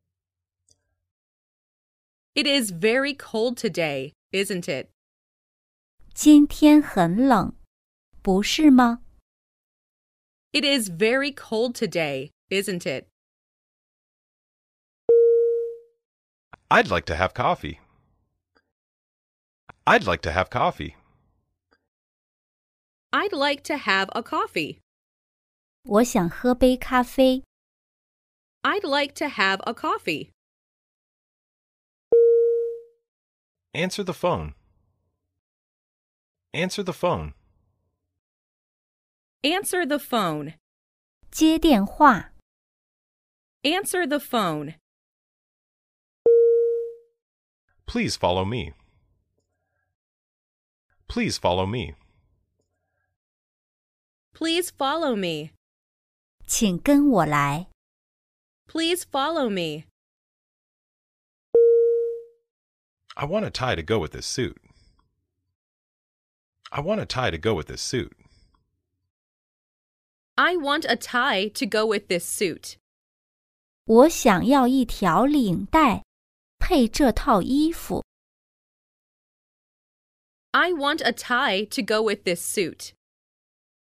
It is very cold today, isn't it? 今天很冷，不是吗？ It is very cold today, isn't it? I'd like to have coffee. I'd like to have coffee. I'd like to have a coffee. 我想喝杯咖啡。 I'd like to have a coffee. Answer the phone. Answer the phone. Answer the phone. 接电话。 Answer the phone. Please follow me. Please follow me. Please follow me. 请跟我来。 Please follow me. I want a tie to go with this suit. I want a tie to go with this suit. I want a tie to go with this suit. 我想要一条领带，配这套衣服。 I want a tie to go with this suit.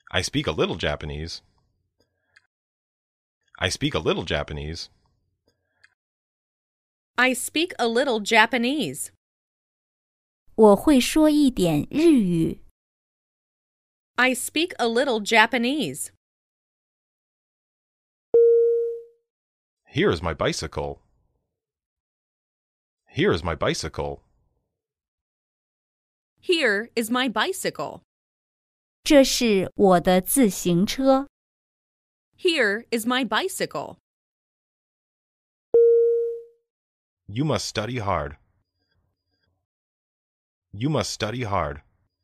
I speak a little Japanese. I speak a little Japanese. I speak a little Japanese. 我会说一点日语。 I speak a little Japanese. Here is my bicycle. Here is my bicycle. Here is my bicycle. 这是我的自行车。 Here is my bicycle. You must study hard. You must study hard.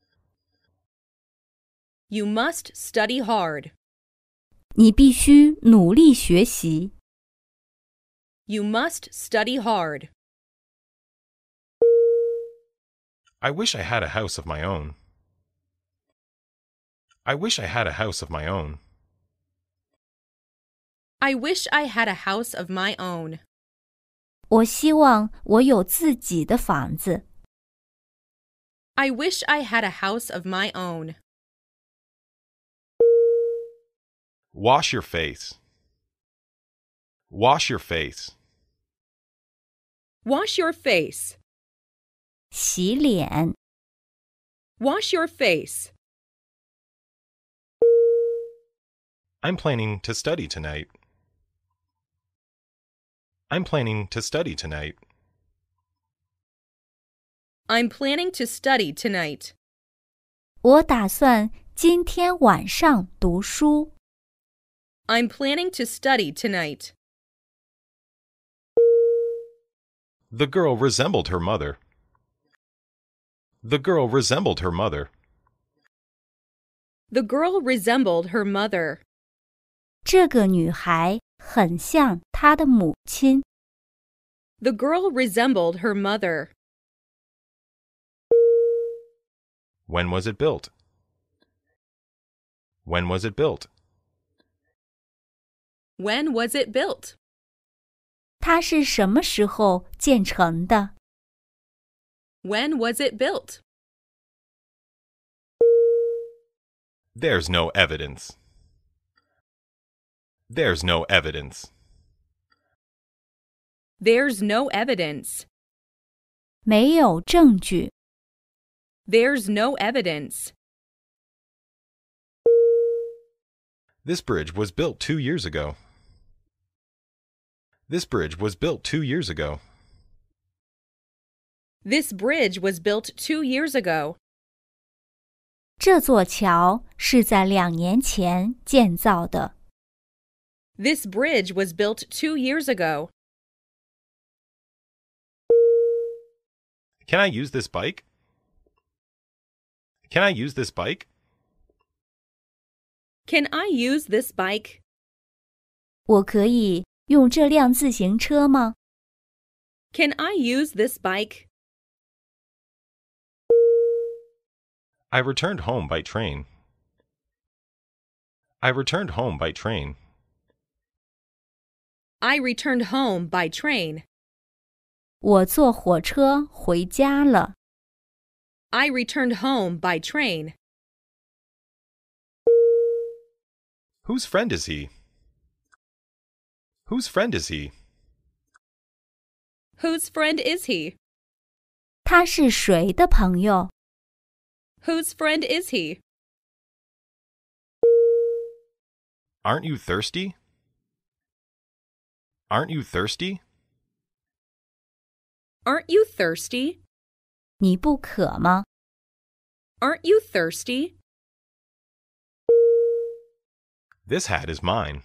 You must study hard. 你必须努力学习。 You must study hard. I wish I had a house of my own. I wish I had a house of my own. I wish I had a house of my own. 我希望我有自己的房子。 I wish I had a house of my own. Wash your face. Wash your face. Wash your face. 洗脸。 Wash your face. I'm planning to study tonight. I'm planning to study tonight. I'm planning to study tonight. 我打算今天晚上读书。 I'm planning to study tonight. The girl resembled her mother. The girl resembled her mother. The girl resembled her mother. 这个女孩很像她的母亲。 The girl resembled her mother. When was it built? When was it built? When was it built? 它是什么时候建成的？ When was it built? There's no evidence. There's no evidence. There's no evidence. 没有证据。 There's no evidence. This bridge was built 2 years ago. This bridge was built 2 years ago. This bridge was built 2 years ago. 这座桥是在2年前建造的。 This bridge was built 2 years ago. Can I use this bike? Can I use this bike? Can I use this bike? 我可以用这辆自行车吗？ Can I use this bike? I returned home by train. I returned home by train. I returned home by train. 我坐火车回家了。 I returned home by train. Whose friend is he? Whose friend is he? Whose friend is he? 他是谁的朋友？ Whose friend is he? Aren't you thirsty? Aren't you thirsty? Aren't you thirsty? 你不渴吗？ Aren't you thirsty? This hat is mine.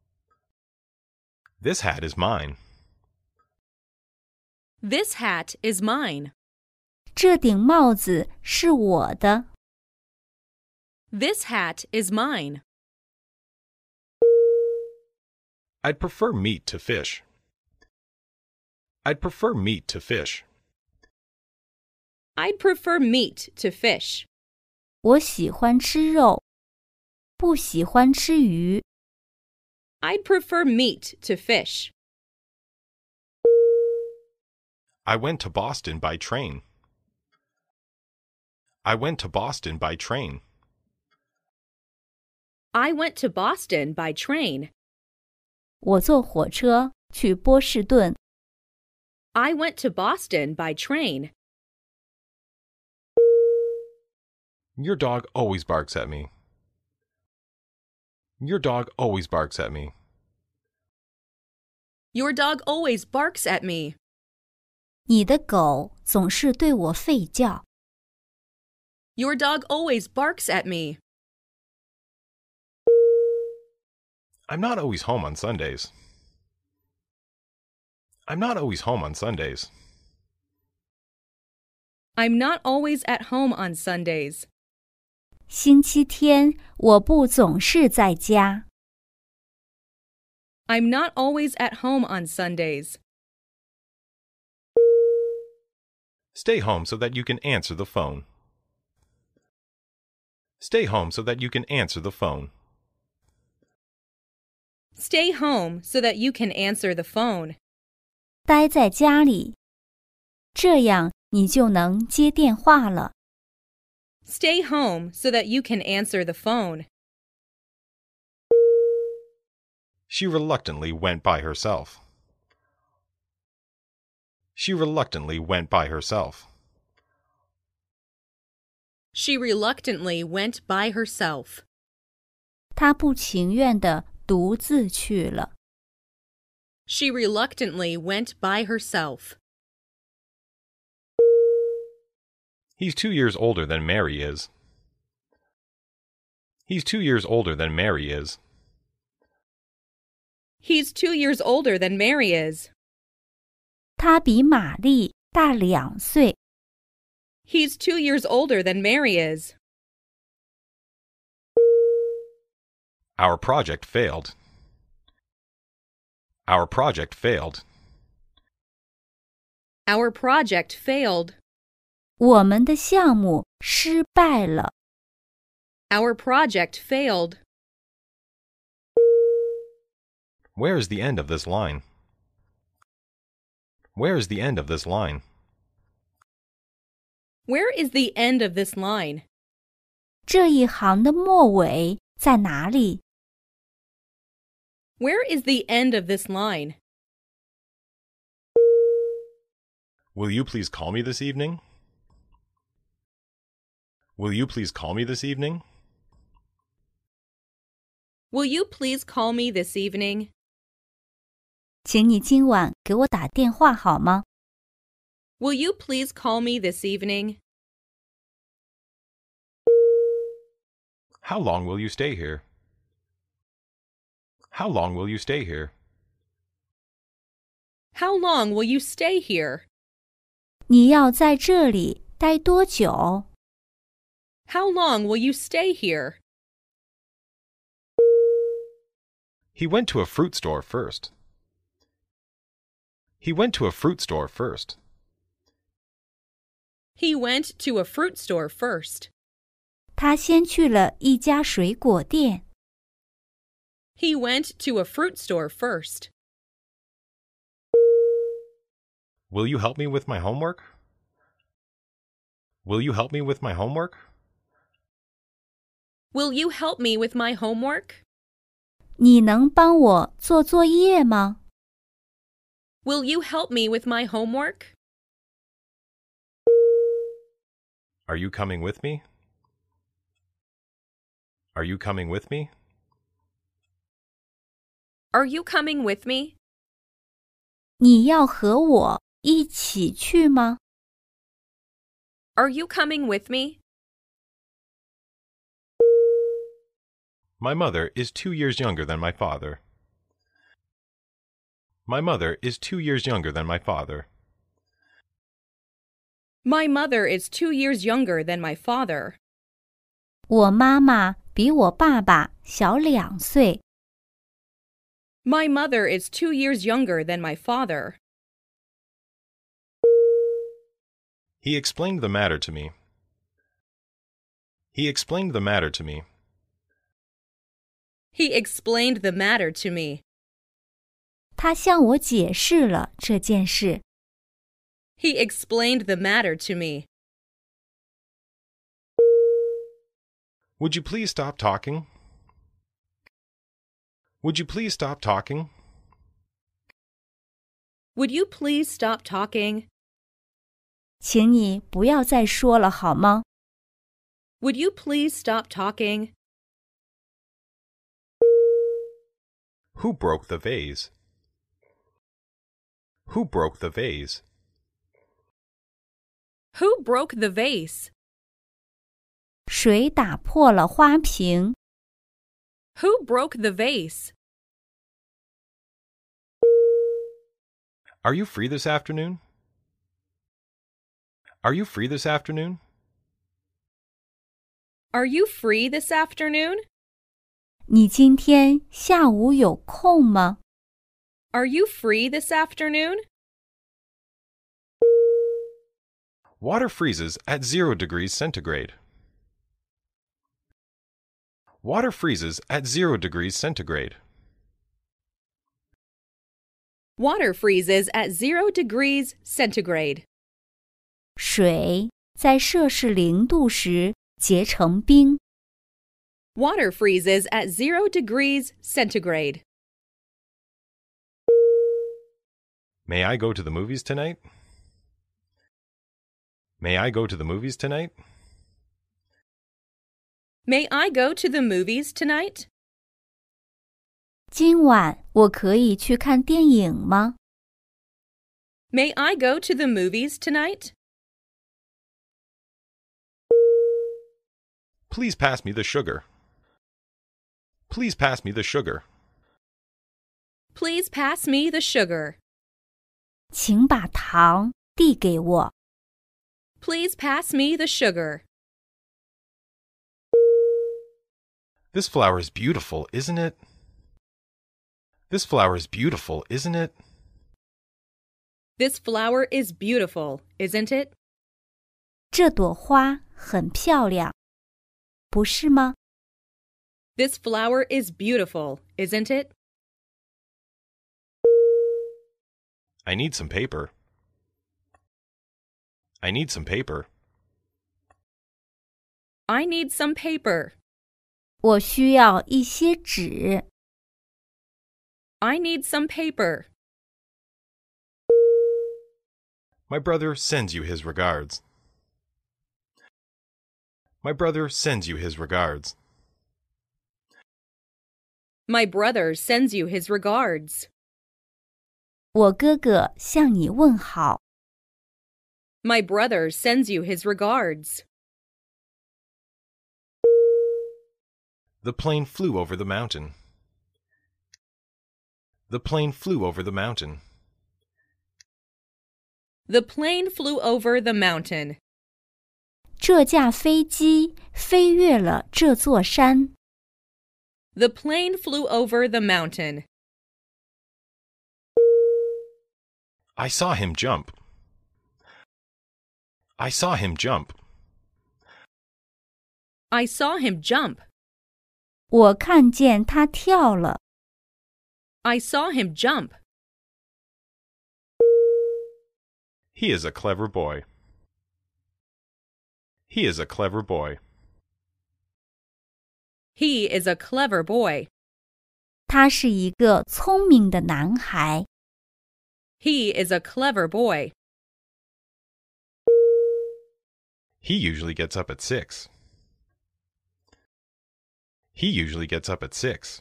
This hat is mine. This hat is mine. 这顶帽子是我的。 This hat is mine. I'd prefer meat to fish. I'd prefer meat to fish. I'd prefer meat to fish. 我喜欢吃肉，不喜欢吃鱼。 I'd prefer meat to fish. I went to Boston by train. I went to Boston by train. I went to Boston by train. 我坐火车去波士顿。 I went to Boston by train. Your dog always barks at me. Your dog always barks at me. Your dog always barks at me. 你的狗总是对我吠叫。 Your dog always barks at me. I'm not always home on Sundays. I'm not always home on Sundays. I'm not always at home on Sundays. 星期天我不总是在家。 I'm not always at home on Sundays. Stay home so that you can answer the phone. Stay home so that you can answer the phone. Stay home so that you can answer the phone. 待在家里，这样你就能接电话了。 Stay home so that you can answer the phone. She reluctantly went by herself. She reluctantly went by herself. She reluctantly went by herself. 她不情愿地独自去了。 She reluctantly went by herself. He's 2 years older than Mary is. He's 2 years older than Mary is. He's 2 years older than Mary is. 他比玛丽大2岁。 He's 2 years older than Mary is. Our project failed. Our project failed. Our project failed. 我们的项目失败了。 Our project failed. Where is the end of this line? Where is the end of this line? Where is the end of this line? 这一行的末尾在哪里？ Where is the end of this line? Will you please call me this evening? Will you please call me this evening? Will you please call me this evening? 请你今晚给我打电话好吗？ Will you please call me this evening? How long will you stay here? How long will you stay here? How long will you stay here? 你要在这里待多久？ How long will you stay here? He went to a fruit store first. He went to a fruit store first. He went to a fruit store first. 他先去了一家水果店。 He went to a fruit store first. Will you help me with my homework? Will you help me with my homework? Will you help me with my homework? 你能帮我做作业吗？ Will you help me with my homework? Are you coming with me? Are you coming with me? Are you coming with me? 你要和我一起去吗？ Are you coming with me? My mother is 2 years younger than my father. My mother is 2 years younger than my father. My mother is 2 years younger than my father. 我妈妈比我爸爸小2岁。 My mother is 2 years younger than my father. He explained the matter to me. He explained the matter to me. He explained the matter to me. 他向我解释了这件事。 He explained the matter to me. Would you please stop talking? Would you please stop talking? Would you please stop talking? 请你不要再说了好吗？ Would you please stop talking? Who broke the vase? Who broke the vase? Who broke the vase? 谁打破了花瓶？ Who broke the vase? Are you free this afternoon? Are you free this afternoon? Are you free this afternoon? 你今天下午有空吗？ Are you free this afternoon? Water freezes at 0 degrees centigrade. Water freezes at 0 degrees centigrade. Water freezes at 0 degrees centigrade. 水在摄氏0度时结成冰。 Water freezes at 0 degrees centigrade. May I go to the movies tonight? May I go to the movies tonight? May I go to the movies tonight? 今晚我可以去看电影吗？ May I go to the movies tonight? Please pass me the sugar. Please pass me the sugar. Please pass me the sugar. 请把糖递给我。 Please pass me the sugar. This flower is beautiful, isn't it? This flower is beautiful, isn't it? This flower is beautiful, isn't it? 这朵花很漂亮，不是吗？ This flower is beautiful, isn't it? I need some paper. I need some paper. I need some paper. 我需要一些纸。 I need some paper. My brother sends you his regards. My brother sends you his regards. My brother sends you his regards. 我哥哥向你问好。 My brother sends you his regards. The plane flew over the mountain. The plane flew over the mountain. The plane flew over the mountain. 这架飞机飞越了这座山。 The plane flew over the mountain. I saw him jump. I saw him jump. I saw him jump. 我看见他跳了。 I saw him jump. He is a clever boy. He is a clever boy. He is a clever boy. 他是一个聪明的男孩。 He is a clever boy. He usually gets up at 6. He usually gets up at 6.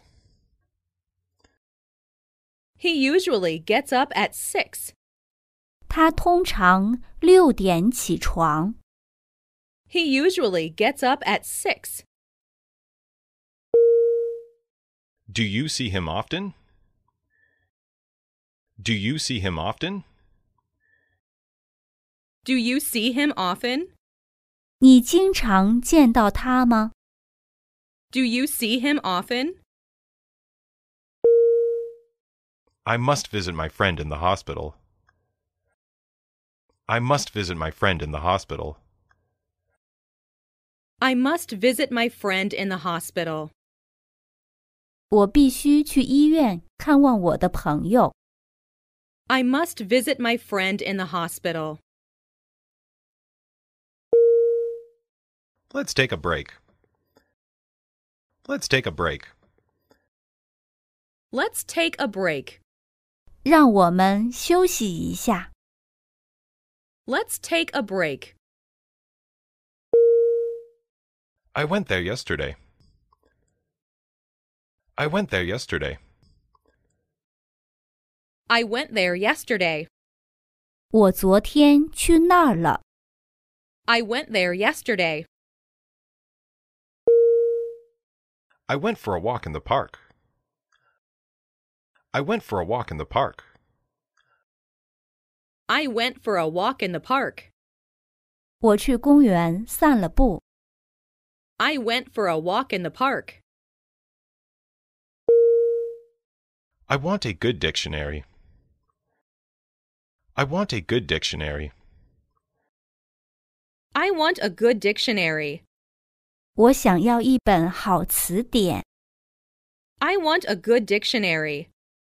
He usually gets up at 6. 他通常6点起床。 He usually gets up at 6. Do you see him often? Do you see him often? Do you see him often? 你经常见到他吗？ Do you see him often? I must visit my friend in the hospital. I must visit my friend in the hospital. I must visit my friend in the hospital. 我必须去医院看望我的朋友。 I must visit my friend in the hospital. Let's take a break. Let's take a break. Let's take a break. 让我们休息一下。 Let's take a break. I went there yesterday. I went there yesterday. I went there yesterday. 我昨天去那儿了。 I went there yesterday. I went for a walk in the park. I went for a walk in the park. I went for a walk in the park. 我去公园散了步。 I went for a walk in the park. I want a good dictionary. I want a good dictionary. I want a good dictionary. 我想要一本好词典。 I want a good dictionary.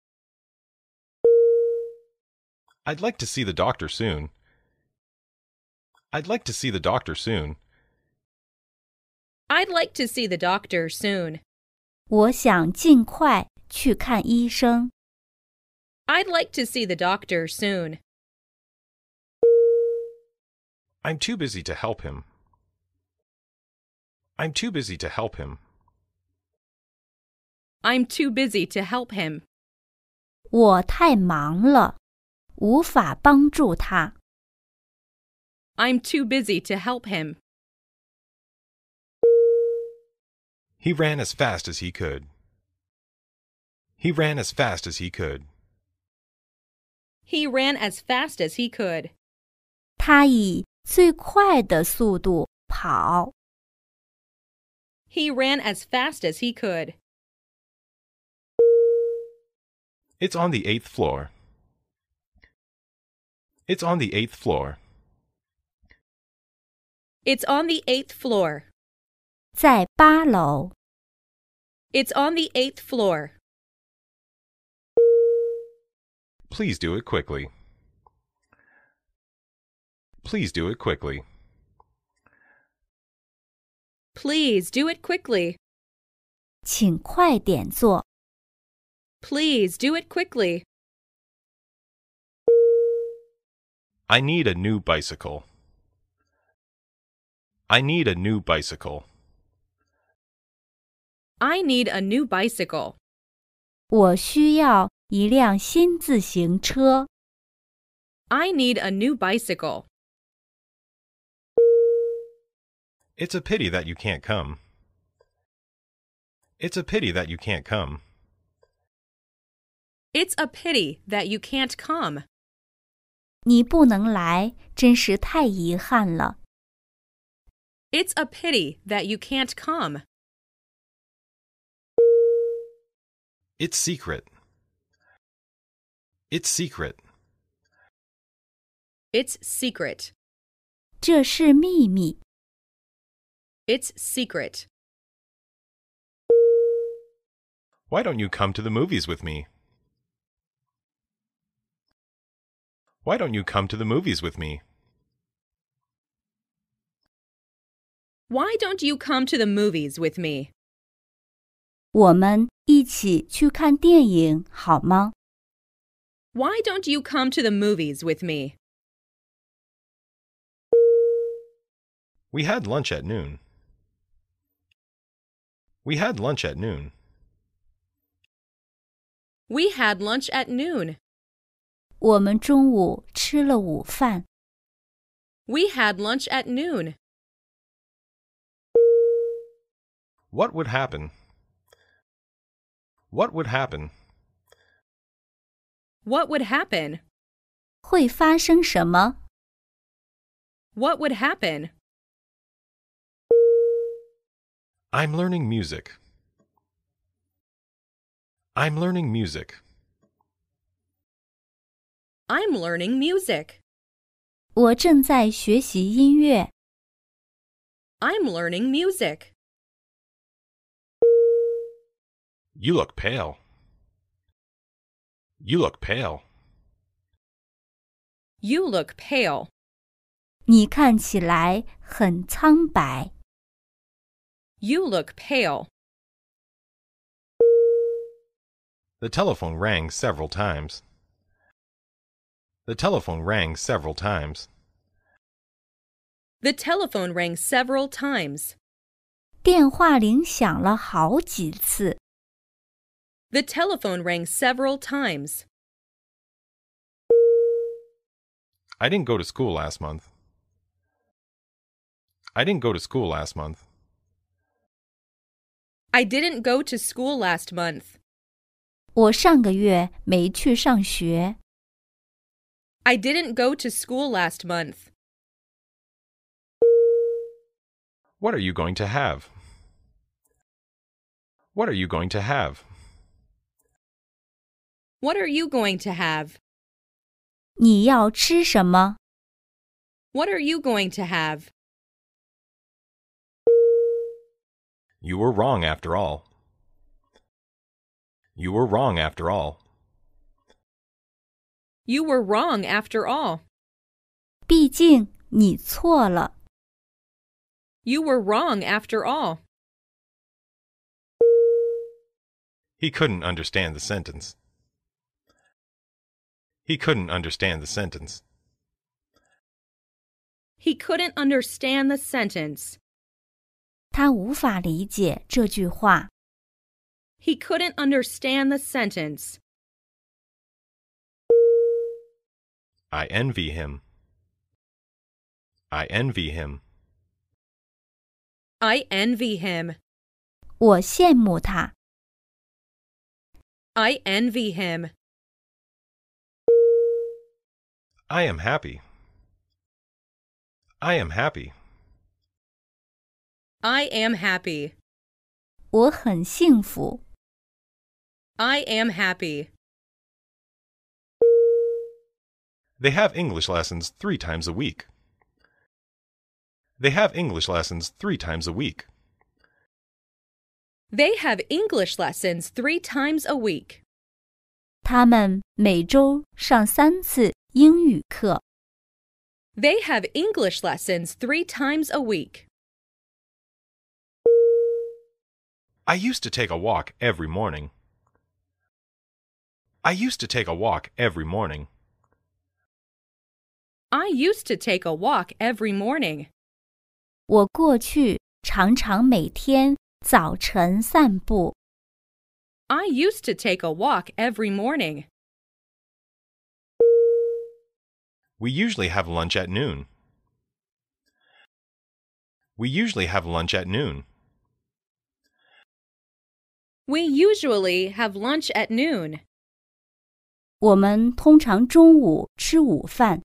I'd like to see the doctor soon. I'd like to see the doctor soon. I'd like to see the doctor soon. 我想尽快去看医生。 I'd like to see the doctor soon. I'm too busy to help him. I'm too busy to help him. I'm too busy to help him. 我太忙了，无法帮助他。 I'm too busy to help him. He ran as fast as he could. He ran as fast as he could. He ran as fast as he could. 他以最快的速度跑。 He ran as fast as he could. It's on the 8th floor. It's on the 8th floor. It's on the 8th floor. 在8楼。 It's on the 8th floor. Please do it quickly. Please do it quickly. Please do it quickly. 请快点做。 Please do it quickly. I need a new bicycle. I need a new bicycle. I need a new bicycle. 我需要一辆新自行车。 I need a new bicycle. It's a pity that you can't come. It's a pity that you can't come. It's a pity that you can't come. 你不能来，真是太遗憾了。 It's a pity that you can't come. It's secret. It's secret. It's secret. 这是秘密。 It's secret. Why don't you come to the movies with me? Why don't you come to the movies with me? Why don't you come to the movies with me? 我们一起去看电影好吗？ Why don't you come to the movies with me? We had lunch at noon. We had lunch at noon. We had lunch at noon. 我们中午吃了午饭。 We had lunch at noon. What would happen? What would happen? What would happen? 会发生什么？ What would happen? I'm learning music. I'm learning music. I'm learning music. 我正在学习音乐。 I'm learning music. You look pale. You look pale. You look pale. 你看起来很苍白。 You look pale. The telephone rang several times. The telephone rang several times. The telephone rang several times. 电话铃响了好几次。 The telephone rang several times. I didn't go to school last month. I didn't go to school last month. I didn't go to school last month. 我上个月没去上学。 I didn't go to school last month. What are you going to have? What are you going to have? What are you going to have? 你要吃什么？ What are you going to have? You were wrong after all. You were wrong after all. You were wrong after all. 毕竟你错了。 You were wrong after all. He couldn't understand the sentence. He couldn't understand the sentence. He couldn't understand the sentence. 他无法理解这句话。 He couldn't understand the sentence. I envy him. I envy him. I envy him. 我羡慕他。 I envy him. I am happy. I am happy. I am happy. 我很幸福。 I am happy. They have English lessons 3 times a week. They have English lessons 3 times a week. They have English lessons 3 times a week. 他们每周上3次英语课。 They have English lessons 3 times a week. I used to take a walk every morning. I used to take a walk every morning. I used to take a walk every morning. 我过去常常每天早晨散步。 I used to take a walk every morning. We usually have lunch at noon. We usually have lunch at noon. We usually have lunch at noon. 我们通常中午吃午饭。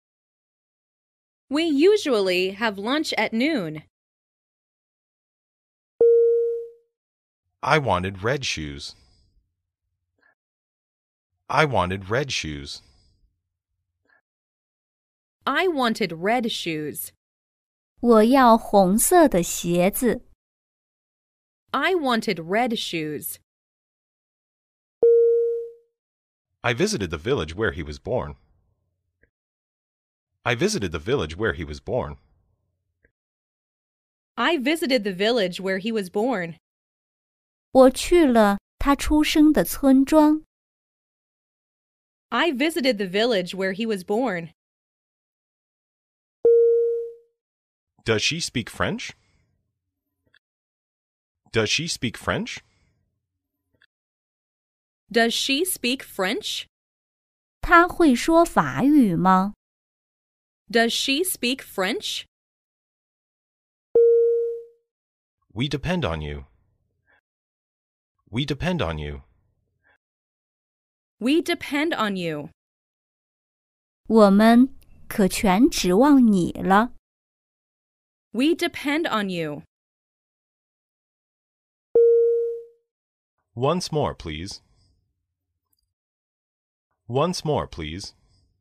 We usually have lunch at noon. I wanted red shoes. I wanted red shoes. I wanted red shoes. 我要红色的鞋子。 I wanted red shoes. I visited the village where he was born. I visited the village where he was born. I visited the village where he was born. 我去了他出生的村庄。 I visited the village where he was born. Does she speak French? Does she speak French? Does she speak French? 他会说法语吗？ Does she speak French? We depend on you. We depend on you. We depend on you. 我们可全指望你了。 We depend on you. Once more, please. Once more, please.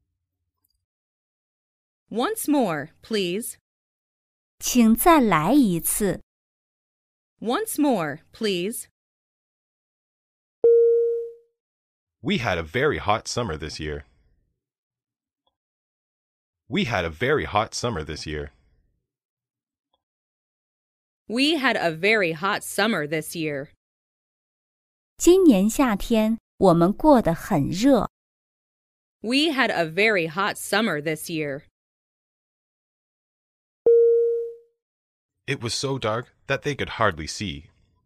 Once more, please. 请再来一次。 Once more, please. We had a very hot summer this year. We had a very hot summer this year. We had a very hot summer this year. 今年夏天我们过得很热。 We had a very hot summer this year. It was so dark that they could hardly see.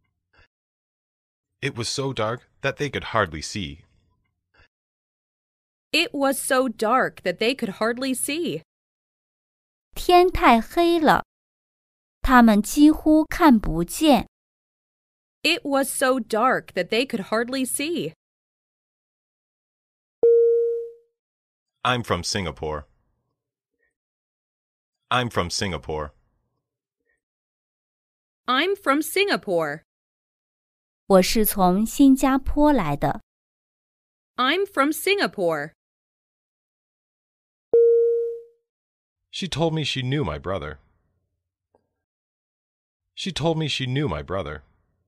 It was so dark that they could hardly see. It was so dark that they could hardly see. 天太黑了，他们几乎看不见。 It was so dark that they could hardly see. I'm from Singapore. I'm from Singapore. I'm from Singapore. 我是从新加坡来的。 I'm from Singapore. She told me she knew my brother. She told me she knew my brother.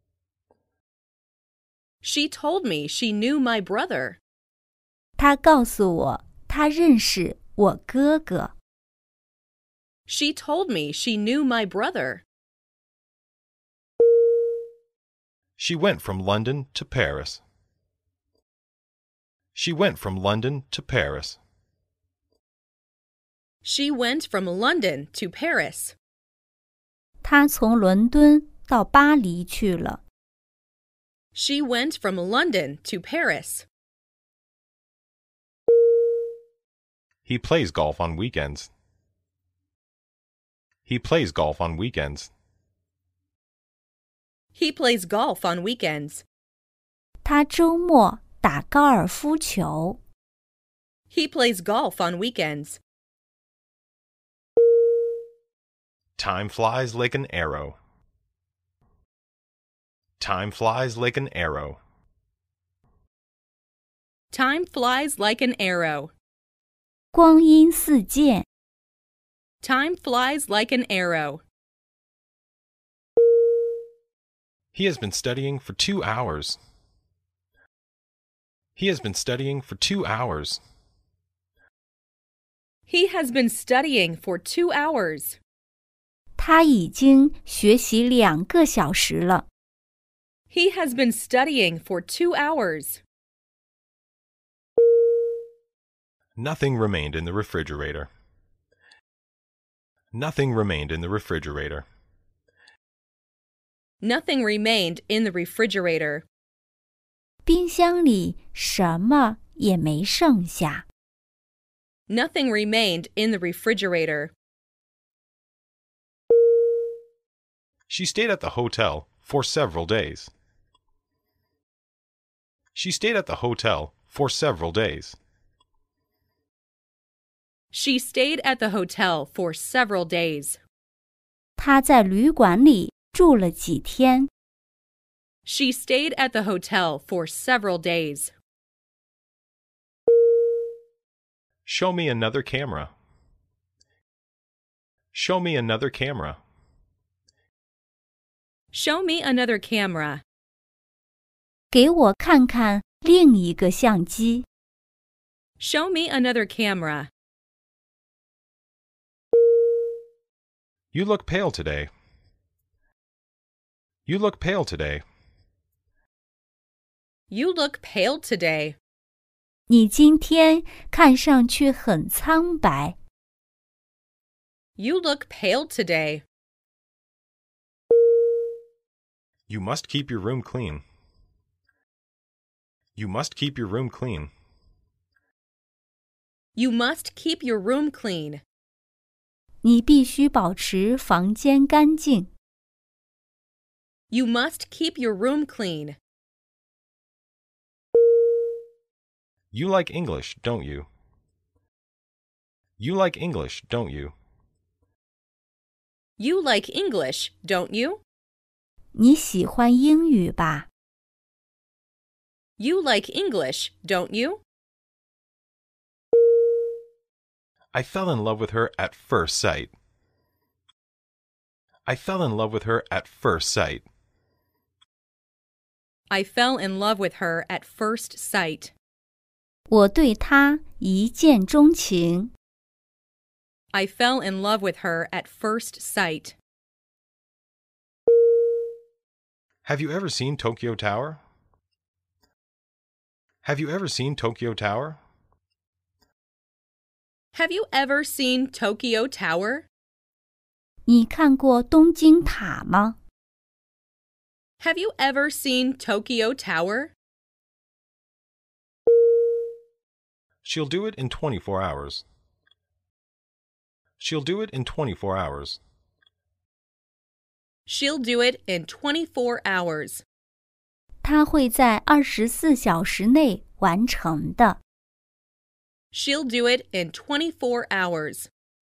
She told me she knew my brother. 她告诉我，她认识我哥哥。 She told me she knew my brother. She went from London to Paris. She went from London to Paris. She went from London to Paris. 她从伦敦到巴黎去了。 She went from London to Paris. He plays golf on weekends. He plays golf on weekends. He plays golf on weekends. 她周末打高尔夫球。 He plays golf on weekends. Time flies like an arrow. Time flies like an arrow. Time flies like an arrow. 光阴似箭。 Time flies like an arrow. He has been studying for 2 hours. He has been studying for 2 hours. He has been studying for 2 hours. 他已经学习2个小时了。 He has been studying for 2 hours. Nothing remained in the refrigerator. Nothing remained in the refrigerator. Nothing remained in the refrigerator. 冰箱里什么也没剩下。 Nothing remained in the refrigerator. She stayed at the hotel for several days. She stayed at the hotel for several days. She stayed at the hotel for several days. 她在旅馆里住了几天。 She stayed at the hotel for several days. Show me another camera. Show me another camera. Show me another camera. 给我看看另一个相机。 Show me another camera. You look pale today. You look pale today. You look pale today. 你今天看上去很苍白。 You look pale today. You must keep your room clean. You must keep your room clean. You must keep your room clean. 你必须保持房间干净。 You must keep your room clean. You like English, don't you? You like English, don't you? You like English, don't you? 你喜欢英语吧？ You like English, don't you? I fell in love with her at first sight. I fell in love with her at first sight. I fell in love with her at first sight. 我对她一见钟情。 I fell in love with her at first sight. Have you ever seen Tokyo Tower? Have you ever seen Tokyo Tower? Have you ever seen Tokyo Tower? 你看过东京塔吗？ Have you ever seen Tokyo Tower? She'll do it in 24 hours. She'll do it in 24 hours. She'll do it in 24 hours. 她会在24小时内完成的。 She'll do it in 24 hours.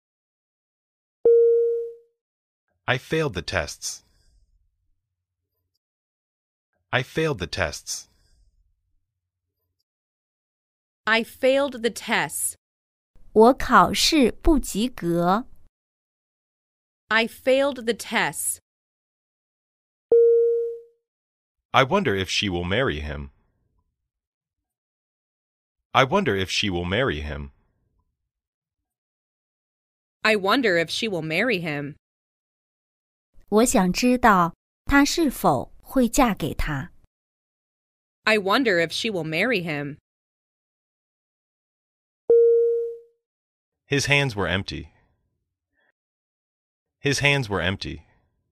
I failed the tests. I failed the tests. I failed the tests. 我考试不及格。 I failed the tests. I wonder if she will marry him. I wonder if she will marry him. I wonder if she will marry him. 我想知道她是否会嫁给他。 I wonder if she will marry him. His hands were empty. His hands were empty.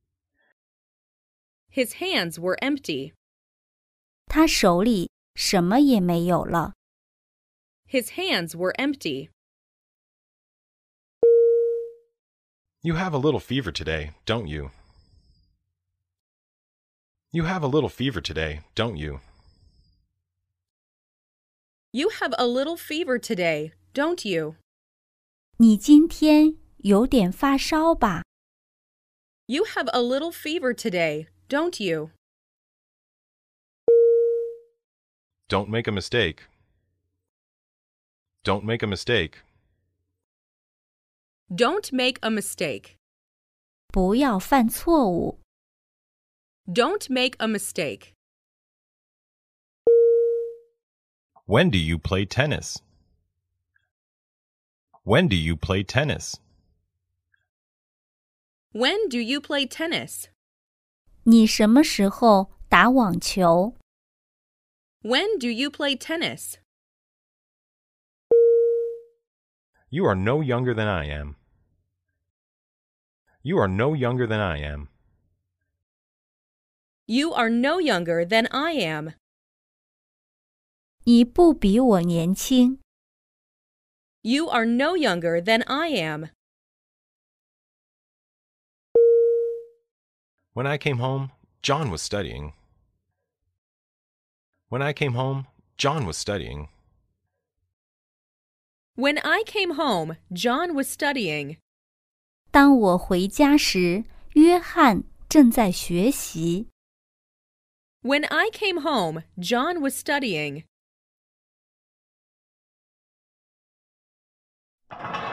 His hands were empty. 他手里什么也没有了。 His hands were empty. You have a little fever today, don't you? You have a little fever today, don't you? You have a little fever today, don't you? 你今天有点发烧吧？ You have a little fever today, don't you? Don't make a mistake. Don't make a mistake. Don't make a mistake. 不要犯错误。 Don't make a mistake. When do you play tennis? When do you play tennis? When do you play tennis? 你什么时候打网球？ When do you play tennis? You are no younger than I am. You are no younger than I am. You are no younger than I am. 你不比我年轻。 You are no younger than I am. When I came home, John was studying. When I came home, John was studying. When I came home, John was studying. 当我回家时，约翰正在学习。 When I came home, John was studying.